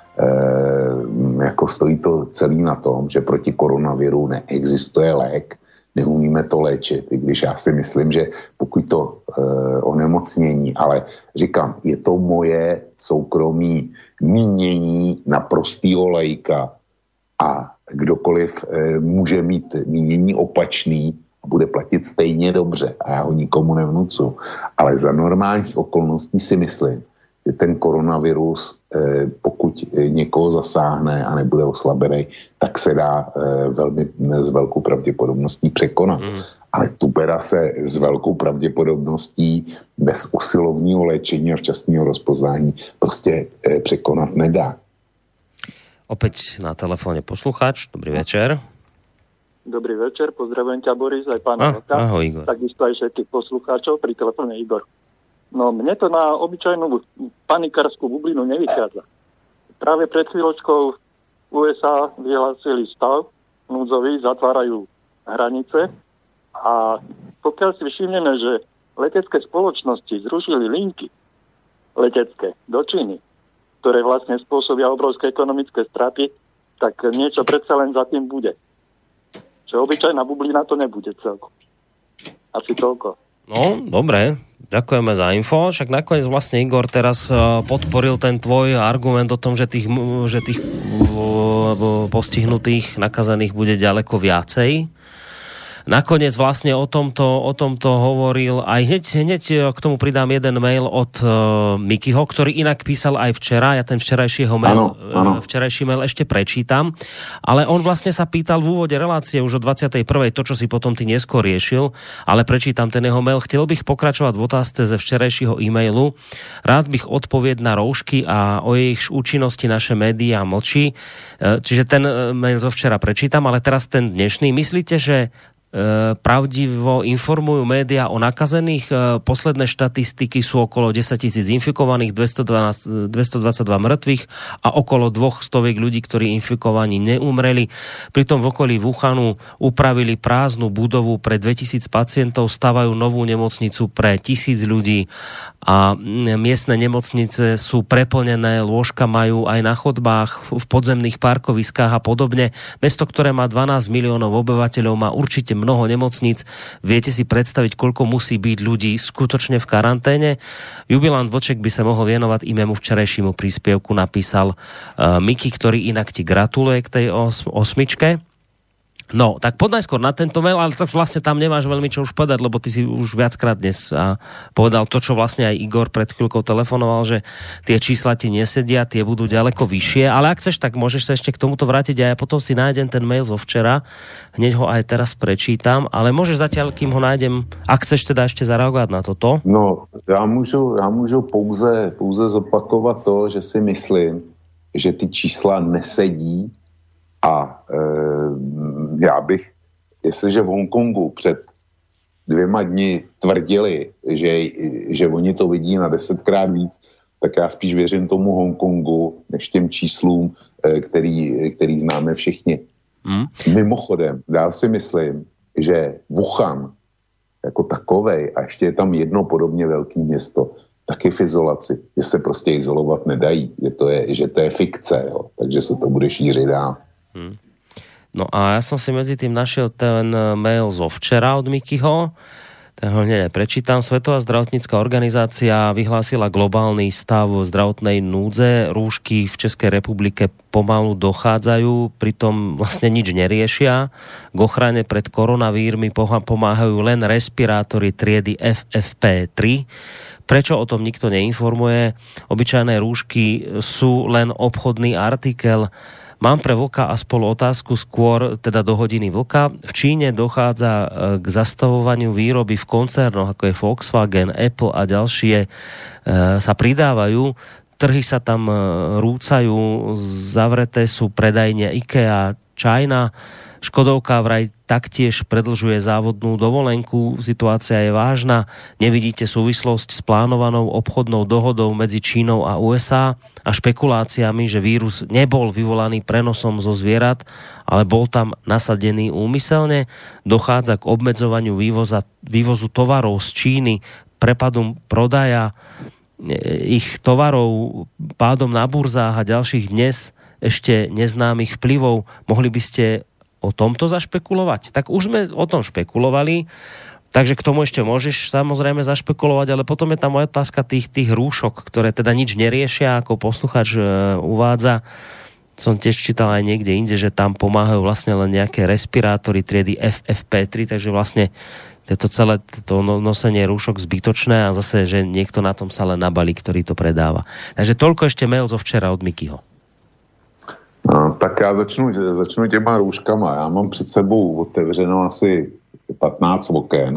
jako stojí to celý na tom, že proti koronaviru neexistuje lék, neumíme to léčit, i když já si myslím, že pokud to onemocnění, ale říkám, je to moje soukromí mínění naprostýho laika a kdokoliv může mít mínění opačný a bude platit stejně dobře a já ho nikomu nevnucu. Ale za normálních okolností si myslím, že ten koronavirus, pokud někoho zasáhne a nebude oslabený, tak se dá s velkou pravděpodobností překonat. Ale tubera se s velkou pravděpodobností bez usilovního léčení a včasného rozpoznání prostě překonat nedá. Opäť na telefóne poslucháč. Dobrý večer. Dobrý večer, pozdravujem ťa, Boris, aj pána Vlka. Ahoj, Igor. Takisto aj všetkých poslucháčov, pri telefóne Igor. No, mne to na obyčajnú panikárskú bublinu nevychádza. Práve pred chvíľočkou USA vyhlásili stav núdzový, zatvárajú hranice a pokiaľ si všimneme, že letecké spoločnosti zrušili linky letecké do Číny, ktoré vlastne spôsobia obrovské ekonomické straty, tak niečo predsa len za tým bude. Že obyčajná bublina to nebude celkom. Asi toľko. No, dobre. Ďakujeme za info. Však nakoniec vlastne Igor teraz podporil ten tvoj argument o tom, že tých postihnutých, nakazaných bude ďaleko viacej. Nakoniec vlastne o tomto hovoril aj hneď k tomu pridám jeden mail od Mikyho, ktorý inak písal aj včera. Ja ten včerajší mail ešte prečítam. Ale on vlastne sa pýtal v úvode relácie už o 21. to, čo si potom ty neskôr riešil, ale prečítam ten jeho mail. Chcel bych pokračovať v otázce ze včerajšieho e-mailu. Rád bych odpovied na roušky a o ich účinnosti naše médiá mlčí. Čiže ten mail zo včera prečítam, ale teraz ten dnešný. Myslíte, že pravdivo informujú médiá o nakazených? Posledné štatistiky sú okolo 10 000 infikovaných, 222 mŕtvych a okolo 200 ľudí, ktorí infikovaní neumreli. Pritom v okolí Wuhanu upravili prázdnu budovu pre 2000 pacientov, stavajú novú nemocnicu pre 1000 ľudí a miestne nemocnice sú preplnené, lôžka majú aj na chodbách, v podzemných parkoviskách a podobne. Mesto, ktoré má 12 miliónov obyvateľov, má určite mnoho nemocníc. Viete si predstaviť, koľko musí byť ľudí skutočne v karanténe? Jubilant Vlček by sa mohol venovať i mému včerajšímu príspevku, napísal Miky, ktorý inak ti gratuluje k tej osmičke. No, tak poď najskôr na tento mail, ale tak vlastne tam nemáš veľmi čo už povedať, lebo ty si už viackrát dnes povedal to, čo vlastne aj Igor pred chvíľkou telefonoval, že tie čísla ti nesedia, tie budú ďaleko vyššie, ale ak chceš, tak môžeš sa ešte k tomuto vrátiť a ja potom si nájdem ten mail zo včera, hneď ho aj teraz prečítam, ale môžeš zatiaľ, kým ho nájdem, ak chceš teda ešte zareagovať na toto. No, já můžu pouze zopakovat to, že si myslím, že ty čísla nesedí. A já bych, jestliže v Hongkongu před 2 dny tvrdili, že oni to vidí na 10krát víc, tak já spíš věřím tomu Hongkongu, než těm číslům, který známe všichni. Mimochodem, já si myslím, že Wuhan jako takovej, a ještě je tam jedno podobně velké město, taky v izolaci, že se prostě izolovat nedají, že to je fikce, jo, takže se to bude šířit dál. No a ja som si medzi tým našiel ten mail zo včera od Mikyho, ten ho hneď prečítam. Svetová zdravotnícka organizácia vyhlásila globálny stav zdravotnej núdze. Rúšky v Českej republike pomalu dochádzajú, pritom vlastne nič neriešia. K ochrane pred koronavírmi pomáhajú len respirátory triedy FFP3. Prečo o tom nikto neinformuje? Obyčajné rúšky sú len obchodný artikel. Mám pre Vlka a spolu otázku skôr, teda do hodiny Vlka. V Číne dochádza k zastavovaniu výroby v koncernoch, ako je Volkswagen, Apple a ďalšie sa pridávajú. Trhy sa tam rúcajú, zavreté sú predajne IKEA, China. Škodovka vraj taktiež predlžuje závodnú dovolenku. Situácia je vážna. Nevidíte súvislosť s plánovanou obchodnou dohodou medzi Čínou a USA a špekuláciami, že vírus nebol vyvolaný prenosom zo zvierat, ale bol tam nasadený úmyselne. Dochádza k obmedzovaniu vývozu tovarov z Číny, prepadu prodaja ich tovarov, pádom na burzách a ďalších dnes ešte neznámych vplyvov. Mohli by ste o tomto zašpekulovať? Tak už sme o tom špekulovali, takže k tomu ešte môžeš samozrejme zašpekulovať, ale potom je tam moja otázka tých rúšok, ktoré teda nič neriešia, ako posluchač uvádza. Som tiež čítal aj niekde inde, že tam pomáhajú vlastne len nejaké respirátory triedy FFP3, takže vlastne to celé to nosenie rúšok zbytočné a zase, že niekto na tom sa len nabalí, ktorý to predáva. Takže toľko ešte mail zo včera od Mikyho. No, tak já začnu těma růžkama. Já mám před sebou otevřeno asi 15 oken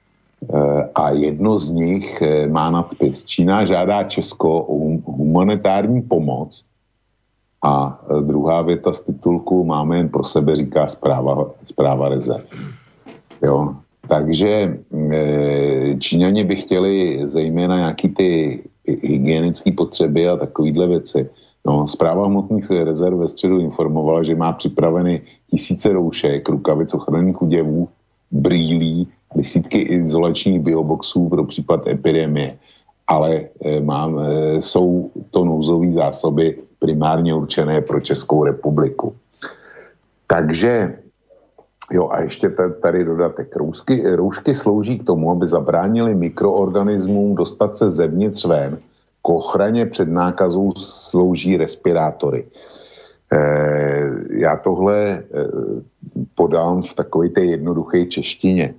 a jedno z nich má nadpis: Čína žádá Česko o humanitární pomoc A druhá věta z titulku máme jen pro sebe, říká zpráva rezerv. Jo. Takže Číňani by chtěli zejména nějaký ty hygienické potřeby a takovýhle věci. No, Správa hmotných rezerv ve středu informovala, že má připraveny 1000 roušek, rukavic, ochranných oděvů, brýlí, desítky izolačních bioboxů pro případ epidemie. Ale jsou to nouzové zásoby primárně určené pro Českou republiku. Takže, jo, a ještě tady dodatek. Roušky slouží k tomu, aby zabránili mikroorganismům dostat se zevnitř ven. K ochraně před nákazou slouží respirátory. Já tohle podám v takové té jednoduché češtině.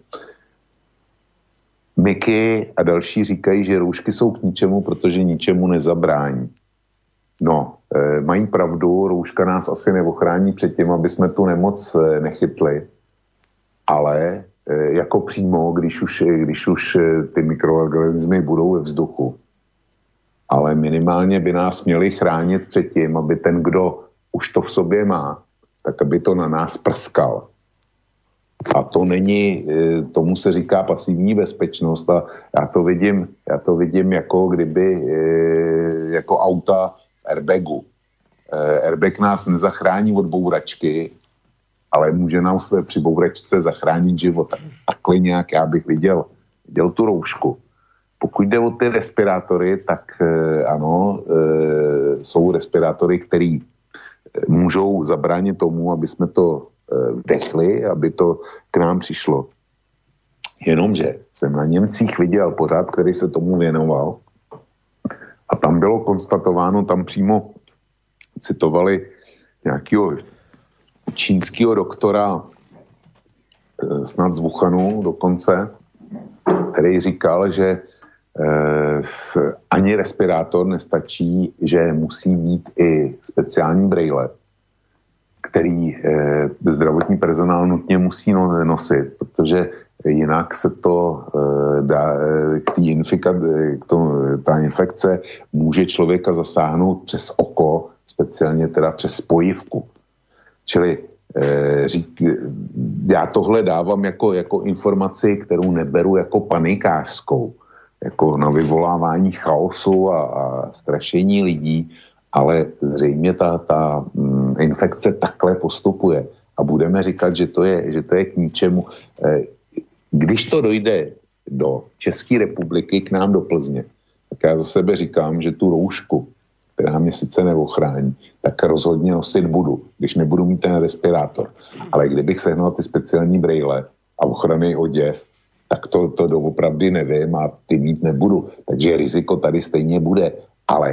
Miky a další říkají, že roušky jsou k ničemu, protože ničemu nezabrání. No, mají pravdu, rouška nás asi neochrání před tím, aby jsme tu nemoc nechytli, ale jako přímo, když už ty mikroorganismy budou ve vzduchu. Ale minimálně by nás měli chránit před tím, aby ten, kdo už to v sobě má, tak aby to na nás prskal. A to není, tomu se říká pasivní bezpečnost a já to vidím jako kdyby, jako auta v airbagu. Airbag nás nezachrání od bouračky, ale může nám při bouračce zachránit život. Takhle nějak já bych viděl tu roušku. Pokud jde o ty respirátory, tak ano, jsou respirátory, které můžou zabránit tomu, aby jsme to vdechli, aby to k nám přišlo. Jenomže jsem na Němcích viděl pořád, který se tomu věnoval a tam bylo konstatováno, tam přímo citovali nějakého čínského doktora, snad z Wuhanu dokonce, který říkal, že ani respirátor nestačí, že musí být i speciální brejle, který zdravotní personál nutně musí nosit, protože jinak se to dá, ta infekce může člověka zasáhnout přes oko, speciálně teda přes spojivku. Čili já tohle dávám jako informaci, kterou neberu jako panikářskou, jako na vyvolávání chaosu a strašení lidí, ale zřejmě ta infekce takhle postupuje a budeme říkat, že to je k ničemu. Když to dojde do České republiky k nám do Plzně, tak já za sebe říkám, že tu roušku, která mě sice neochrání, tak rozhodně nosit budu, když nebudu mít ten respirátor. Ale kdybych sehnal ty speciální brejle a ochranný oděv, tak to doopravdy nevím a ty mít nebudu. Takže riziko tady stejně bude. Ale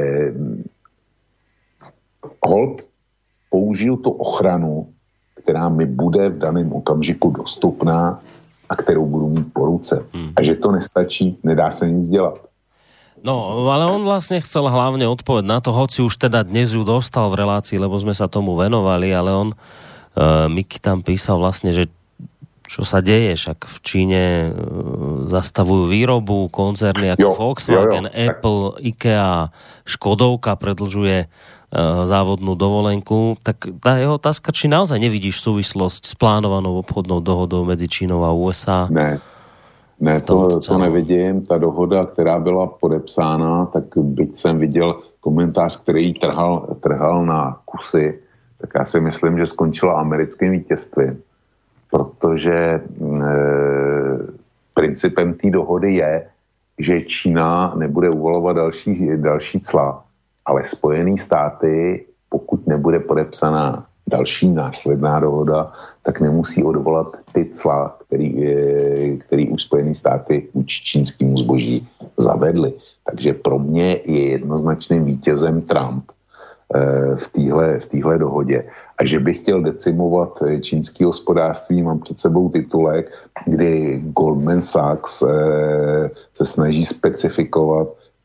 holt použiju tu ochranu, která mi bude v daném okamžiku dostupná a kterou budu mít po ruce. A že to nestačí, nedá se nic dělat. No, ale on vlastne chcel hlavne odpoveď na to, hoci už teda dnes ju dostal v relácii, lebo sme sa tomu venovali, ale on, Miky tam písal vlastne, že čo sa deje, však v Číne zastavujú výrobu, koncerny ako Volkswagen, Apple, IKEA, Škodovka predlžuje závodnú dovolenku, tak tá jeho otázka, či naozaj nevidíš súvislosť s plánovanou obchodnou dohodou medzi Čínou a USA? Ne, to nevidím. Ta dohoda, která byla podepsána, tak byť jsem viděl komentář, který ji trhal na kusy, tak já si myslím, že skončila americkým vítězstvím. Protože principem té dohody je, že Čína nebude uvalovat další cla, ale Spojené státy, pokud nebude podepsaná další následná dohoda, tak nemusí odvolat ty cla, který už Spojené státy vůči čínskému zboží zavedly. Takže pro mě je jednoznačným vítězem Trump v téhle dohodě. A že bych chtěl decimovat čínské hospodářství, mám před sebou titulek, kdy Goldman Sachs se snaží specifikovat,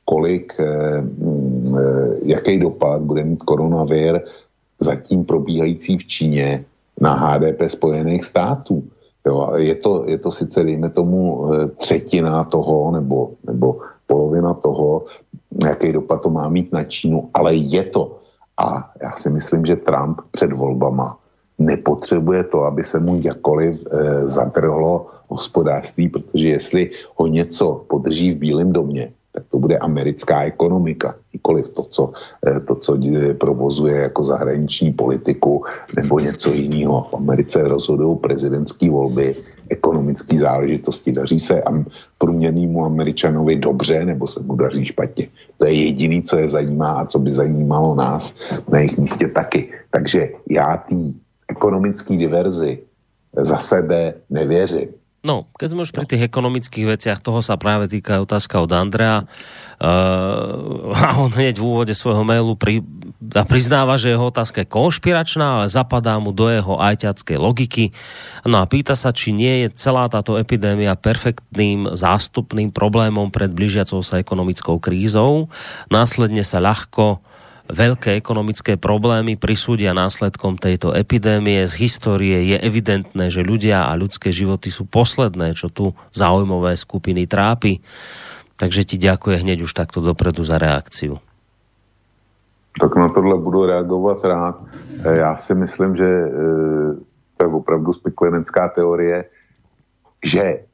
jaký dopad bude mít koronavir zatím probíhající v Číně na HDP Spojených států. Jo, je to sice, dejme tomu, třetina toho, nebo polovina toho, jaký dopad to má mít na Čínu, ale je to. A já si myslím, že Trump před volbama nepotřebuje to, aby se mu jakkoliv zadrhlo hospodářství, protože jestli ho něco podrží v Bílém domě, tak to bude americká ekonomika, nikoliv to, co provozuje jako zahraniční politiku nebo něco jiného. V Americe rozhodují prezidentské volby, ekonomické záležitosti. Daří se průměrnému Američanovi dobře, nebo se mu daří špatně. To je jediné, co je zajímá a co by zajímalo nás na jejich místě taky. Takže já té ekonomické diverzi za sebe nevěřím. No, keď sme už pri tých ekonomických veciach, toho sa práve týka otázka od Andrea. A on hneď v úvode svojho mailu priznáva, že jeho otázka je konšpiračná, ale zapadá mu do jeho ajťackej logiky. No a pýta sa, či nie je celá táto epidémia perfektným zástupným problémom pred blížiacou sa ekonomickou krízou. Následne sa ľahko veľké ekonomické problémy prisúdia následkom tejto epidémie. Z histórie je evidentné, že ľudia a ľudské životy sú posledné, čo tu záujmové skupiny trápi. Takže ti ďakujem hneď už takto dopredu za reakciu. Tak na tohle budu reagovat rád. Já si myslím, že to je opravdu speklenecká teorie, že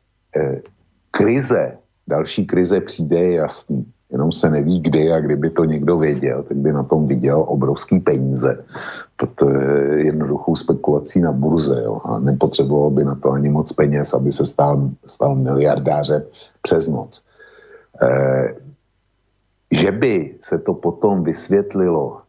další krize přijde, je jasný. Jenom se neví kdy a kdyby to někdo věděl, tak by na tom viděl obrovský peníze. To je jednoduchou spekulací na burze, jo? A nepotřeboval by na to ani moc peněz, aby se stal miliardářem přes noc. Že by se to potom vysvětlilo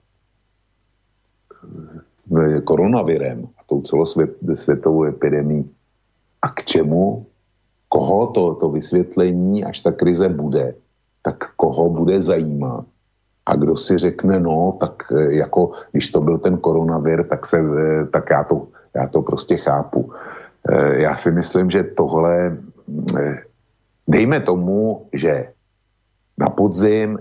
koronavirem a tou celosvětovou epidemií, a k čemu, koho to vysvětlení, až ta krize bude, tak koho bude zajímat. A kdo si řekne, no, tak jako, když to byl ten koronavir, tak já to prostě chápu. Já si myslím, že tohle, dejme tomu, že na podzim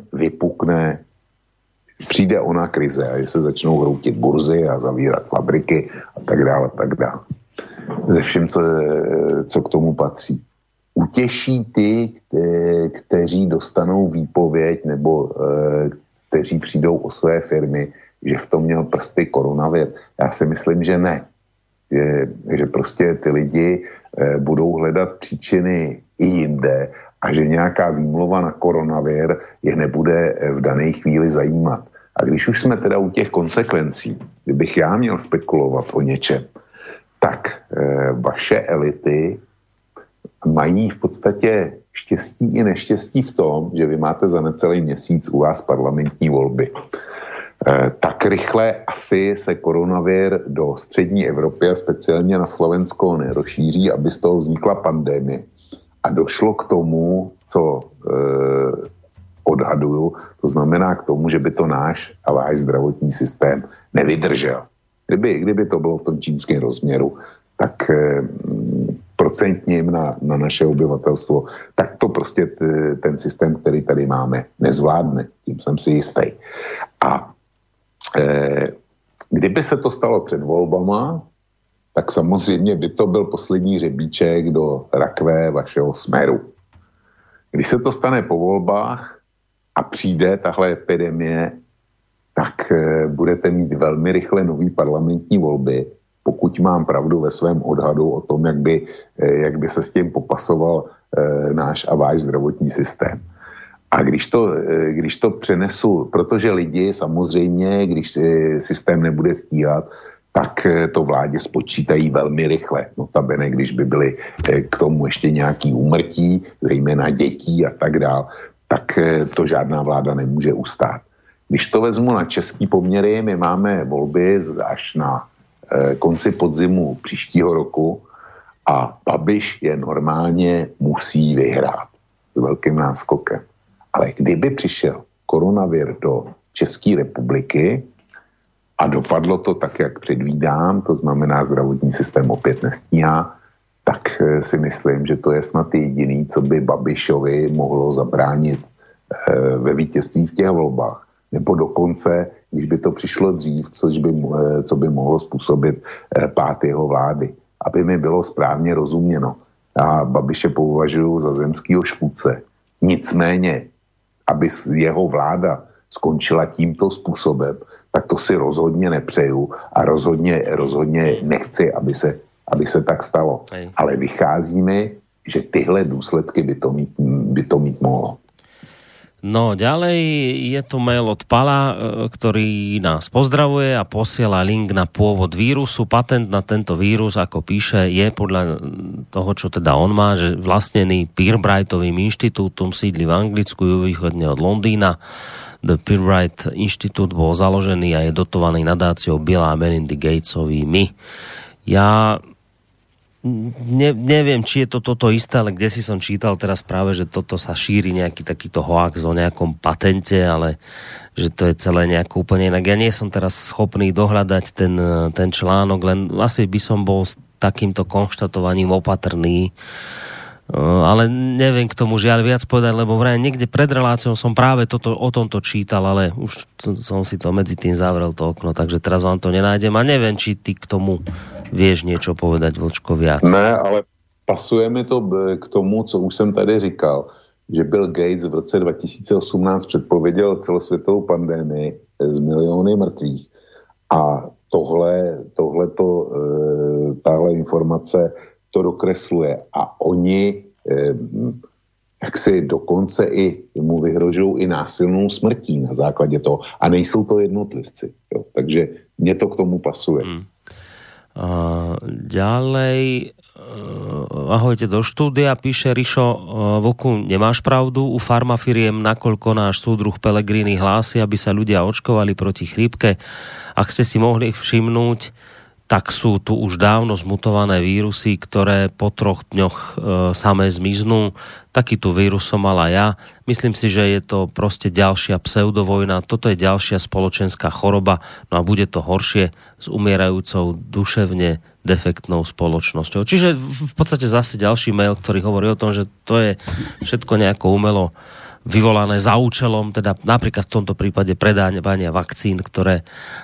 přijde ona krize a že se začnou hroutit burzy a zavírat fabriky a tak dále, ze všem, co k tomu patří. Utěší ty, kteří dostanou výpověď nebo kteří přijdou o své firmy, že v tom měl prsty koronavir. Já si myslím, že ne. Že prostě ty lidi budou hledat příčiny i jinde a že nějaká výmluva na koronavir je nebude v dané chvíli zajímat. A když už jsme teda u těch konsekvencí, kdybych já měl spekulovat o něčem, tak vaše elity mají v podstatě štěstí i neštěstí v tom, že vy máte za necelý měsíc u vás parlamentní volby. Tak rychle asi se koronavir do střední Evropy a speciálně na Slovensko nerozšíří, aby z toho vznikla pandemie. A došlo k tomu, co odhaduju, to znamená k tomu, že by to náš a váš zdravotní systém nevydržel. Kdyby to bylo v tom čínském rozměru, tak procentním na naše obyvatelstvo, tak to prostě ten systém, který tady máme, nezvládne. Tím jsem si jistý. A kdyby se to stalo před volbama, tak samozřejmě by to byl poslední řebíček do rakve vašeho Smeru. Když se to stane po volbách a přijde tahle epidemie, tak budete mít velmi rychle nový parlamentní volby, pokud mám pravdu ve svém odhadu o tom, jak by se s tím popasoval náš a váš zdravotní systém. A když to přenesu, protože lidi samozřejmě, když systém nebude stíhat, tak to vládě spočítají velmi rychle. Notabene, když by byly k tomu ještě nějaký úmrtí, zejména dětí a tak dál, tak to žádná vláda nemůže ustát. Když to vezmu na český poměry, my máme volby až na konci podzimu příštího roku a Babiš je normálně musí vyhrát s velkým náskokem. Ale kdyby přišel koronavir do České republiky a dopadlo to tak, jak předvídám, to znamená zdravotní systém opět nestíhá, tak si myslím, že to je snad jediný, co by Babišovi mohlo zabránit ve vítězství v těch volbách. Nebo dokonce, když by to přišlo dřív, co by mohlo způsobit pád jeho vlády. Aby mi bylo správně rozuměno. A Babiše považuji za zemskýho škůdce. Nicméně, aby jeho vláda skončila tímto způsobem, tak to si rozhodně nepřeju a rozhodně nechci, aby se tak stalo. Ale vychází mi, že tyhle důsledky by to mít mohlo. No, ďalej je tu mail od Pala, ktorý nás pozdravuje a posiela link na pôvod vírusu. Patent na tento vírus, ako píše, je podľa toho, čo teda on má, že vlastnený Pirbrightovým inštitútom, sídli v Anglicku, juhovýchodne od Londýna. The Pirbright inštitút bol založený a je dotovaný nadáciou Billa a Melindy Gatesovými. Ja neviem, či je to toto isté, ale kde si som čítal teraz práve, že toto sa šíri nejaký takýto hoax o nejakom patente, ale že to je celé nejako úplne inak. Ja nie som teraz schopný dohľadať ten článok, len asi by som bol s takýmto konštatovaním opatrný, ale neviem k tomu žiaľ viac povedať, lebo vraj niekde pred reláciou som práve o tomto čítal, ale už som si to medzi tým zavrel to okno, takže teraz vám to nenájdem a neviem, či ty k tomu vieš niečo povedať, Vlčko, viac. Ne, ale pasujeme to k tomu, co už jsem tady říkal, že Bill Gates v roce 2018 předpověděl celosvětovou pandémii z miliony mrtvých a tahle informace to dokresluje a oni jak si dokonce i mu vyhrožují i násilnou smrtí na základě toho a nejsou to jednotlivci. Jo. Takže mně to k tomu pasuje. Ďalej ahojte do štúdia, píše Rišo Vlku, nemáš pravdu, u farmafiriem nakoľko náš súdruh Pellegrini hlási, aby sa ľudia očkovali proti chrípke. Ak ste si mohli všimnúť, tak sú tu už dávno zmutované vírusy, ktoré po 3 dňoch samé zmiznú. Takýto vírus som mala ja. Myslím si, že je to proste ďalšia pseudovojna. Toto je ďalšia spoločenská choroba. No a bude to horšie s umierajúcou duševne defektnou spoločnosťou. Čiže v podstate zase ďalší mail, ktorý hovorí o tom, že to je všetko nejako umelo vyvolané za účelom, teda napríklad v tomto prípade predávania vakcín, ktoré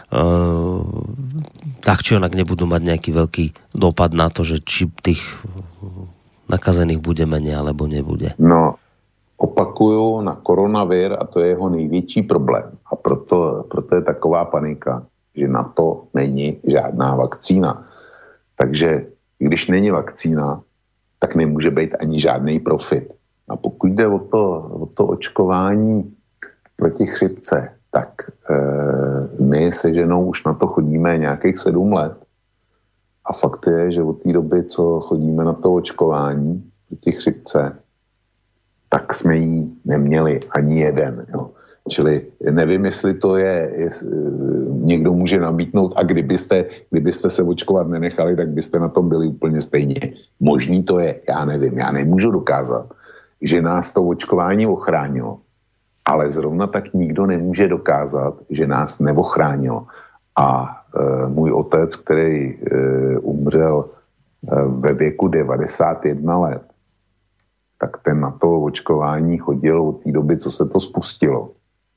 tak či onak nebudú mať nejaký veľký dopad na to, že či tých nakazených bude menej alebo nebude. No, opakuju na koronavír a to je jeho největší problém. A proto je taková panika, že na to není žádná vakcína. Takže když není vakcína, tak nemůže být ani žádný profit. A pokud jde o to očkování proti chřipce, tak my se ženou už na to chodíme nějakých 7 let. A fakt je, že od té doby, co chodíme na to očkování proti chřipce, tak jsme jí neměli ani jeden. Jo. Čili nevím, jestli to je někdo může nabídnout a kdybyste se očkovat nenechali, tak byste na tom byli úplně stejně. Možný to je, já nevím, já nemůžu dokázat, že nás to očkování ochránilo. Ale zrovna tak nikdo nemůže dokázat, že nás neochránilo. A můj otec, který umřel ve věku 91 let, tak ten na to očkování chodil od té doby, co se to spustilo.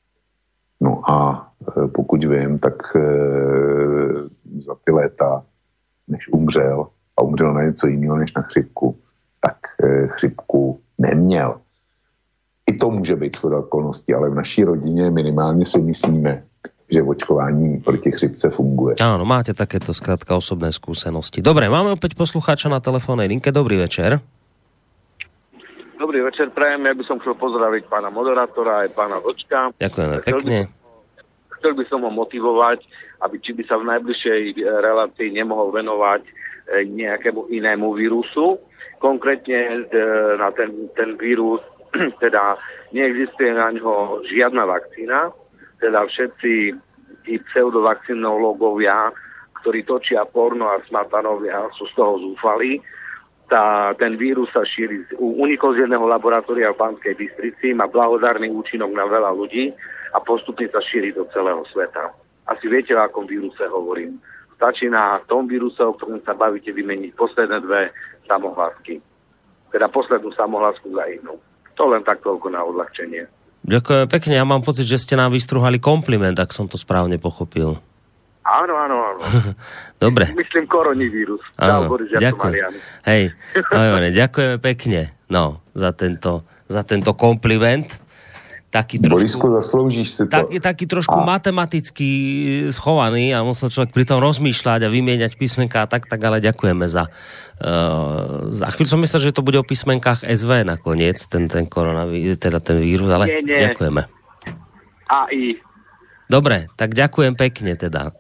No a pokud vím, tak za ty léta, než umřel, a umřel na něco jiného než na chřipku, tak chřipku neměl. I to může být shoda okolností, ale v naší rodině minimálně si myslíme, že očkování proti chřipce funguje. Áno, máte takéto skrátka osobné skúsenosti. Dobre, máme opäť poslucháča na telefónnej linke. Dobrý večer. Dobrý večer, prajem. Ja by som chcel pozdraviť pána moderátora aj pána Vlčka. Ďakujeme pekne. Chcel by som ho motivovať, aby či by sa v najbližšej relácii nemohol venovať nejakému inému vírusu. Konkrétne na ten vírus, teda neexistuje na ňo žiadna vakcína, teda všetci tí pseudovakcinológovia, ktorí točia porno a smatanovia, sú z toho zúfali. Ten vírus sa šíri, unikol z jedného laboratória v Banskej Bystrici, má blahodárny účinok na veľa ľudí a postupne sa šíri do celého sveta. Asi viete, o akom víruse hovorím. Stačí na tom víruse, o ktorom sa bavíte, vymeniť posledné 2 samohlásky. Teda poslednú samohlásku za inú. To len tak toľko na odľahčenie. Ďakujem pekne. Ja mám pocit, že ste nám vystruhali kompliment, ak som to správne pochopil. Áno. Dobre. Myslím koronavírus. Áno, ďakujem. Hej, ďakujeme pekne za tento kompliment. taký trošku... Borisko, zasloužíš si to. Taký trošku matematicky schovaný a musel človek pri tom rozmýšľať a vymieňať písmenká tak, ale ďakujeme za chvíľu som myslel, že to bude o písmenkách SV nakoniec, ten koronavírus, teda ten vírus, ale nie. Ďakujeme. AI. Dobre, tak ďakujem pekne teda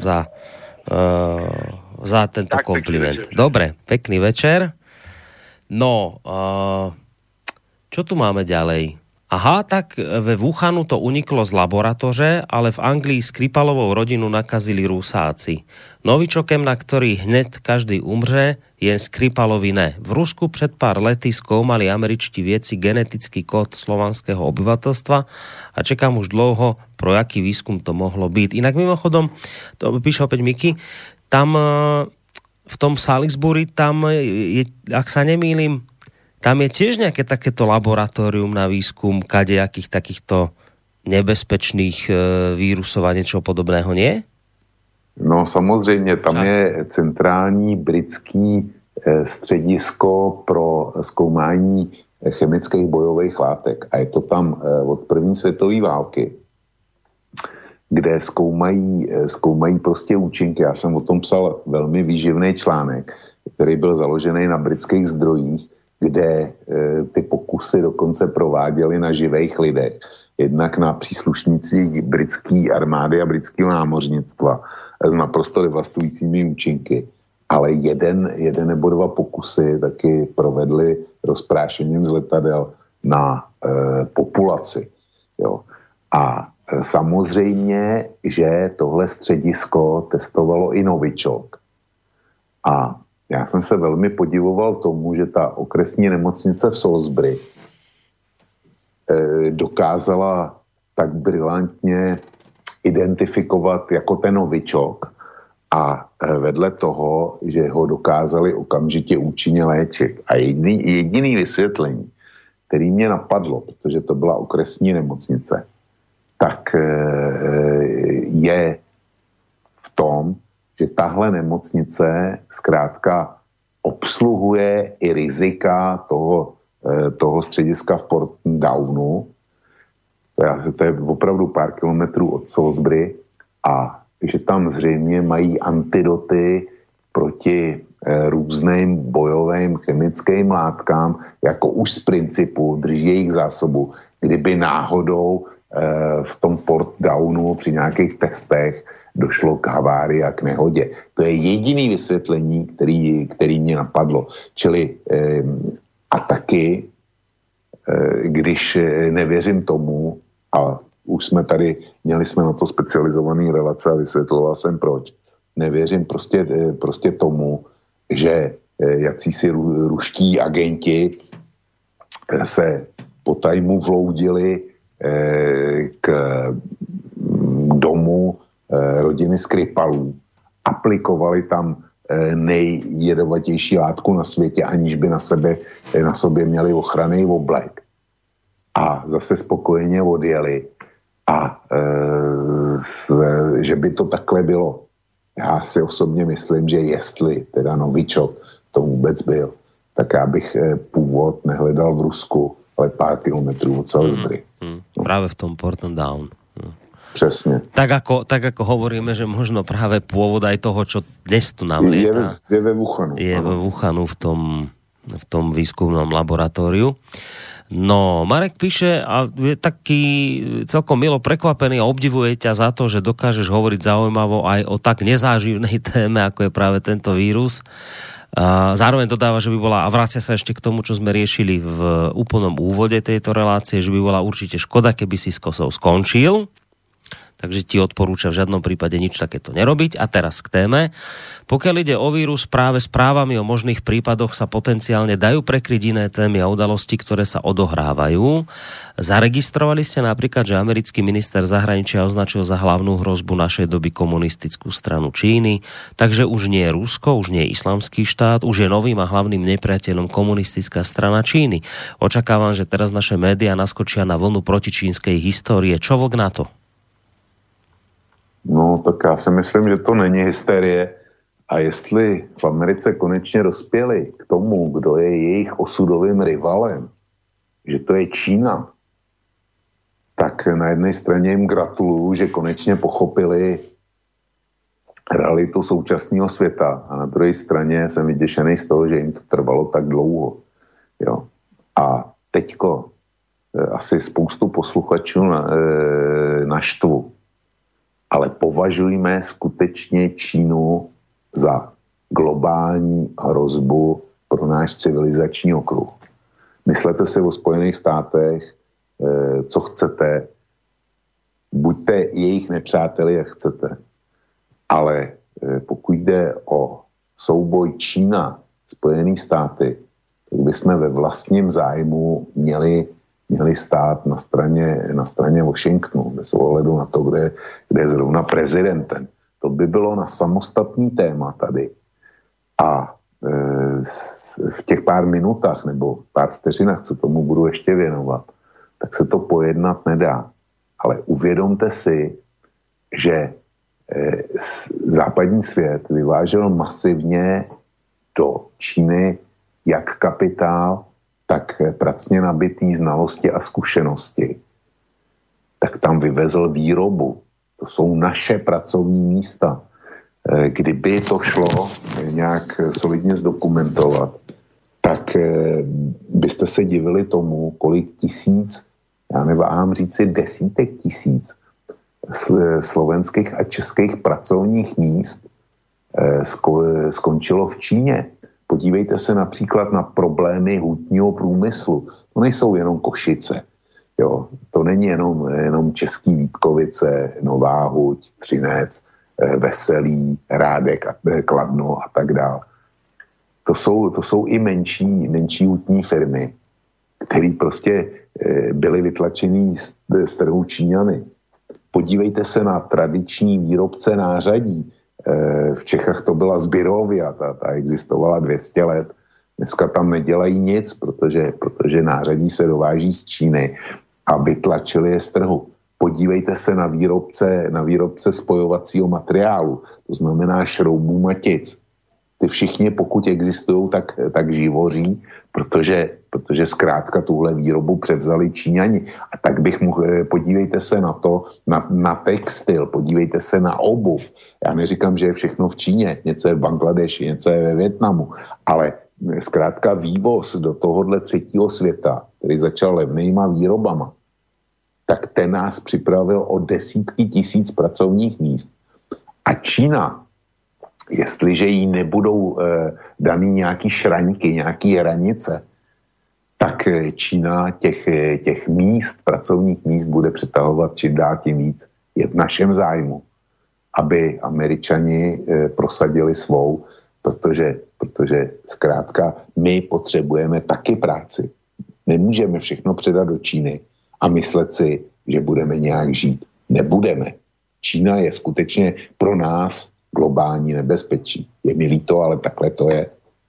za tento tak, kompliment. Dobre, pekný večer. No, čo tu máme ďalej? Aha, tak ve Wuhanu to uniklo z laboratoře, ale v Anglii Skripalovou rodinu nakazili Rusáci. Novičokem, na ktorý hneď každý umře, jen Skripalovi ne. V Rusku před pár lety zkoumali američtí vědci genetický kód slovanského obyvateľstva a čekám už dlouho, pro jaký výskum to mohlo byť. Inak mimochodom, to píše opäť Miky, tam v tom Salisbury, tam je, ak sa nemýlim, tam je tiež nejaké takéto laboratórium na výskum kadejakých takýchto nebezpečných vírusov a niečo podobného, nie? No samozřejmě, tam je centrální britský středisko pro zkoumání chemických bojových látek. A je to tam od první světové války, kde zkoumají prostě účinky. Já jsem o tom psal velmi výživný článek, který byl založený na britských zdrojích, kde ty pokusy dokonce prováděly na živých lidech. Jednak na příslušnících britské armády a britského námořnictva s naprosto devastujícími účinky. Ale jeden nebo dva pokusy taky provedli rozprášením z letadel na populaci. Jo. A samozřejmě, že tohle středisko testovalo i novičok. A já jsem se velmi podivoval tomu, že ta okresní nemocnice v Salisbury dokázala tak brilantně identifikovat jako ten novičok a vedle toho, že ho dokázali okamžitě účinně léčit. A jediný vysvětlení, který mě napadlo, protože to byla okresní nemocnice, tak je v tom, že tahle nemocnice zkrátka obsluhuje i rizika toho střediska v Portdownu. To je opravdu pár kilometrů od Salisbury a že tam zřejmě mají antidoty proti různým bojovým chemickým látkám, jako už z principu drží jejich zásobu, kdyby náhodou v tom Portdownu při nějakých testech došlo k havárii a k nehodě. To je jediný vysvětlení, který mě napadlo. Čili a taky, když nevěřím tomu, a už jsme tady, měli jsme na to specializovaný relace a vysvětloval jsem proč, nevěřím prostě tomu, že jacísi ruští agenti se po tajmu vloudili k domu rodiny Skripalů, aplikovali tam nejjedovatější látku na světě, aniž by na sobě měli ochranný oblek. A zase spokojeně odjeli. A že by to takhle bylo. Já si osobně myslím, že jestli teda novičok to vůbec byl, tak já bych původ nehledal v Rusku, ale pár kilometrů od Salisbury. Práve v tom Portdown. Přesně. Tak ako hovoríme, že možno práve pôvod aj toho, čo dnes tu nám lieta. Je ve Wuhanu. Je ve Wuhanu v tom výskumnom laboratóriu. No, Marek píše a je taký celkom milo prekvapený a obdivuje ťa za to, že dokážeš hovoriť zaujímavo aj o tak nezáživnej téme, ako je práve tento vírus. A zároveň dodáva, že by bola, a vracia sa ešte k tomu, čo sme riešili v úplnom úvode tejto relácie, že by bola určite škoda, keby si s kosou skončil. Takže ti odporúča v žiadnom prípade nič takéto nerobiť. A teraz k téme. Pokiaľ ide o vírus, práve správami o možných prípadoch sa potenciálne dajú prekryť iné témy a udalosti, ktoré sa odohrávajú. Zaregistrovali ste napríklad, že americký minister zahraničia označil za hlavnú hrozbu našej doby komunistickú stranu Číny, takže už nie je Rusko, už nie je Islamský štát, už je novým a hlavným nepriateľom komunistická strana Číny. Očakávam, že teraz naše médiá naskočia na vlnu protičínskej histórie. Čo vlk na to? No, tak já si myslím, že to není hysterie. A jestli v Americe konečně dospěli k tomu, kdo je jejich osudovým rivalem, že to je Čína, tak na jedné straně jim gratuluju, že konečně pochopili realitu současného světa a na druhé straně jsem vyděšený z toho, že jim to trvalo tak dlouho. Jo. A teďko asi spoustu posluchačů naštvu, ale považujme skutečně Čínu za globální hrozbu pro náš civilizační okruh. Myslete si o Spojených státech, co chcete, buďte jejich nepřáteli, jak chcete. Ale pokud jde o souboj Čína, Spojené státy, tak bychom ve vlastním zájmu měli stát na straně Washingtonu, bez ohledu na to, kde je zrovna prezidentem. To by bylo na samostatný téma tady. A v těch pár minutách nebo pár vteřinách, co tomu budu ještě věnovat, tak se to pojednat nedá. Ale uvědomte si, že západní svět vyvážel masivně do Číny jak kapitál, tak pracně nabitý znalosti a zkušenosti. Tak tam vyvezl výrobu. To jsou naše pracovní místa. Kdyby to šlo nějak solidně zdokumentovat, tak byste se divili tomu, kolik tisíc, já neváhám říci desítek tisíc slovenských a českých pracovních míst skončilo v Číně. Podívejte se například na problémy hutního průmyslu. To nejsou jenom Košice. Jo? To není jenom český Vítkovice, Nová Huť, Třinec, Veselí, Rádek, Kladno a tak dále. To jsou i menší hutní firmy, které prostě byly vytlačený z trhu Číňany. Podívejte se na tradiční výrobce nářadí. V Čechách to byla Zbirovia, ta existovala 200 let. Dneska tam nedělají nic, protože nářadí se dováží z Číny a vytlačili je z trhu. Podívejte se na výrobce spojovacího materiálu, to znamená šroubů, matic. Ty všichni, pokud existují, tak živoří, protože zkrátka tuhle výrobu převzali Číňani. A tak bych mohl, podívejte se na to, na textil, podívejte se na obuv. Já neříkám, že je všechno v Číně, něco je v Bangladeši, něco je ve Vietnamu, ale zkrátka vývoz do tohohle třetího světa, který začal levnýma výrobama, tak ten nás připravil o desítky tisíc pracovních míst. A Čína, jestliže jí nebudou daný nějaký šraňky, nějaký hranice, tak Čína těch míst, pracovních míst bude přetahovat čím dál tím víc. Je v našem zájmu, aby Američani prosadili svou, protože zkrátka my potřebujeme taky práci. Nemůžeme všechno předat do Číny a myslet si, že budeme nějak žít. Nebudeme. Čína je skutečně pro nás globální nebezpečí. Je mi líto, ale takhle to je.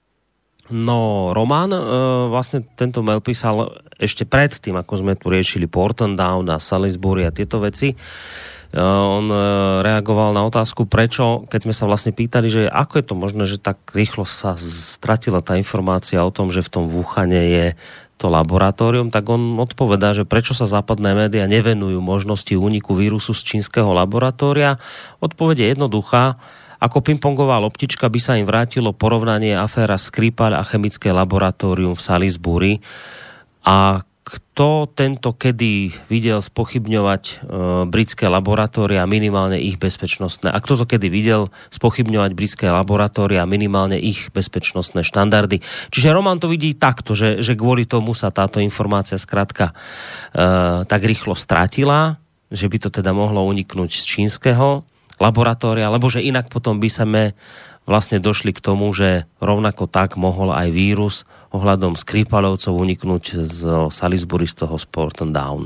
No, Roman vlastne tento mail písal ešte predtým, ako sme tu riešili Porton Down a Salisbury a tieto veci. On reagoval na otázku, prečo, keď sme sa vlastne pýtali, že ako je to možné, že tak rýchlo sa stratila tá informácia o tom, že v tom Wuhane je to laboratórium, tak on odpovedá, že prečo sa západné médiá nevenujú možnosti úniku vírusu z čínskeho laboratória. Odpoveď je jednoduchá. Ako pingpongová loptička by sa im vrátilo porovnanie aféra Skripal a chemické laboratórium v Salisbury. A kto tento kedy videl spochybňovať britské laboratória, minimálne ich bezpečnostné? A kto to kedy videl spochybňovať britské laboratória, minimálne ich bezpečnostné štandardy? Čiže Roman to vidí takto, že kvôli tomu sa táto informácia skrátka tak rýchlo stratila, že by to teda mohlo uniknúť z čínskeho laboratória, lebo že inak potom by sme vlastne došli k tomu, že rovnako tak mohol aj vírus ohľadom Skripalovcov uniknúť z Salisbury, z toho Porton Down.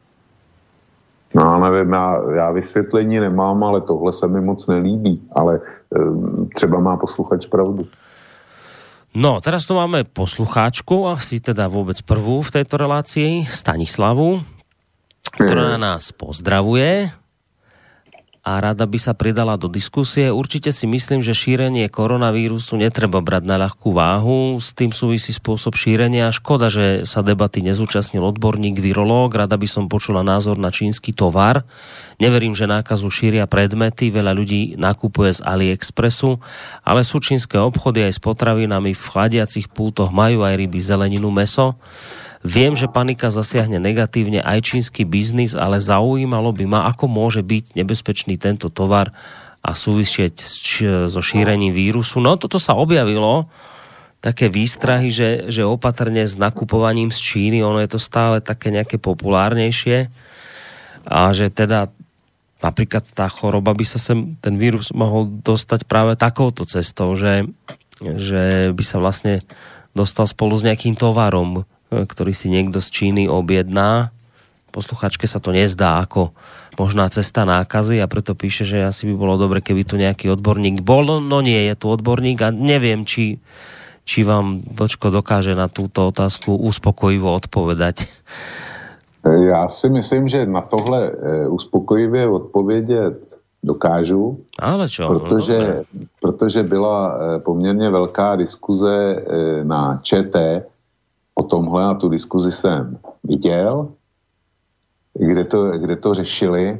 No, nevím, já vysvětlení nemám, ale tohle se mi moc nelíbí, ale třeba má posluchač pravdu. No, teraz tu máme poslucháčku, asi teda vôbec prvú v tejto relácii, Stanislavu, ktorá nás pozdravuje. a rada by sa pridala do diskusie. Určite si myslím, že šírenie koronavírusu netreba brať na ľahkú váhu. S tým súvisí spôsob šírenia. Škoda, že sa debaty nezúčastnil odborník, virológ. Rada by som počula názor na čínsky tovar. Neverím, že nákazu šíria predmety. Veľa ľudí nakupuje z AliExpressu, ale sú čínske obchody aj s potravinami. V chladiacich pultoch majú aj ryby, zeleninu, mäso. Viem, že panika zasiahne negatívne aj čínsky biznis, ale zaujímalo by ma, ako môže byť nebezpečný tento tovar a súvisieť so šírením vírusu. No toto sa objavilo, také výstrahy, že opatrne s nakupovaním z Číny, ono je to stále také nejaké populárnejšie a že teda napríklad tá choroba by sa ten vírus mohol dostať práve takouto cestou, že by sa vlastne dostal spolu s nejakým tovarom, ktorý si niekto z Číny objedná. Posluchačke sa to nezdá ako možná cesta nákazy a preto píše, že asi by bolo dobre, keby tu nejaký odborník bol. No nie je tu odborník a neviem, či vám Vlčko dokáže na túto otázku uspokojivo odpovedať. Já si myslím, že na tohle uspokojivě odpovědět dokážu, ale čo? Protože byla poměrně velká diskuze na ČT o tomhle a tu diskuzi jsem viděl, kde to řešili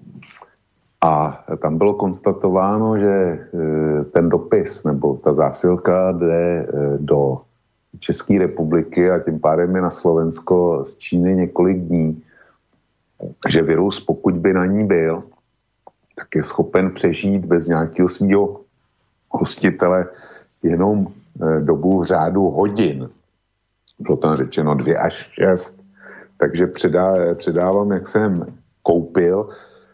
a tam bylo konstatováno, že ten dopis nebo ta zásilka jde do České republiky a tím pádem je na Slovensko z Číny několik dní. Takže virus, pokud by na ní byl, tak je schopen přežít bez nějakého svého hostitele jenom dobu v řádu hodin. Bylo tam řečeno 2 až 6. Takže předávám, jak jsem koupil.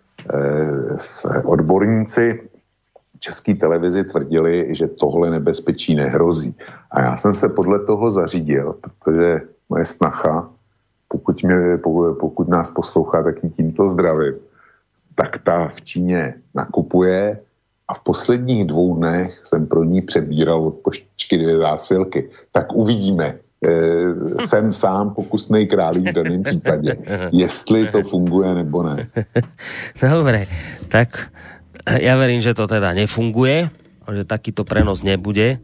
Odborníci České televizi tvrdili, že tohle nebezpečí nehrozí. A já jsem se podle toho zařídil, protože moje snacha, pokud nás poslouchá, tak i tímto zdravím, tak ta v Číně nakupuje a v posledních 2 dnech jsem pro ní přebíral od poštičky 2 zásilky. Tak uvidíme. Jsem sám pokusnej králík v daném případě. Jestli to funguje nebo ne. Dobre, tak ja verím, že to teda nefunguje, že takýto prenos nebude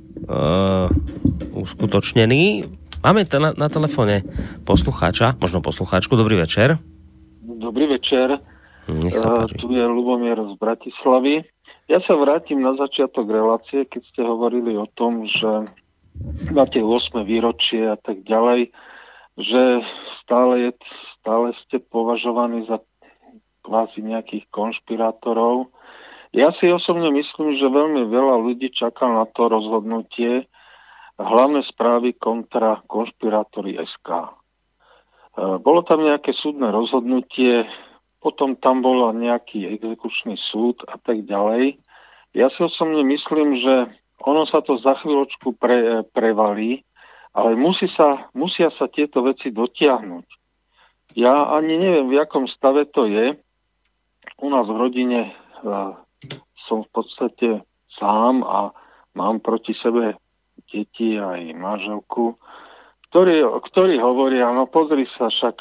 uskutočnený. Máme na telefóne poslucháča, možno poslucháčku. Dobrý večer. Dobrý večer. Tu je Lubomír z Bratislavy. Ja sa vrátim na začiatok relácie, keď ste hovorili o tom, že na tie 8. výročie a tak ďalej, že stále ste považovaní za kvázi nejakých konšpirátorov. Ja si osobne myslím, že veľmi veľa ľudí čaká na to rozhodnutie hlavné správy kontra konšpirátori SK. Bolo tam nejaké súdne rozhodnutie, potom tam bol nejaký exekučný súd a tak ďalej. Ja si osobne myslím, že ono sa to za chvíľočku prevalí, ale musia sa tieto veci dotiahnuť. Ja ani neviem, v jakom stave to je. U nás v rodine som v podstate sám a mám proti sebe deti aj manželku, ktorí hovoria, no pozri sa, však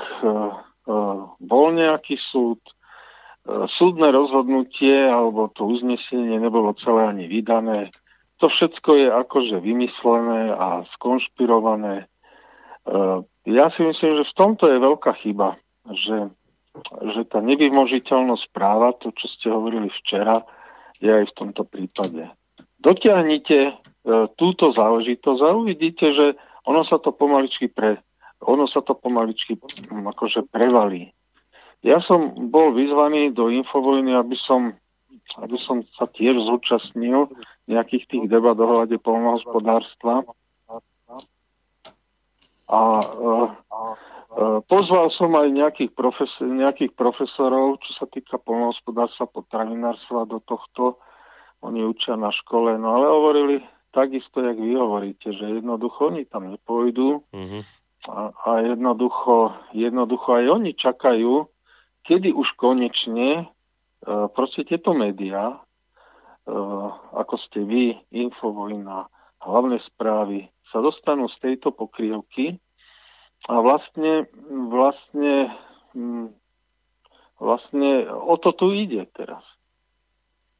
bol nejaký súd, súdne rozhodnutie alebo to uznesenie nebolo celé ani vydané. To všetko je akože vymyslené a skonšpirované. Ja si myslím, že v tomto je veľká chyba, že tá nevymožiteľnosť práva, to, čo ste hovorili včera, je aj v tomto prípade. Dotiahnite túto záležitosť a uvidíte, že ono sa to pomaličky akože prevalí. Ja som bol vyzvaný do Infovojny, aby som sa tiež zúčastnil nejakých tých debat ohľade poľnohospodárstva. A pozval som aj nejakých profesorov, čo sa týka poľnohospodárstva, potravinárstva do tohto. Oni učia na škole, no ale hovorili takisto, jak vy hovoríte, že jednoducho oni tam nepôjdu a jednoducho aj oni čakajú, kedy už konečne proste tieto médiá, ako ste vy, Infovojna, hlavné správy, sa dostanú z tejto pokrývky a vlastne o to tu ide teraz.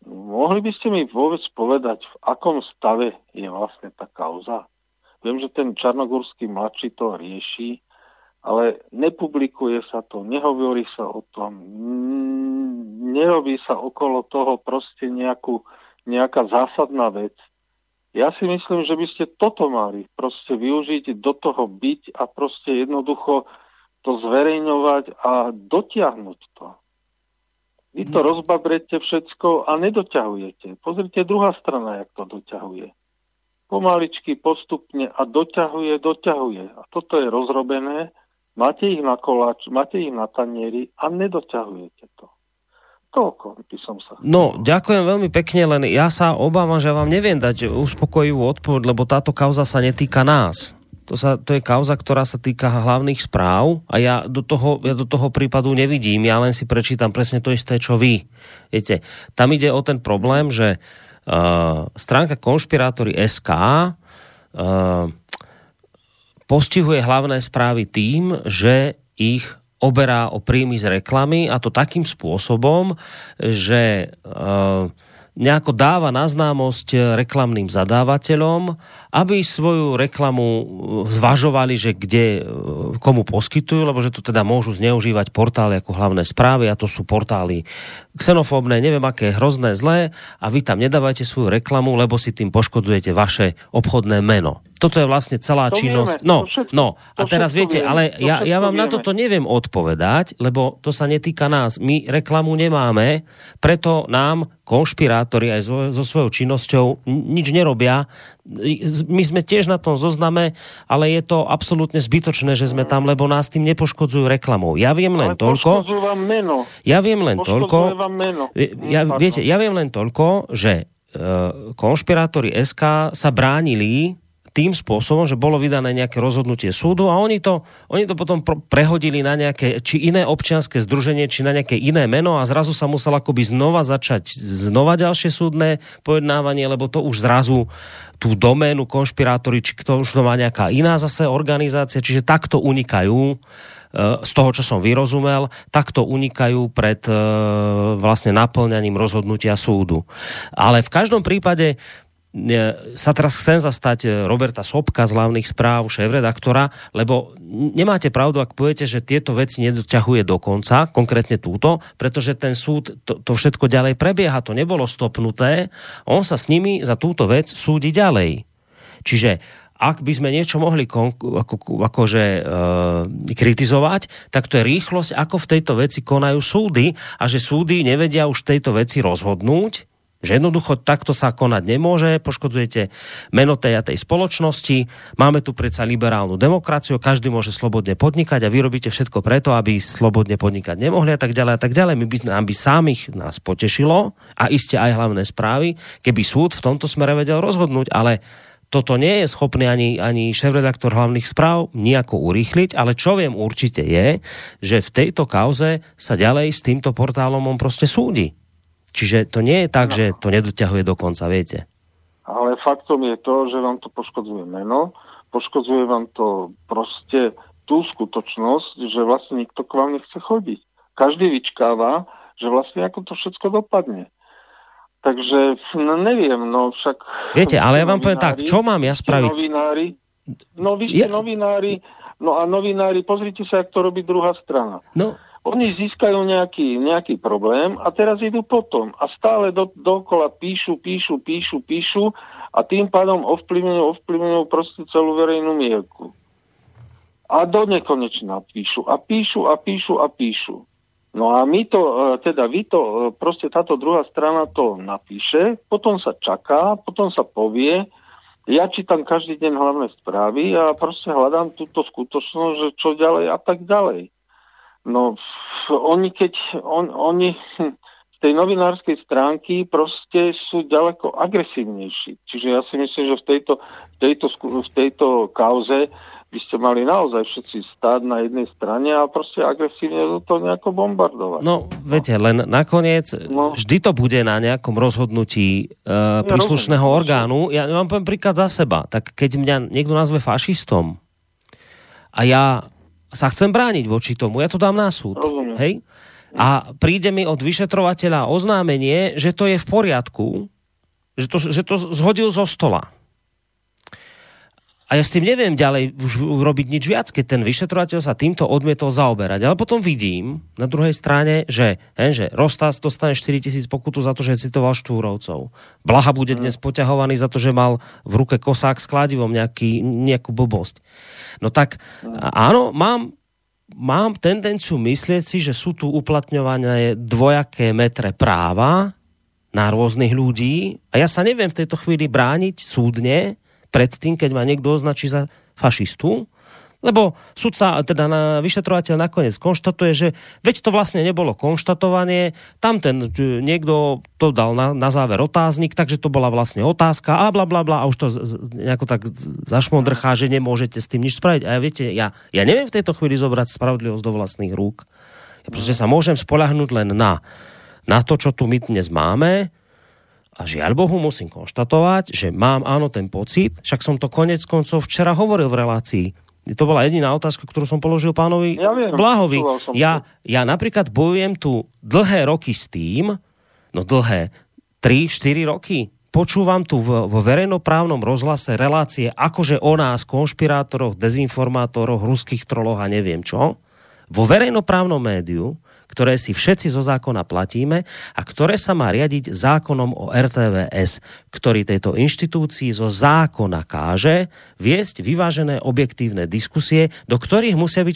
Mohli by ste mi vôbec povedať, v akom stave je vlastne tá kauza? Viem, že ten Čarnogórsky mladší to rieši, ale nepublikuje sa to, nehovorí sa o tom, nerobí sa okolo toho proste nejaká zásadná vec. Ja si myslím, že by ste toto mali proste využiť, do toho byť a proste jednoducho to zverejňovať a dotiahnuť to. Vy to rozbabrete všetko a nedoťahujete. Pozrite, druhá strana, jak to doťahuje. Pomaličky, postupne a doťahuje. A toto je rozrobené, máte ich na koláč, máte ich na tanieri a nedoťahujete to. Toľko by som sa... No, ďakujem veľmi pekne, len ja sa obávam, že vám neviem dať uspokojivú odpoveď, lebo táto kauza sa netýka nás. To je kauza, ktorá sa týka hlavných správ a ja do toho prípadu nevidím, ja len si prečítam presne to isté, čo vy. Viete, tam ide o ten problém, že stránka Konšpirátori.sk postihuje hlavné správy tým, že ich oberá o príjmy z reklamy a to takým spôsobom, že nejako dáva na známosť reklamným zadávateľom, aby svoju reklamu zvažovali, že kde, komu poskytujú, lebo že to teda môžu zneužívať portály ako hlavné správy a to sú portály xenofóbne, neviem aké, hrozné, zlé a vy tam nedávajte svoju reklamu, lebo si tým poškodzujete vaše obchodné meno. Toto je vlastne celá činnosť. No, a teraz viete, ale ja vám na toto neviem odpovedať, lebo to sa netýka nás. My reklamu nemáme, preto nám konšpirátori aj so svojou činnosťou nič nerobia. My sme tiež na tom zozname, ale je to absolútne zbytočné, že sme tam, lebo nás tým nepoškodzujú reklamou. Ja viem len toľko. Ja viem len toľko, že Konšpirátori.sk sa bránili tým spôsobom, že bolo vydané nejaké rozhodnutie súdu a oni to potom prehodili na nejaké, či iné občianske združenie, či na nejaké iné meno a zrazu sa musel akoby začať ďalšie súdne pojednávanie, lebo to už zrazu tú doménu konšpirátori, či to už to má nejaká iná zase organizácia, čiže takto unikajú z toho, čo som vyrozumel, takto unikajú pred vlastne naplňaním rozhodnutia súdu. Ale v každom prípade sa teraz chcem zastať Roberta Sobka z hlavných správ, šéfredaktora, lebo nemáte pravdu, ak poviete, že tieto veci nedoťahuje do konca, konkrétne túto, pretože ten súd to všetko ďalej prebieha, to nebolo stopnuté, on sa s nimi za túto vec súdi ďalej. Čiže ak by sme niečo mohli kritizovať, tak to je rýchlosť, ako v tejto veci konajú súdy a že súdy nevedia už tejto veci rozhodnúť, že jednoducho takto sa konať nemôže, poškodzujete meno tej a tej spoločnosti, máme tu predsa liberálnu demokraciu, každý môže slobodne podnikať a vy robíte všetko preto, aby slobodne podnikať nemohli a tak ďalej a tak ďalej. Nám by samých nás potešilo a iste aj hlavné správy, keby súd v tomto smere vedel rozhodnúť, ale toto nie je schopný ani šéfredaktor hlavných správ nejako urýchliť, ale čo viem určite je, že v tejto kauze sa ďalej s týmto portálom on proste súdi. Čiže to nie je tak, že to nedoťahuje do konca, viete. Ale faktom je to, že vám to poškodzuje meno, poškodzuje vám to proste tú skutočnosť, že vlastne nikto k vám nechce chodiť. Každý vyčkáva, že vlastne ako to všetko dopadne. Takže neviem, no však... Viete, ale ja vám poviem tak, čo mám ja spraviť? Vy ste novinári, no a novinári, pozrite sa, jak to robí druhá strana. No... Oni získajú nejaký problém a teraz idú potom a stále dookola píšu a tým pádom ovplyvňujú proste celú verejnú mienku. A do nekonečna píšu. No a proste táto druhá strana to napíše, potom sa čaká, potom sa povie, ja čítam každý deň hlavné správy a proste hľadám túto skutočnosť, že čo ďalej a tak ďalej. No, oni z tej novinárskej stránky proste sú ďaleko agresívnejší. Čiže ja si myslím, že v tejto kauze by ste mali naozaj všetci stáť na jednej strane a proste agresívne to nejako bombardovať. No, viete, len nakoniec vždy to bude na nejakom rozhodnutí príslušného orgánu. Ja vám poviem príklad za seba. Tak keď mňa niekto nazve fašistom a ja sa chcem brániť voči tomu, ja to dám na súd. Hej? a príde mi od vyšetrovateľa oznámenie, že to je v poriadku, že to zhodil zo stola. A ja s tým neviem ďalej už robiť nič viac, keď ten vyšetrovateľ sa týmto odmietol zaoberať. Ale potom vidím na druhej strane, že Rostas dostane 4 000 pokutu za to, že citoval Štúrovcov. Blaha bude dnes poťahovaný za to, že mal v ruke kosák s kladivom nejakú blbosť. No tak áno, mám tendenciu myslieť si, že sú tu uplatňované dvojaké metre práva na rôznych ľudí a ja sa neviem v tejto chvíli brániť súdne predtým, keď ma niekto označí za fašistu, lebo sudca, teda vyšetrovateľ nakoniec konštatuje, že veď to vlastne nebolo konštatovanie, tam ten niekto to dal na záver otáznik, takže to bola vlastne otázka a blablabla a už to nejako tak zašmondrchá, že nemôžete s tým nič spraviť. A ja neviem v tejto chvíli zobrať spravodlivosť do vlastných rúk. Ja proste sa môžem spoľahnúť len na to, čo tu my dnes máme. A žiaľ Bohu musím konštatovať, že mám áno ten pocit, však som to konec koncov včera hovoril v relácii. To bola jediná otázka, ktorú som položil pánovi Blahovi. Ja napríklad bojujem tu dlhé roky s tým, no dlhé, 3-4 roky, počúvam tu vo verejnoprávnom rozhlase relácie akože o nás, konšpirátoroch, dezinformátoroch, ruských troloch a neviem čo. Vo verejnoprávnom médiu, ktoré si všetci zo zákona platíme a ktoré sa má riadiť zákonom o RTVS, ktorý tejto inštitúcii zo zákona káže viesť vyvážené objektívne diskusie, do ktorých musí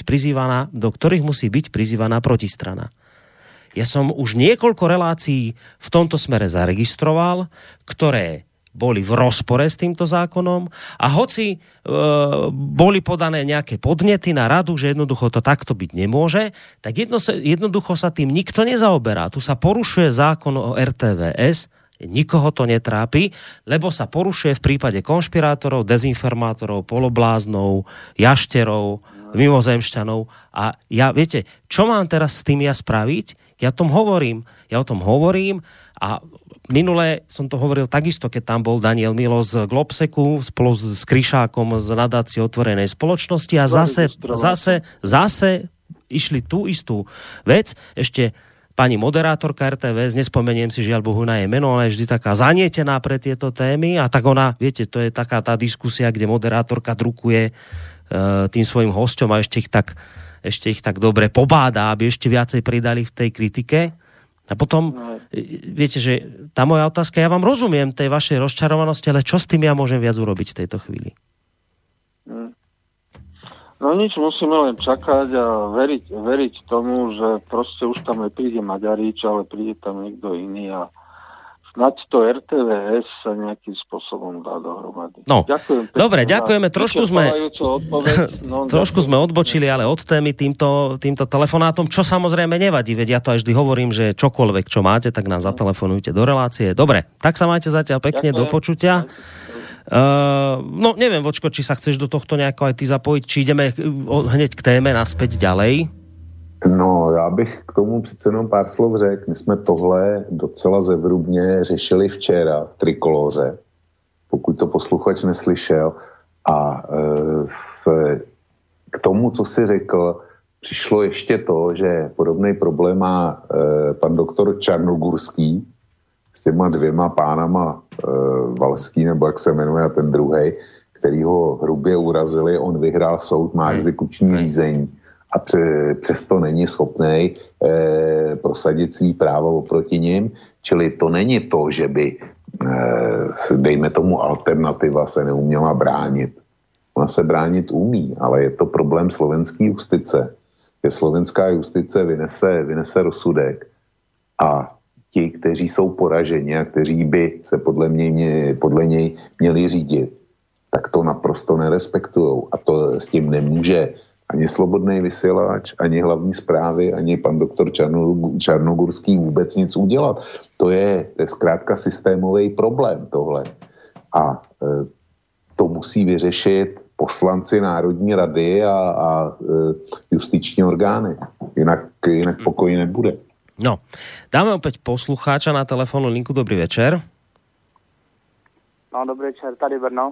byť prizývaná protistrana. Ja som už niekoľko relácií v tomto smere zaregistroval, ktoré boli v rozpore s týmto zákonom a hoci boli podané nejaké podnety na radu, že jednoducho to takto byť nemôže, tak jednoducho sa tým nikto nezaoberá. Tu sa porušuje zákon o RTVS, nikoho to netrápi, lebo sa porušuje v prípade konšpirátorov, dezinformátorov, polobláznov, jašterov, mimozemšťanov. A viete, čo mám teraz s tým spraviť? Ja o tom hovorím a minule som to hovoril takisto, keď tam bol Daniel Milo z Globseku spolu s Kryšákom z nadácie Otvorenej spoločnosti a zase išli tú istú vec. Ešte pani moderátorka RTVS, nespomeniem si žiaľ Bohu na jej meno, ona je vždy taká zanietená pre tieto témy a tak ona, viete, to je taká tá diskusia, kde moderátorka drukuje tým svojim hosťom a ešte ich tak dobre pobáda, aby ešte viacej pridali v tej kritike. A potom, viete, že tá moja otázka, ja vám rozumiem tej vašej rozčarovanosti, ale čo s tým ja môžem viac urobiť v tejto chvíli? No nič, musíme len čakať a veriť tomu, že proste už tam nepríde Maďarič, ale príde tam niekto iný a snáď to RTVS sa nejakým spôsobom dá dohromady. No, dobre, ďakujeme. Trošku sme odbočili, ale od témy týmto telefonátom, čo samozrejme nevadí, veď ja to aj vždy hovorím, že čokoľvek, čo máte, tak nám zatelefonujte do relácie. Dobre, tak sa majte zatiaľ pekne, do počutia. No, neviem, Vočko, či sa chceš do tohto nejako aj ty zapojiť, či ideme hneď k téme naspäť ďalej. No, já bych k tomu přece jenom pár slov řekl. My jsme tohle docela zevrubně řešili včera v Trikoloře, pokud to posluchač neslyšel. A k tomu, co si řekl, přišlo ještě to, že podobný problém má pan doktor Čarnogurský s těma dvěma pánama Valský, nebo jak se jmenuje, a ten druhej, který ho hrubě urazili. On vyhrál soud, má exekuční řízení. A přesto není schopný prosadit svý právo oproti nim. Čili to není to, že by, dejme tomu, alternativa se neuměla bránit. Ona se bránit umí, ale je to problém slovenské justice. Že slovenská justice vynese rozsudek a ti, kteří jsou poraženi a kteří by se podle něj měli řídit, tak to naprosto nerespektujou. A to s tím nemůže ani Slobodný vysílač, ani hlavní zprávy, ani pan doktor Čarnogurský vůbec nic udělat. To je zkrátka systémový problém tohle. A to musí vyřešit poslanci Národní rady a justiční orgány. Jinak pokoj nebude. No, dáme opäť poslucháča na telefónnu linku. Dobrý večer. No, dobrý večer, tady Brno.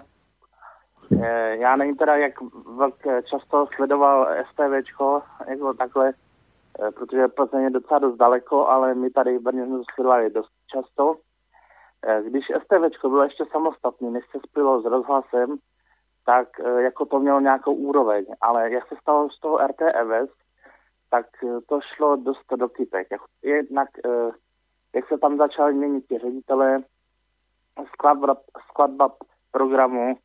Já nevím teda, jak často sledoval STVčko, jako takhle protože Plzeň je docela dost daleko, ale my tady v Brně jsme sledovali dost často. Když STVčko bylo ještě samostatný, než se spojilo s rozhlasem, tak jako to mělo nějakou úroveň, ale jak se stalo z toho RTVS, tak to šlo dost do kytek. Jednak, jak se tam začali měnit ti ředitelé, skladba programu,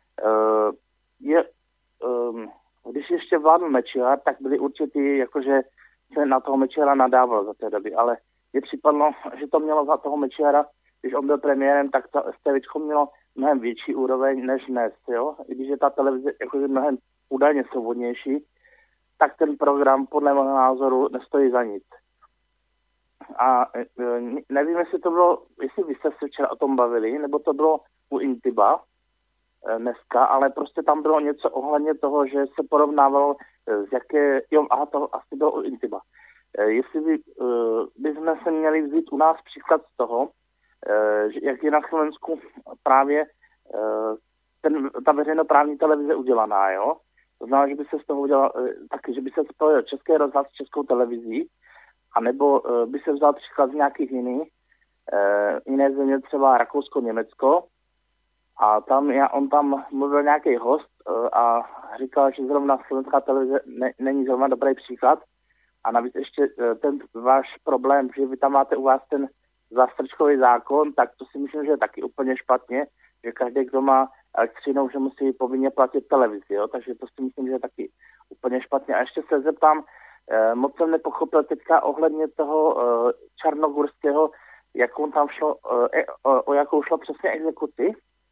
když ještě vládl Mečiar, tak byli určitý, jakože se na toho Mečiara nadával za té doby, ale je připadlo, že to mělo za toho Mečiara, když on byl premiérem, tak to STVčko mělo mnohem větší úroveň než dnes, jo. I když je ta televize jakože mnohem údajně svobodnější, tak ten program podle mého názoru nestojí za nic. A nevím, jestli to bylo, jestli vy jste se včera o tom bavili, nebo to bylo u Intiba dneska, ale prostě tam bylo něco ohledně toho, že se porovnávalo z jaké, to asi bylo u Intiba. Jestli bychom se měli vzít u nás příklad z toho, jak je na Slovensku právě ta veřejnoprávní televize udělaná, jo? To znamená, že by se z toho udělal taky, že by se spojil Český rozhlas s Českou televizí, anebo by se vzal příklad z nějakých jiné země, třeba Rakousko, Německo, a on tam mluvil nějaký host a říkal, že zrovna slovenská televize není zrovna dobrý příklad. A navíc ještě ten váš problém, že vy tam máte u vás ten zástrčkový zákon, tak to si myslím, že je taky úplně špatně, že každý, kdo má elektřinou, že musí povinně platit televizi, jo? Takže to si myslím, že je taky úplně špatně. A ještě se zeptám, moc jsem nepochopil teďka ohledně toho Čarnogurského, jakou tam šlo, o jakou šlo přesně exekuci?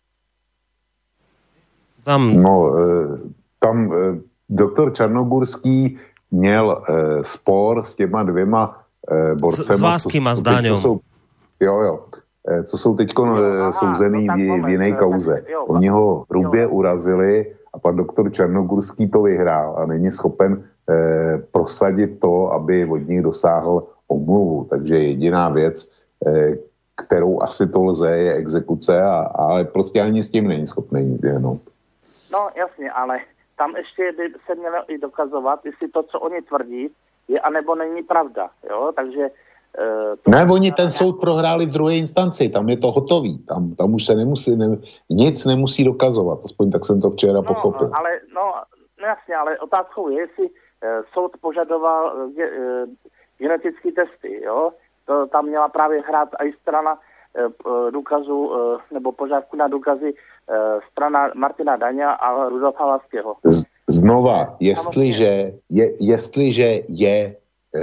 Tam doktor Čarnogurský měl spor s těma dvěma borcema. S Váským a s Dáňom. Co jsou teď souzený v jiné kauze. Oni ho hrubě urazili a pan doktor Čarnogurský to vyhrál a není schopen prosadit to, aby od nich dosáhl omluvu. Takže jediná věc, kterou asi to lze, je exekuce, ale prostě ani s tím není schopný jenom. No jasně, ale tam ještě by se mělo i dokazovat, jestli to, co oni tvrdí, je anebo není pravda, jo, takže... Ne, oni ten soud prohráli v druhé instanci, tam je to hotový, tam už se nic nemusí dokazovat, aspoň tak jsem to včera pochopil. Ale jasně, ale otázkou je, jestli soud požadoval genetické testy, jo, to tam měla právě hrát i strana důkazu, nebo požadavku na strana Martina Daňa a Rudolfa Laského. Znova, jestliže je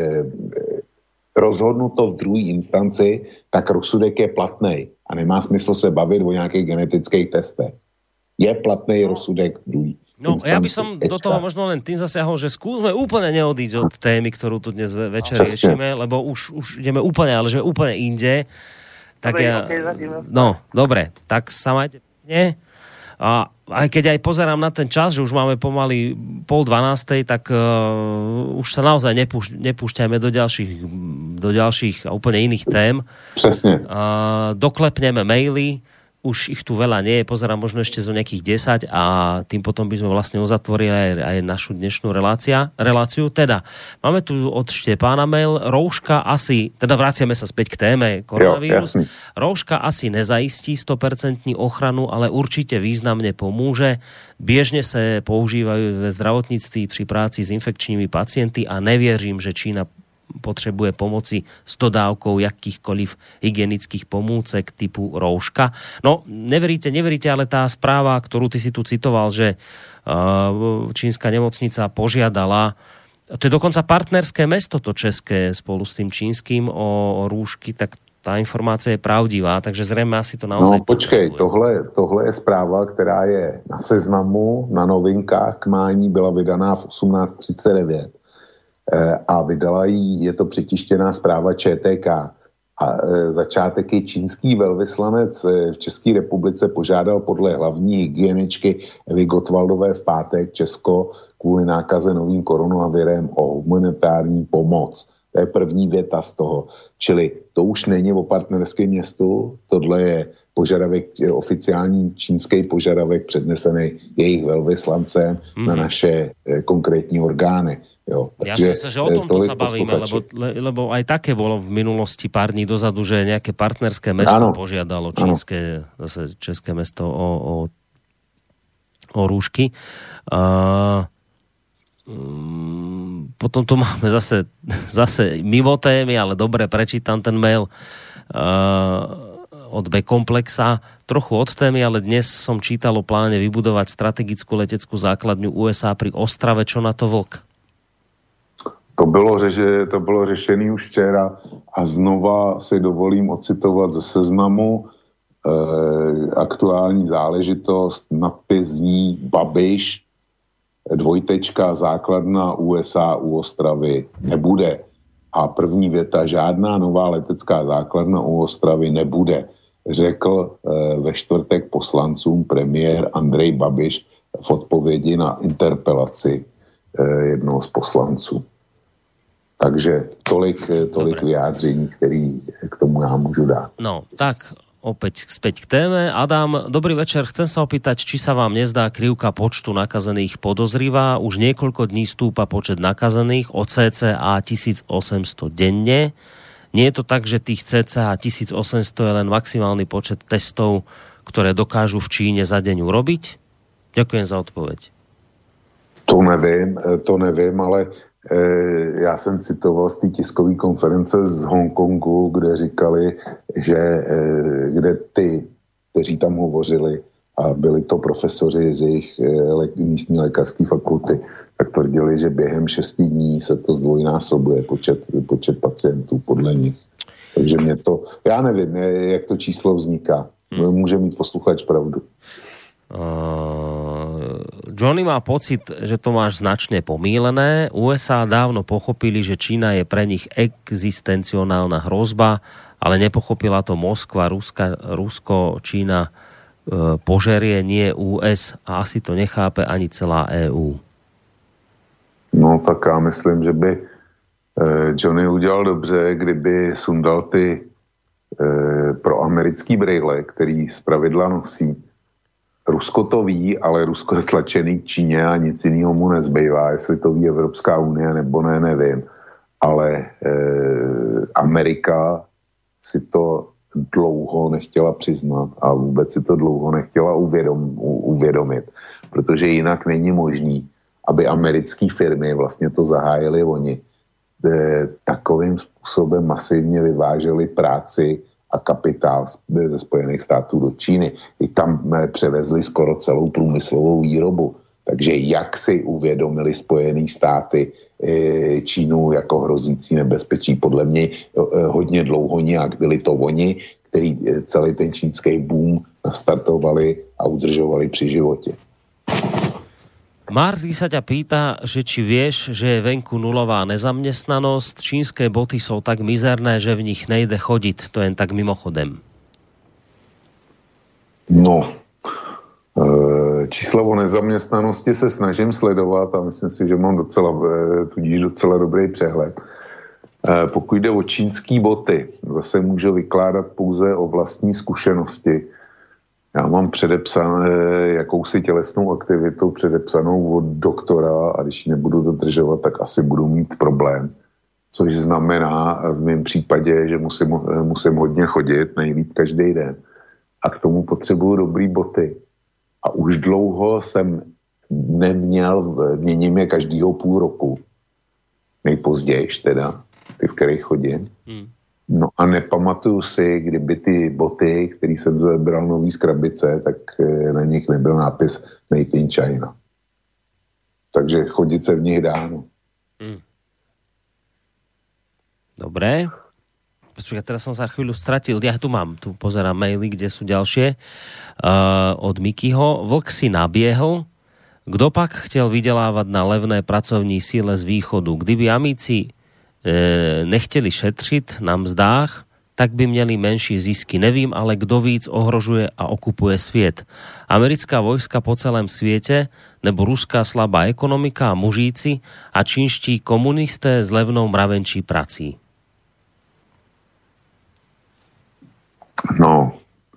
rozhodnuto v druhé instanci, tak rozsudek je platný a nemá smysl se bavit o nějakých genetických testech. Je platný rozsudek druhý. No, ja by som do toho možno len tým zasiahol, že skúsme úplne neodísť od témy, ktorú tu dnes večer riešime, lebo už ideme úplne, ale že úplne inde. Tak dobre, tak sa majte pekne. A aj keď aj pozerám na ten čas, že už máme pomaly 11:30, tak už sa naozaj nepúšťajme do ďalších a úplne iných tém. Presne. Doklepneme maily, už ich tu veľa nie je, pozerám možno ešte zo nejakých 10 a tým potom by sme vlastne uzatvorili aj našu dnešnú reláciu. Teda, máme tu od Štepána mail, rouška asi, teda vraciame sa späť k téme koronavírus, rouška asi nezaistí 100% ochranu, ale určite významne pomôže. Biežne sa používajú ve zdravotníctví pri práci s infekčnými pacienty a nevieřím, že Čína potrebuje pomoci s dodávkou jakýchkoliv hygienických pomôcek typu rouška. No, neveríte, ale tá správa, ktorú ty si tu citoval, že čínska nemocnica požiadala, to je dokonca partnerské mesto to české spolu s tým čínskym o rúšky, tak tá informácia je pravdivá, takže zrejme asi to naozaj... No počkej, tohle je zpráva, která je na Seznamu, na novinkách k mání, byla vydaná v 18:39. A vydala jí, je to přetištěná zpráva ČTK. A začátek je čínský velvyslanec v České republice požádal podle hlavní hygieničky Evy Gottwaldové v pátek Česko kvůli nákaze novým koronavirem o humanitární pomoc. To je první věta z toho. Čili to už není o partnerském městu, tohle je požadavek, oficiální čínský požadavek přednesený jejich velvyslancem na naše konkrétní orgány. Jo. Ja som sa, že o tomto sa bavíme, lebo aj také bolo v minulosti pár dní dozadu, že nejaké partnerské mesto požiadalo čínske, zase české mesto o rúšky. Potom tu máme zase mimo témy, ale dobre, prečítam ten mail od B-komplexa. Trochu od témy, ale dnes som čítal o pláne vybudovať strategickú leteckú základňu USA pri Ostrave. Čo na to Vlk? To bylo řešený už včera a znova si dovolím ocitovat ze Seznamu aktuální záležitost, nadpis zní Babiš, základna USA u Ostravy nebude. A první věta, žádná nová letecká základna u Ostravy nebude, řekl ve čtvrtek poslancům premiér Andrej Babiš v odpovědi na interpelaci jednoho z poslanců. Takže tolik vyjádření, který k tomu já můžu dát. No, tak opäť späť k téme. Adam, dobrý večer. Chcem sa opýtať, či sa vám nezdá krivka počtu nakazených podozrivá. Už niekoľko dní stúpa počet nakazených o cca 1800 denne. Nie je to tak, že tých cca 1800 je len maximálny počet testov, ktoré dokážu v Číne za deň urobiť? Ďakujem za odpoveď. To nevím, ale já jsem citoval z té tiskové konference z Hongkongu, kde říkali, že kde ty, kteří tam hovořili, a byli to profesoři z jejich místní lékařské fakulty, tak tvrdili, že během 6 dní se to zdvojnásobuje počet pacientů podle nich. Takže mě to, já nevím, jak to číslo vzniká. Může mít posluchač pravdu. Johnny má pocit, že to máš značne pomýlené. USA dávno pochopili, že Čína je pre nich existencionálna hrozba, ale nepochopila to Moskva, Rusko, Čína požerie, nie US, a asi to nechápe ani celá EU. No tak já myslím, že by Johnny udělal dobře, kdyby sundal ty proamerický brejle, který zpravidla nosí. Rusko to ví, ale Rusko je tlačený k Číně a nic jiného mu nezbývá. Jestli to ví Evropská unie nebo ne, nevím. Ale Amerika si to dlouho nechtěla přiznat a vůbec si to dlouho nechtěla uvědomit, protože jinak není možný, aby americké firmy vlastně to zahájily oni. Takovým způsobem masivně vyváželi práci a kapitál ze Spojených států do Číny. I tam převezli skoro celou průmyslovou výrobu. Takže jak si uvědomili Spojené státy Čínu jako hrozící nebezpečí? Podle mě hodně dlouho nějak. Byli to oni, který celý ten čínský boom nastartovali a udržovali při životě. Marty sa ťa pýta, že či vieš, že je venku nulová nezamestnanosť. Čínske boty sú tak mizerné, že v nich nejde chodiť. To jen tak mimochodem. No, číslo o nezaměstnanosti se snažím sledovat a myslím si, že mám tudíž docela dobrý přehled. Pokud jde o čínský boty, zase můžu vykládat pouze o vlastní zkušenosti. Já mám předepsané jakousi tělesnou aktivitu předepsanou od doktora a když ji nebudu dodržovat, tak asi budu mít problém. Což znamená v mém případě, že musím hodně chodit, nejlíp každý den. A k tomu potřebuju dobrý boty. A už dlouho jsem neměl, měním je každýho půl roku. Nejpozdějiš teda, ty, v kterých chodím. No a nepamatuju si, kdyby ty boty, který jsem zabral nový z krabice, tak na nich nebyl nápis Made in China. Takže chodit se v nich dá. No. Dobre. Počkaj, teraz som sa chvíľu stratil. Ja tu pozerám maily, kde sú ďalšie. Od Mikyho. Vlk si nabiehol. Kdo pak chtěl vydelávať na levné pracovní síle z východu? Kdyby amíci nechteli šetřit na mzdách, tak by měli menší zisky. Nevím, ale kdo víc ohrožuje a okupuje svět. Americká vojska po celém světě, nebo ruská slabá ekonomika a mužíci a čínští komunisté s levnou mravenčí prací. No,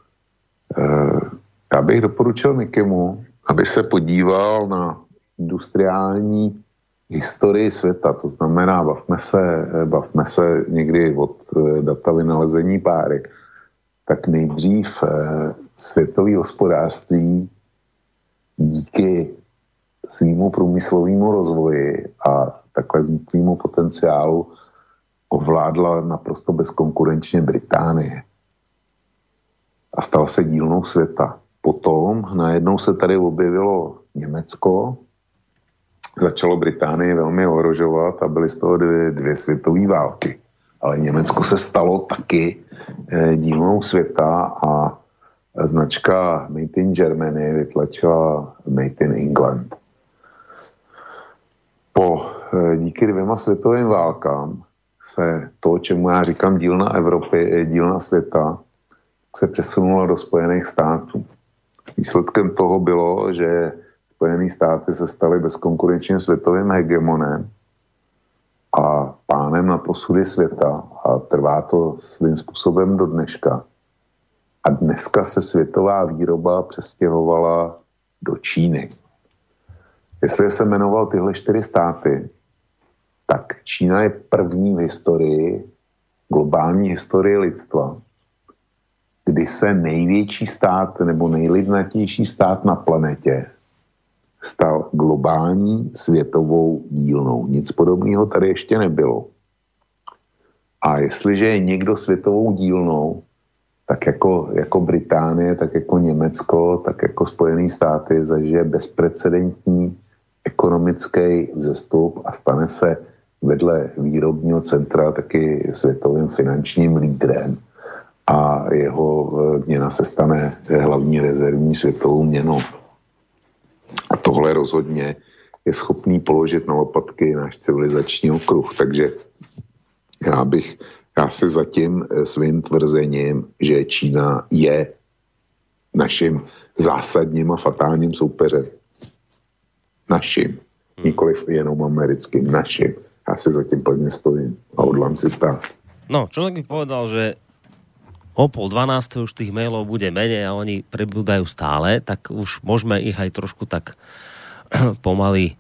já bych doporučil Mikimu, aby se podíval na industriální historii světa, to znamená, bavme se někdy od data vynalezení páry, tak nejdřív světové hospodářství díky svýmu průmyslovému rozvoji a takhle vnitřnímu potenciálu ovládla naprosto bezkonkurenčně Británie a stala se dílnou světa. Potom najednou se tady objevilo Německo, začalo Británii velmi ohrožovat a byly z toho dvě světové války. Ale Německo se stalo taky dílnou světa a značka Made in Germany vytlačila Made in England. Díky 2 světovým válkám se to, čemu já říkám dílna Evropy, dílna světa, se přesunulo do Spojených států. Výsledkem toho bylo, že Spojené státy se staly bezkonkurenčně světovým hegemonem a pánem na posudy světa a trvá to svým způsobem do dneška. A dneska se světová výroba přestěhovala do Číny. Jestli se jmenoval tyhle 4 státy, tak Čína je první v historii, globální historii lidstva, kdy se největší stát nebo nejlidnatější stát na planetě stal globální světovou dílnou. Nic podobného tady ještě nebylo. A jestliže je někdo světovou dílnou, tak jako Británie, tak jako Německo, tak jako Spojené státy zažije bezprecedentní ekonomický vzestup a stane se vedle výrobního centra taky světovým finančním lídrem. A jeho měna se stane hlavní rezervní světovou měnou. A tohle rozhodně je schopný položit na lopatky náš civilizační okruh. Takže já se zatím svým tvrzením, že Čína je naším zásadním a fatálním soupeřem. Naším. Nikoliv jenom americkým. Naším. Já si zatím plně stojím a hodlám si stát. No, človek by povedal, že o 11:30 už tých mailov bude menej a oni pribúdajú stále, tak už môžeme ich aj trošku tak pomaly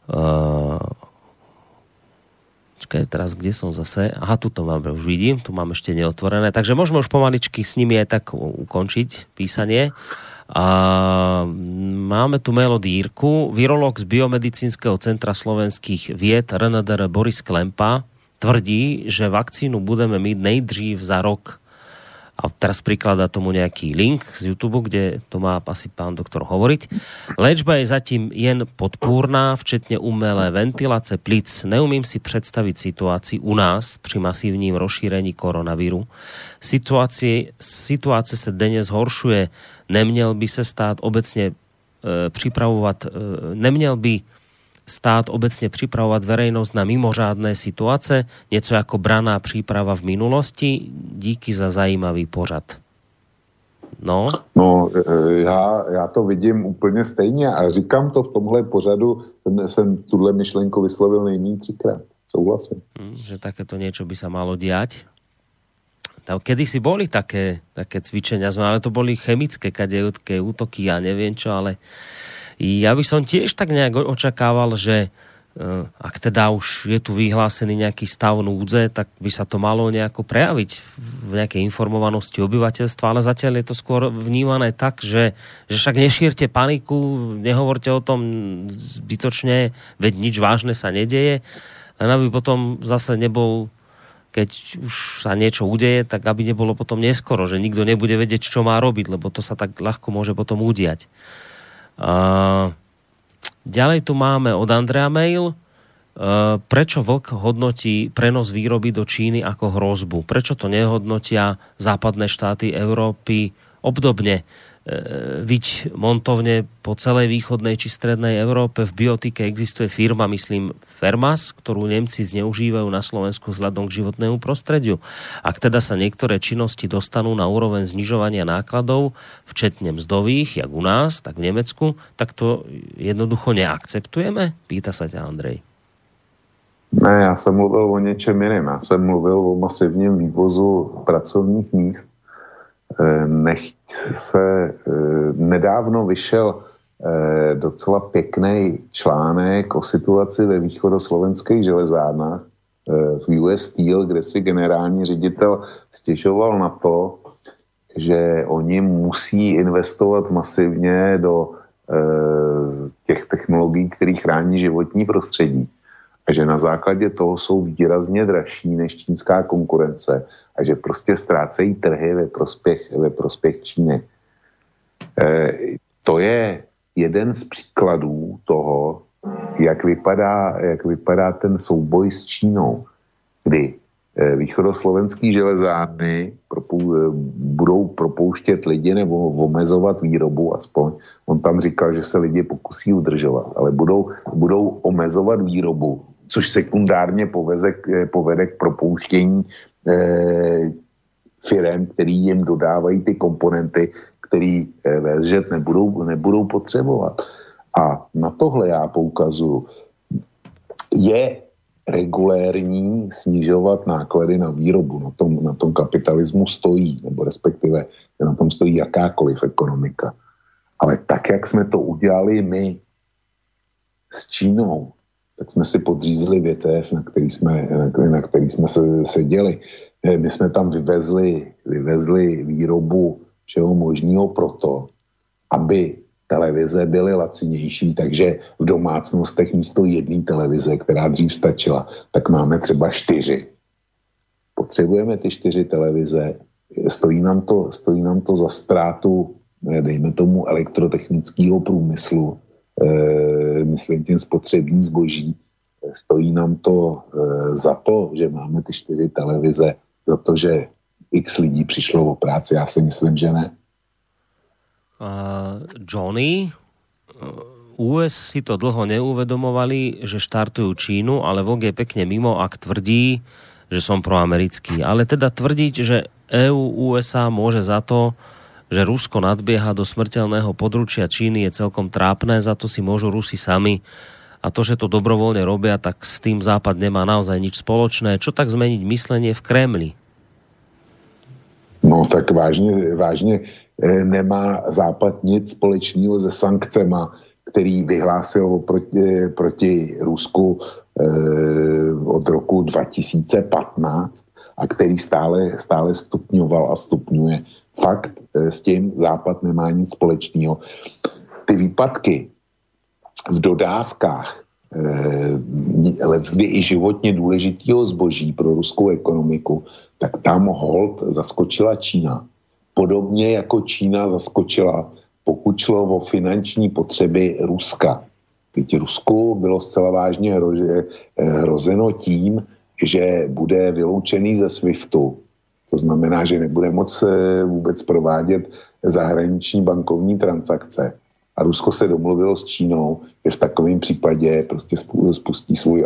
čakaj, teraz kde som zase? Aha, tu to máme, už vidím, tu mám ešte neotvorené, takže môžeme už pomaličky s nimi aj tak ukončiť písanie. A máme tu melodírku. Virológ z Biomedicínskeho centra slovenských vied RNDR Boris Klempa tvrdí, že vakcínu budeme mít nejdřív za rok. A teraz prikladá tomu nejaký link z YouTube, kde to má asi pán doktor hovoriť. Léčba je zatím jen podpůrná, včetně umelé ventilace plic. Neumím si představit situaci u nás při masívním rozšírení koronaviru. Situace se denně zhoršuje. Neměl by stát obecně připravovat verejnost na mimořádné situace, něco jako branná příprava v minulosti. Díky za zajímavý pořad. No, já to vidím úplně stejně a říkám to v tomhle pořadu, jsem tuhle myšlenku vyslovil nejméně 3krát. Souhlasím. Že takéto niečo by sa malo diať. Kedy si boli také cvičenia, ale to boli chemické kadejútke útoky, ja neviem čo, ale ja by som tiež tak nejak očakával, že ak teda už je tu vyhlásený nejaký stav núdze, tak by sa to malo nejako prejaviť v nejakej informovanosti obyvateľstva, ale zatiaľ je to skôr vnímané tak, že však nešírte paniku, nehovorte o tom zbytočne, veď nič vážne sa nedeje, len aby potom zase nebol, keď už sa niečo udeje, tak aby nebolo potom neskoro, že nikto nebude vedieť, čo má robiť, lebo to sa tak ľahko môže potom udiať. Ďalej tu máme od Andrea mail. Prečo Vlk hodnotí prenos výroby do Číny ako hrozbu? Prečo to nehodnotia západné štáty Európy obdobne? viť montovne po celej východnej či strednej Európe. V biotike existuje firma, myslím, Fermas, ktorú Nemci zneužívajú na Slovensku vzhľadom k životnému prostrediu. Ak teda sa niektoré činnosti dostanú na úroveň znižovania nákladov, včetne mzdových, jak u nás, tak v Nemecku, tak to jednoducho neakceptujeme? Pýta sa ťa Andrej. Ne, já jsem mluvil o něčem jiném. Já jsem mluvil o masivním vývozu pracovních míst. Nedávno vyšel docela pěkný článek o situaci ve východoslovenských železárnách v US Steel, kde si generální ředitel stěžoval na to, že oni musí investovat masivně do těch technologií, které chrání životní prostředí. A že na základě toho jsou výrazně dražší než čínská konkurence a že prostě ztrácejí trhy ve prospěch Číny. To je jeden z příkladů toho, jak vypadá ten souboj s Čínou, kdy východoslovenský železárny budou propouštět lidi nebo omezovat výrobu aspoň. On tam říkal, že se lidi pokusí udržovat, ale budou omezovat výrobu, což sekundárně povede k propouštění firem, který jim dodávají ty komponenty, který VSŽ nebudou potřebovat. A na tohle já poukazuju. Je regulérní snižovat náklady na výrobu. Na tom kapitalismu stojí, nebo respektive na tom stojí jakákoliv ekonomika. Ale tak, jak jsme to udělali my s Čínou, tak jsme si podřízli větev, na který jsme seděli. My jsme tam vyvezli výrobu všeho možného proto, aby televize byly lacinější, takže v domácnostech místo jedné televize, která dřív stačila, tak máme třeba 4. Potřebujeme ty 4 televize, stojí nám to za ztrátu, dejme tomu, elektrotechnického průmyslu, myslím tím spotřební zboží, stojí nám to za to, že máme ty 4 televize, za to, že x lidí přišlo o práci, já si myslím, že ne. Johnny, US si to dlho neuvedomovali, že štartujú Čínu, ale Vok je pekne mimo, ak tvrdí, že som proamerický. Ale teda tvrdiť, že EU, USA môže za to, že Rusko nadbieha do smrteľného područia Číny, je celkom trápne, za to si môžu Rusi sami. A to, že to dobrovoľne robia, tak s tým Západ nemá naozaj nič spoločné. Čo tak zmeniť myslenie v Kremli? No tak vážně nemá Západ nic společného se sankcema, který vyhlásil proti Rusku od roku 2015 a který stále stupňoval a stupňuje. Fakt s tím Západ nemá nic společného. Ty výpadky v dodávkách leckdy i životně důležitého zboží pro ruskou ekonomiku, tak tam hold zaskočila Čína. Podobně jako Čína zaskočila, pokud šlo o finanční potřeby Ruska. Teď Rusku bylo zcela vážně hrozeno tím, že bude vyloučený ze SWIFTu. To znamená, že nebude moc vůbec provádět zahraniční bankovní transakce. A Rusko se domluvilo s Čínou, že v takovém případě prostě spustí svůj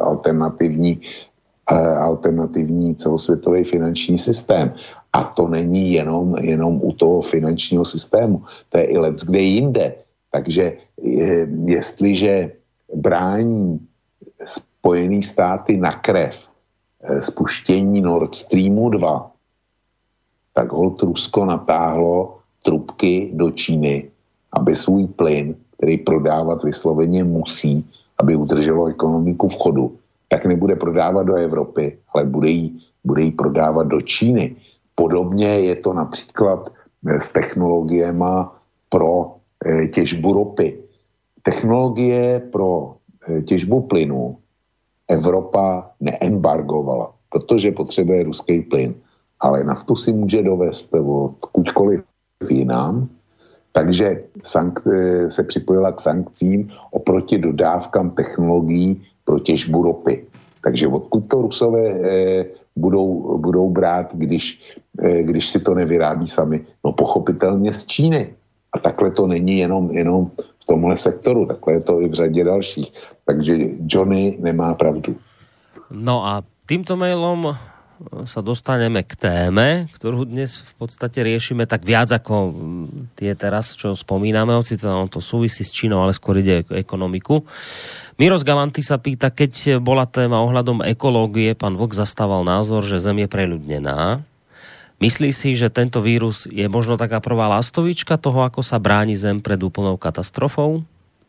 alternativní celosvětový finanční systém. A to není jenom u toho finančního systému. To je i leckde jinde. Takže jestliže brání Spojené státy na krev spuštění Nord Streamu 2, tak holt Rusko natáhlo trubky do Číny, aby svůj plyn, který prodávat vysloveně musí, aby udrželo ekonomiku v chodu, tak nebude prodávat do Evropy, ale bude jí prodávat do Číny. Podobně je to například s technologiemi pro těžbu ropy. Technologie pro těžbu plynu Evropa neembargovala, protože potřebuje ruský plyn, ale naftu si může dovést odkudkoliv jinam, takže se připojila k sankcím oproti dodávkám technologií pro těžbu ropy. Takže odkud to Rusové budou brát, když si to nevyrábí sami? No pochopitelně z Číny. A takhle to není jenom v tomhle sektoru, takhle je to i v řadě dalších. Takže Johnny nemá pravdu. No a týmto mailom sa dostaneme k téme, ktorú dnes v podstate riešime tak viac ako tie teraz, čo spomíname, hoci to súvisí s Čínou, ale skôr ide o ekonomiku. Miros Galanty sa pýta, keď bola téma ohľadom ekológie, pán Vlk zastával názor, že Zem je preľudnená. Myslí si, že tento vírus je možno taká prvá lastovička toho, ako sa bráni Zem pred úplnou katastrofou?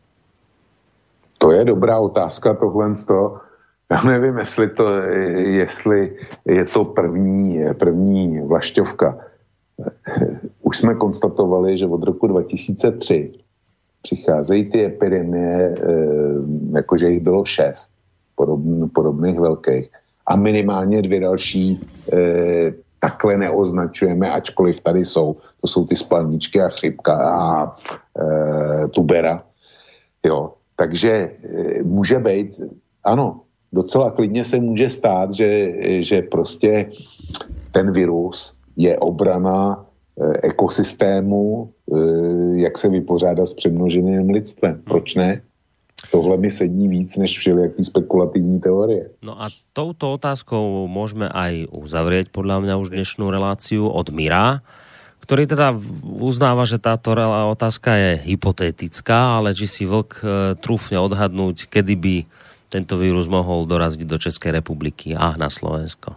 To je dobrá otázka, tohle z toho. Já nevím, jestli je to první vlašťovka. Už jsme konstatovali, že od roku 2003 přicházejí ty epidemie, jakože jich bylo 6 podobných velkých. A minimálně 2 další takhle neoznačujeme, ačkoliv tady jsou. To jsou ty spalničky a chřipka a tubera. Jo. Takže může být, ano, docela klidně se může stát, že prostě ten virus je obrana ekosystému, jak se vypořádat s přemnoženým lidstvem. Proč ne? Tohle mi sedí víc než všelijaký spekulativní teorie. No a touto otázkou môžeme aj uzavrieť podľa mňa už dnešnú reláciu od Mira, ktorý teda uznáva, že táto otázka je hypotetická, ale či si Vlk trúfne odhadnúť, kedy by tento vírus mohol dorazit do České republiky a na Slovensko?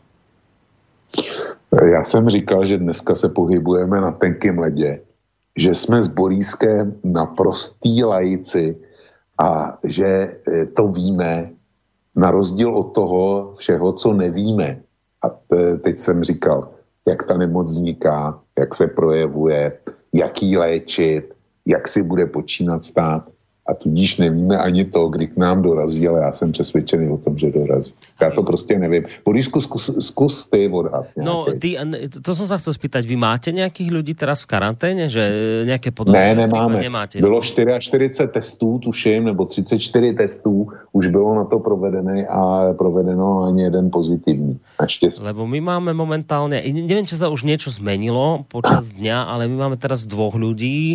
Já jsem říkal, že dneska se pohybujeme na tenkém ledě, že jsme s Borískem naprostý laici a že to víme na rozdíl od toho všeho, co nevíme. A teď jsem říkal, jak ta nemoc vzniká, jak se projevuje, jak ji léčit, jak si bude počínat stát. A tudíž nevíme ani to, kdy k nám dorazí, ale já jsem přesvědčený o tom, že dorazí. Já to prostě nevím. Borisku, zkus ty odhad. No, to som sa chcel spýtať, vy máte nejakých ľudí teraz v karanténe? Že nejaké podozrenie? Ne, nemáme. Nemáte. Bylo 44 testů, tuším, nebo 34 testů, už bylo na to provedené a provedeno ani jeden pozitivní. Naštěstí. Lebo my máme momentálne, neviem, či sa už niečo zmenilo počas dňa, ale my máme teraz 2 ľudí,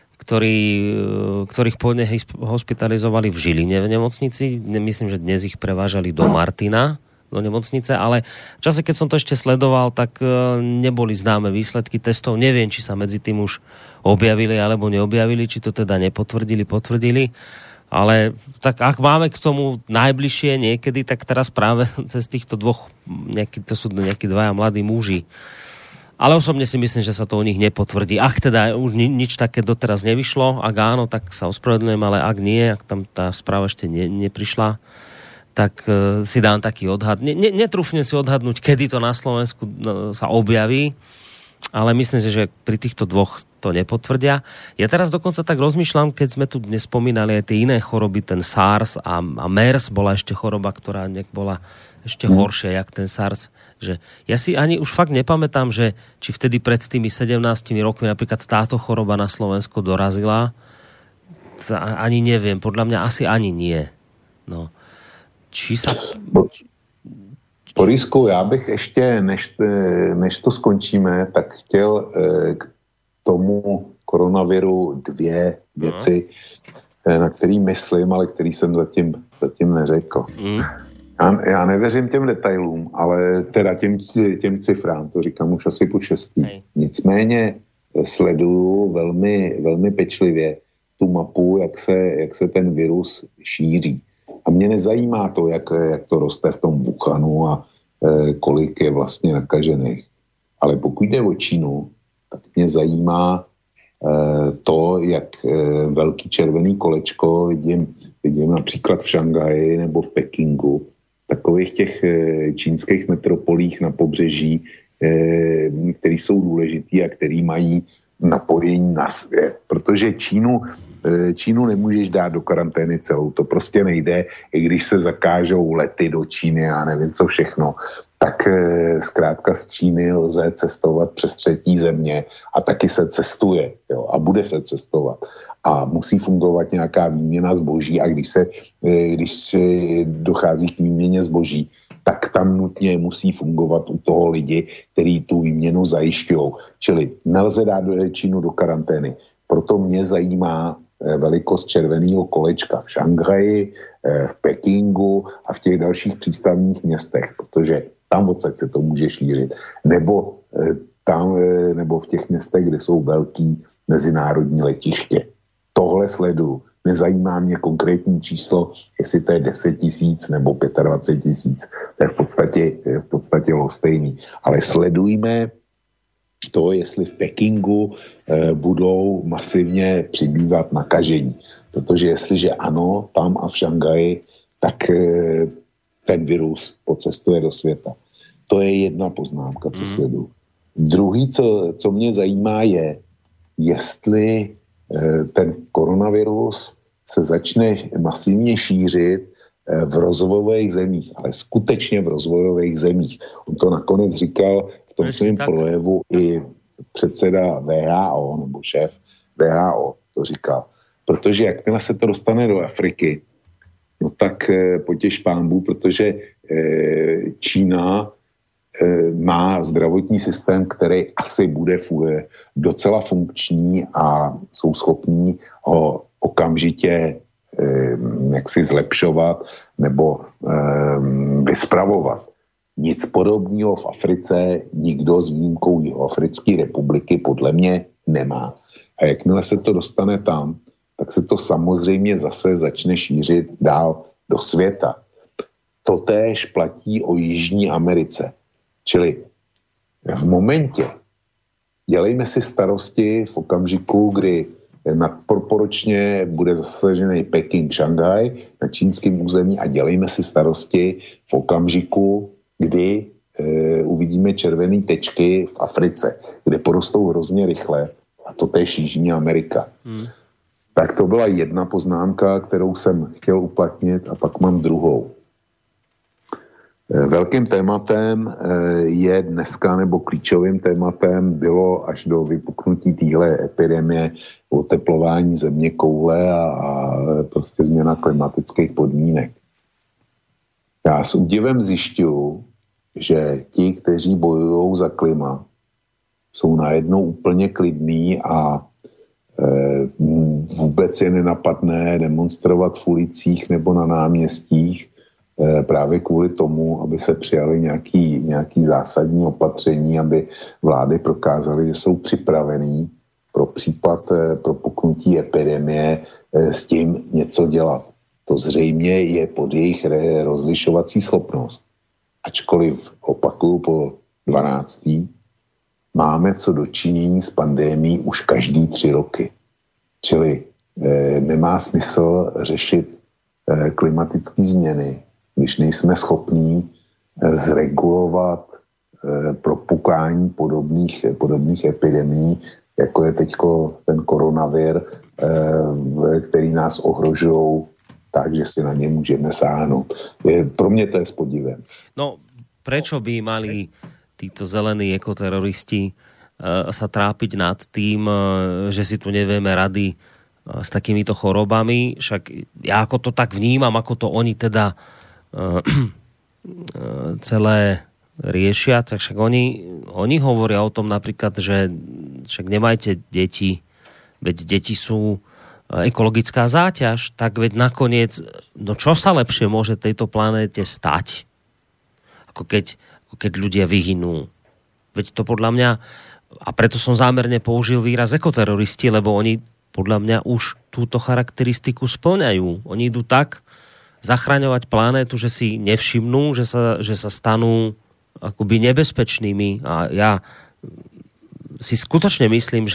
ktorých pôvodne hospitalizovali v Žiline v nemocnici. Myslím, že dnes ich prevážali do Martina, do nemocnice, ale v čase, keď som to ešte sledoval, tak neboli známe výsledky testov. Neviem, či sa medzi tým už objavili alebo neobjavili, či to teda nepotvrdili, potvrdili. Ale tak ak máme k tomu najbližšie niekedy, tak teraz práve cez týchto 2, to sú nejakí 2 mladí muži. Ale osobne si myslím, že sa to u nich nepotvrdí. Ak teda už nič také doteraz nevyšlo, ak áno, tak sa ospravedlňujem, ale ak nie, ak tam tá správa ešte neprišla, tak si dám taký odhad. Netrúfnem si odhadnúť, kedy to na Slovensku sa objaví, ale myslím si, že pri týchto 2 to nepotvrdia. Ja teraz dokonca tak rozmýšľam, keď sme tu dnes spomínali aj tie iné choroby, ten SARS a MERS bola ešte choroba, ktorá bola ešte horšia, jak ten SARS. Že ja si ani už fakt nepamätám, že či vtedy pred tými 17 rokmi napríklad táto choroba na Slovensko dorazila. Ani neviem, podľa mňa asi ani nie. No. Či sa... Borisku, já bych ještě, než to skončíme, tak chtěl k tomu koronaviru 2 věci, na který myslím, ale který jsem zatím neřekl. Já nevěřím těm detailům, ale teda těm cifrám, to říkám už asi po 6. Nicméně sleduju velmi, velmi pečlivě tu mapu, jak se ten virus šíří. A mě nezajímá to, jak to roste v tom Wuhanu a kolik je vlastně nakažených. Ale pokud jde o Čínu, tak mě zajímá to, jak velký červený kolečko vidím například v Šanghaji nebo v Pekingu, takových těch čínských metropolích na pobřeží, které jsou důležitý a který mají napojení na svět. Protože Čínu nemůžeš dát do karantény celou, to prostě nejde, i když se zakážou lety do Číny a nevím co všechno, tak zkrátka z Číny lze cestovat přes 3. země a taky se cestuje, jo, a bude se cestovat. A musí fungovat nějaká výměna zboží a když dochází k výměně zboží, tak tam nutně musí fungovat u toho lidi, kteří tu výměnu zajišťují. Čili nelze dát Čínu do karantény. Proto mě zajímá velikost červeného kolečka v Šanghaji, v Pekingu a v těch dalších přístavních městech, protože tam odsaď se to může šířit. Nebo v těch městech, kde jsou velký mezinárodní letiště. Tohle sleduju. Nezajímá mě konkrétní číslo, jestli to je 10 000 nebo 25 000. To je v podstatě lhostejný. Ale sledujme to, jestli v Pekingu budou masivně přibývat nakažení. Protože jestliže ano, tam a v Šanghaji, tak ten virus pocestuje do světa. To je jedna poznámka, co sleduju. Druhý, co mě zajímá, je, jestli ten koronavirus se začne masivně šířit v rozvojových zemích, ale skutečně v rozvojových zemích. On to nakonec říkal v tom svém projevu i předseda WHO, nebo šéf WHO to říkal. Protože jakmile se to dostane do Afriky, no tak potěš pánbů, protože Čína má zdravotní systém, který asi bude docela funkční a jsou schopní ho okamžitě jaksi zlepšovat nebo vyspravovat. Nic podobného v Africe nikdo s výjimkou Jihoafrické republiky podle mě nemá. A jakmile se to dostane tam, tak se to samozřejmě zase začne šířit dál do světa. Totéž platí o Jižní Americe. Čili v momentě, dělejme si starosti v okamžiku, kdy nadproporčně bude zasažený Peking, Šanghaj na čínském území a dělejme si starosti v okamžiku, kdy uvidíme červené tečky v Africe, kde porostou hrozně rychle, a to též Jižní Amerika. Tak to byla jedna poznámka, kterou jsem chtěl uplatnit, a pak mám druhou. Velkým tématem je dneska, nebo klíčovým tématem bylo až do vypuknutí téhle epidemie oteplování země koule a prostě změna klimatických podmínek. Já s údivem zjišťuju, že ti, kteří bojují za klima, jsou najednou úplně klidní a vůbec je nenapadne demonstrovat v ulicích nebo na náměstích právě kvůli tomu, aby se přijaly nějaký zásadní opatření, aby vlády prokázaly, že jsou připravený pro případ propuknutí epidemie s tím něco dělat. To zřejmě je pod jejich rozlišovací schopnost. Ačkoliv, opakuju po 12. máme co dočinění s pandemií už každý 3 roky. Čili nemá smysl řešit klimatické změny, když nejsme schopní zregulovat propukání podobných epidemií, jako je teďko ten koronavir, který nás ohrožují tak, že si na ně můžeme sáhnout. Pro mě to je s podivem. No, prečo by mali títo zelení ekoteroristi sa trápiť nad tým, že si tu nevieme rady s takýmito chorobami? Však ja ako to tak vnímam, ako to oni teda celé riešia, tak však oni hovoria o tom napríklad, že však nemajte deti, veď deti sú ekologická záťaž, tak veď nakoniec, no čo sa lepšie môže tejto planéte stať, ako keď ľudia vyhynú. Veď to podľa mňa, a preto som zámerne použil výraz ekoteroristi, lebo oni podľa mňa už túto charakteristiku spĺňajú. Oni idú tak zachraňovať planétu, že si nevšimnú, že sa stanú akoby nebezpečnými. A ja si skutočne myslím,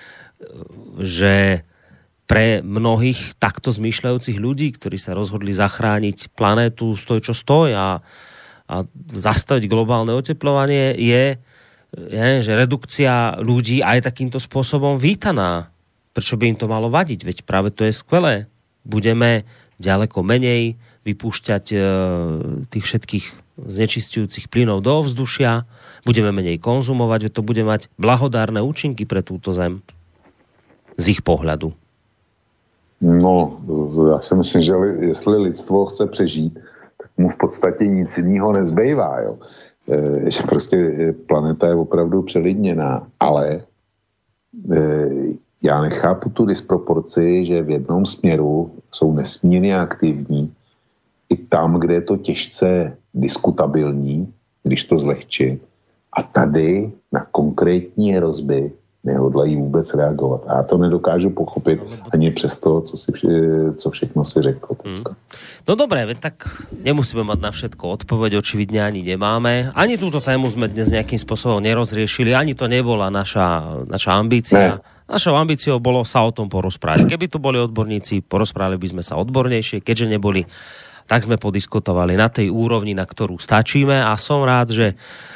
že pre mnohých takto zmýšľajúcich ľudí, ktorí sa rozhodli zachrániť planétu stoj čo stoj a zastaviť globálne oteplovanie, je, že redukcia ľudí aj takýmto spôsobom vítaná. Prečo by im to malo vadiť? Veď práve to je skvelé. Budeme ďaleko menej vypúšťať tých všetkých znečisťujúcich plynov do ovzdušia, budeme menej konzumovať, veď to bude mať blahodárne účinky pre túto zem z ich pohľadu. No, já si myslím, že jestli lidstvo chce přežít, tak mu v podstatě nic jiného nezbývá, jo. Že prostě planeta je opravdu přelidněná, ale já nechápu tu disproporci, že v jednom směru jsou nesmírně aktivní i tam, kde je to těžce diskutabilní, když to zlehčí. A tady na konkrétní hrozby nehodlají vůbec reagovat. A já to nedokážu pochopit ani přes to, co všechno si řekl. No dobré, tak nemusíme mať na všetko odpoveď, očividne ani nemáme. Ani túto tému sme dnes nejakým spôsobom nerozriešili, ani to nebola naša ambícia. Našou ambíciou bolo sa o tom porozprávať. Keby tu boli odborníci, porozprávali by sme sa odbornejšie, keďže neboli, tak sme podiskutovali na tej úrovni, na ktorú stačíme a som rád, že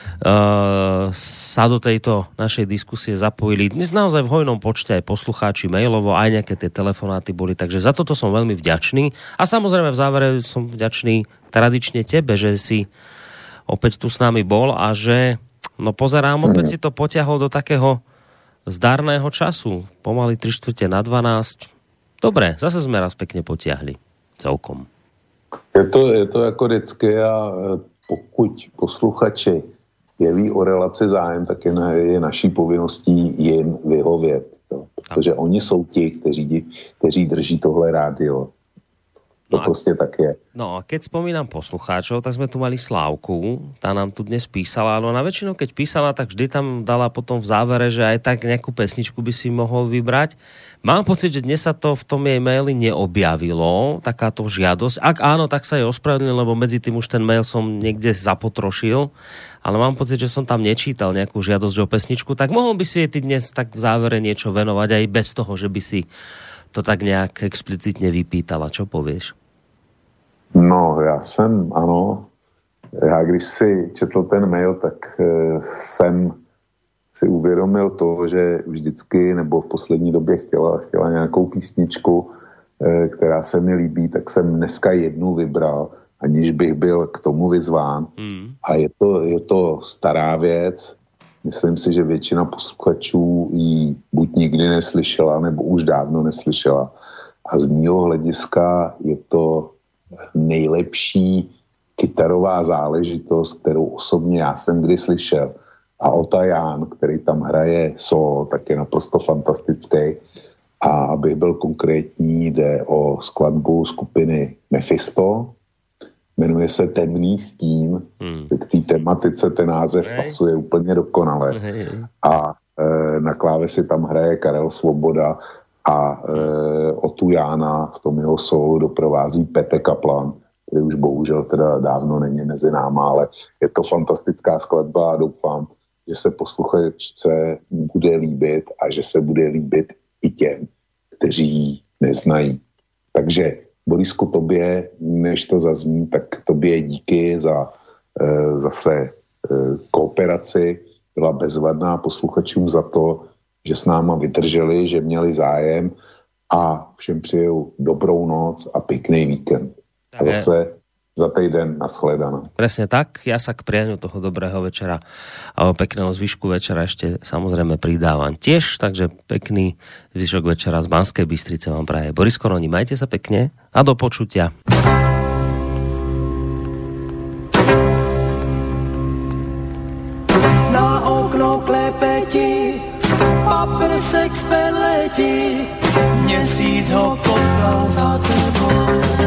sa do tejto našej diskusie zapojili dnes naozaj v hojnom počte aj poslucháči mailovo, aj nejaké tie telefonáty boli, takže za toto som veľmi vďačný a samozrejme v závere som vďačný tradične tebe, že si opäť tu s nami bol a že pozerám, opäť si to potiahol do takého zdarného času, pomaly 3:45. Dobre, zase sme raz pekne potiahli celkom. Je to jako vždycky a pokud posluchači jeví o relaci zájem, tak je naší povinností jim vyhovět. Jo. Protože oni jsou ti, kteří drží tohle rádio. To prostě tak je. No a keď spomínam poslucháčov, tak sme tu mali Slávku, tá nám tu dnes písala, no na väčšinu keď písala, tak vždy tam dala potom v závere, že aj tak nejakú pesničku by si mohol vybrať. Mám pocit, že dnes sa to v tom jej maili neobjavilo, takáto žiadosť. Ak áno, tak sa jej ospravedlňujem, lebo medzi tým už ten mail som niekde zapotrošil, ale mám pocit, že som tam nečítal nejakú žiadosť o pesničku, tak mohol by si jej ty dnes tak v závere niečo venovať aj bez toho, že by si to tak nejak explicitne vypýtala. Čo povieš? No, já když si četl ten mail, tak jsem si uvědomil to, že vždycky, nebo v poslední době chtěla nějakou písničku, která se mi líbí, tak jsem dneska jednu vybral, aniž bych byl k tomu vyzván. A je to stará věc. Myslím si, že většina posluchačů ji buď nikdy neslyšela, nebo už dávno neslyšela. A z mýho hlediska je to nejlepší kytarová záležitost, kterou osobně já jsem kdy slyšel. A Ota Ján, který tam hraje solo, tak je naprosto fantastický. A abych byl konkrétní, jde o skladbu skupiny Mephisto. Jmenuje se Temný stín. K té tematice ten název pasuje úplně dokonale. A na klávesi tam hraje Karel Svoboda a Otu Jána v tom jeho solu doprovází Pete Kaplan, který už bohužel teda dávno není mezi náma, ale je to fantastická skladba a doufám, že se posluchačce bude líbit a že se bude líbit i těm, kteří ji neznají. Takže Borisku, tobě, než to zazní, tak tobě díky za zase kooperaci, byla bezvadná, posluchačům za to, že s náma vydrželi, že měli zájem a všem přeju dobrou noc a pěkný víkend. A zase za týden nashledaná. Presne tak, ja sa k prianiu toho dobrého večera a pekného zvyšku večera ešte samozrejme pridávam tiež, takže pekný zvyšok večera z Banskej Bystrice vám praje Boris Koroni. Majte sa pekne a do počutia. Na okno klepeti, paprsek z peleti, měsíc ho poslal za tebou.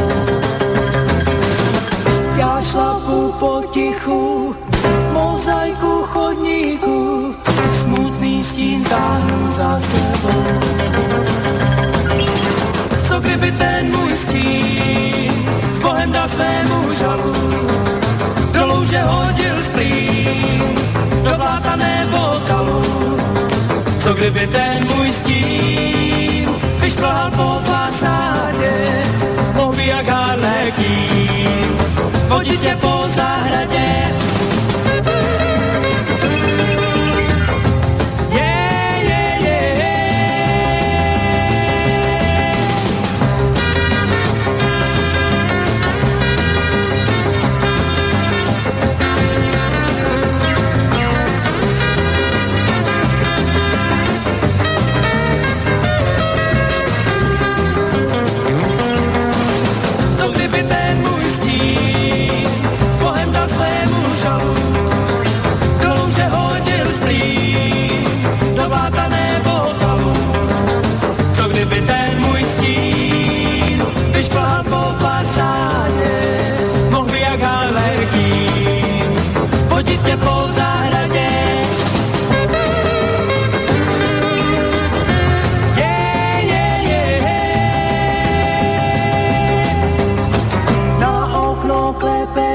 Já šlapu potichu, mozaiku chodníku, smutný stín táhnu za sebou. Co kdyby ten můj stín s Bohem dal svému žalu, do louže hodil splín, do bláta nebo kalu. Co kdyby ten můj stín vyšplhal po fasádě, mohl jak Harlekín vodit tě po zahradě.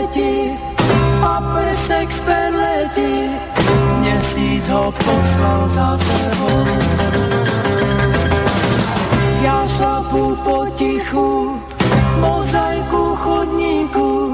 leti a plesek z perleti, měsíc ho poslal za tebou. Já šlapu potichu, mozaiku chodníku,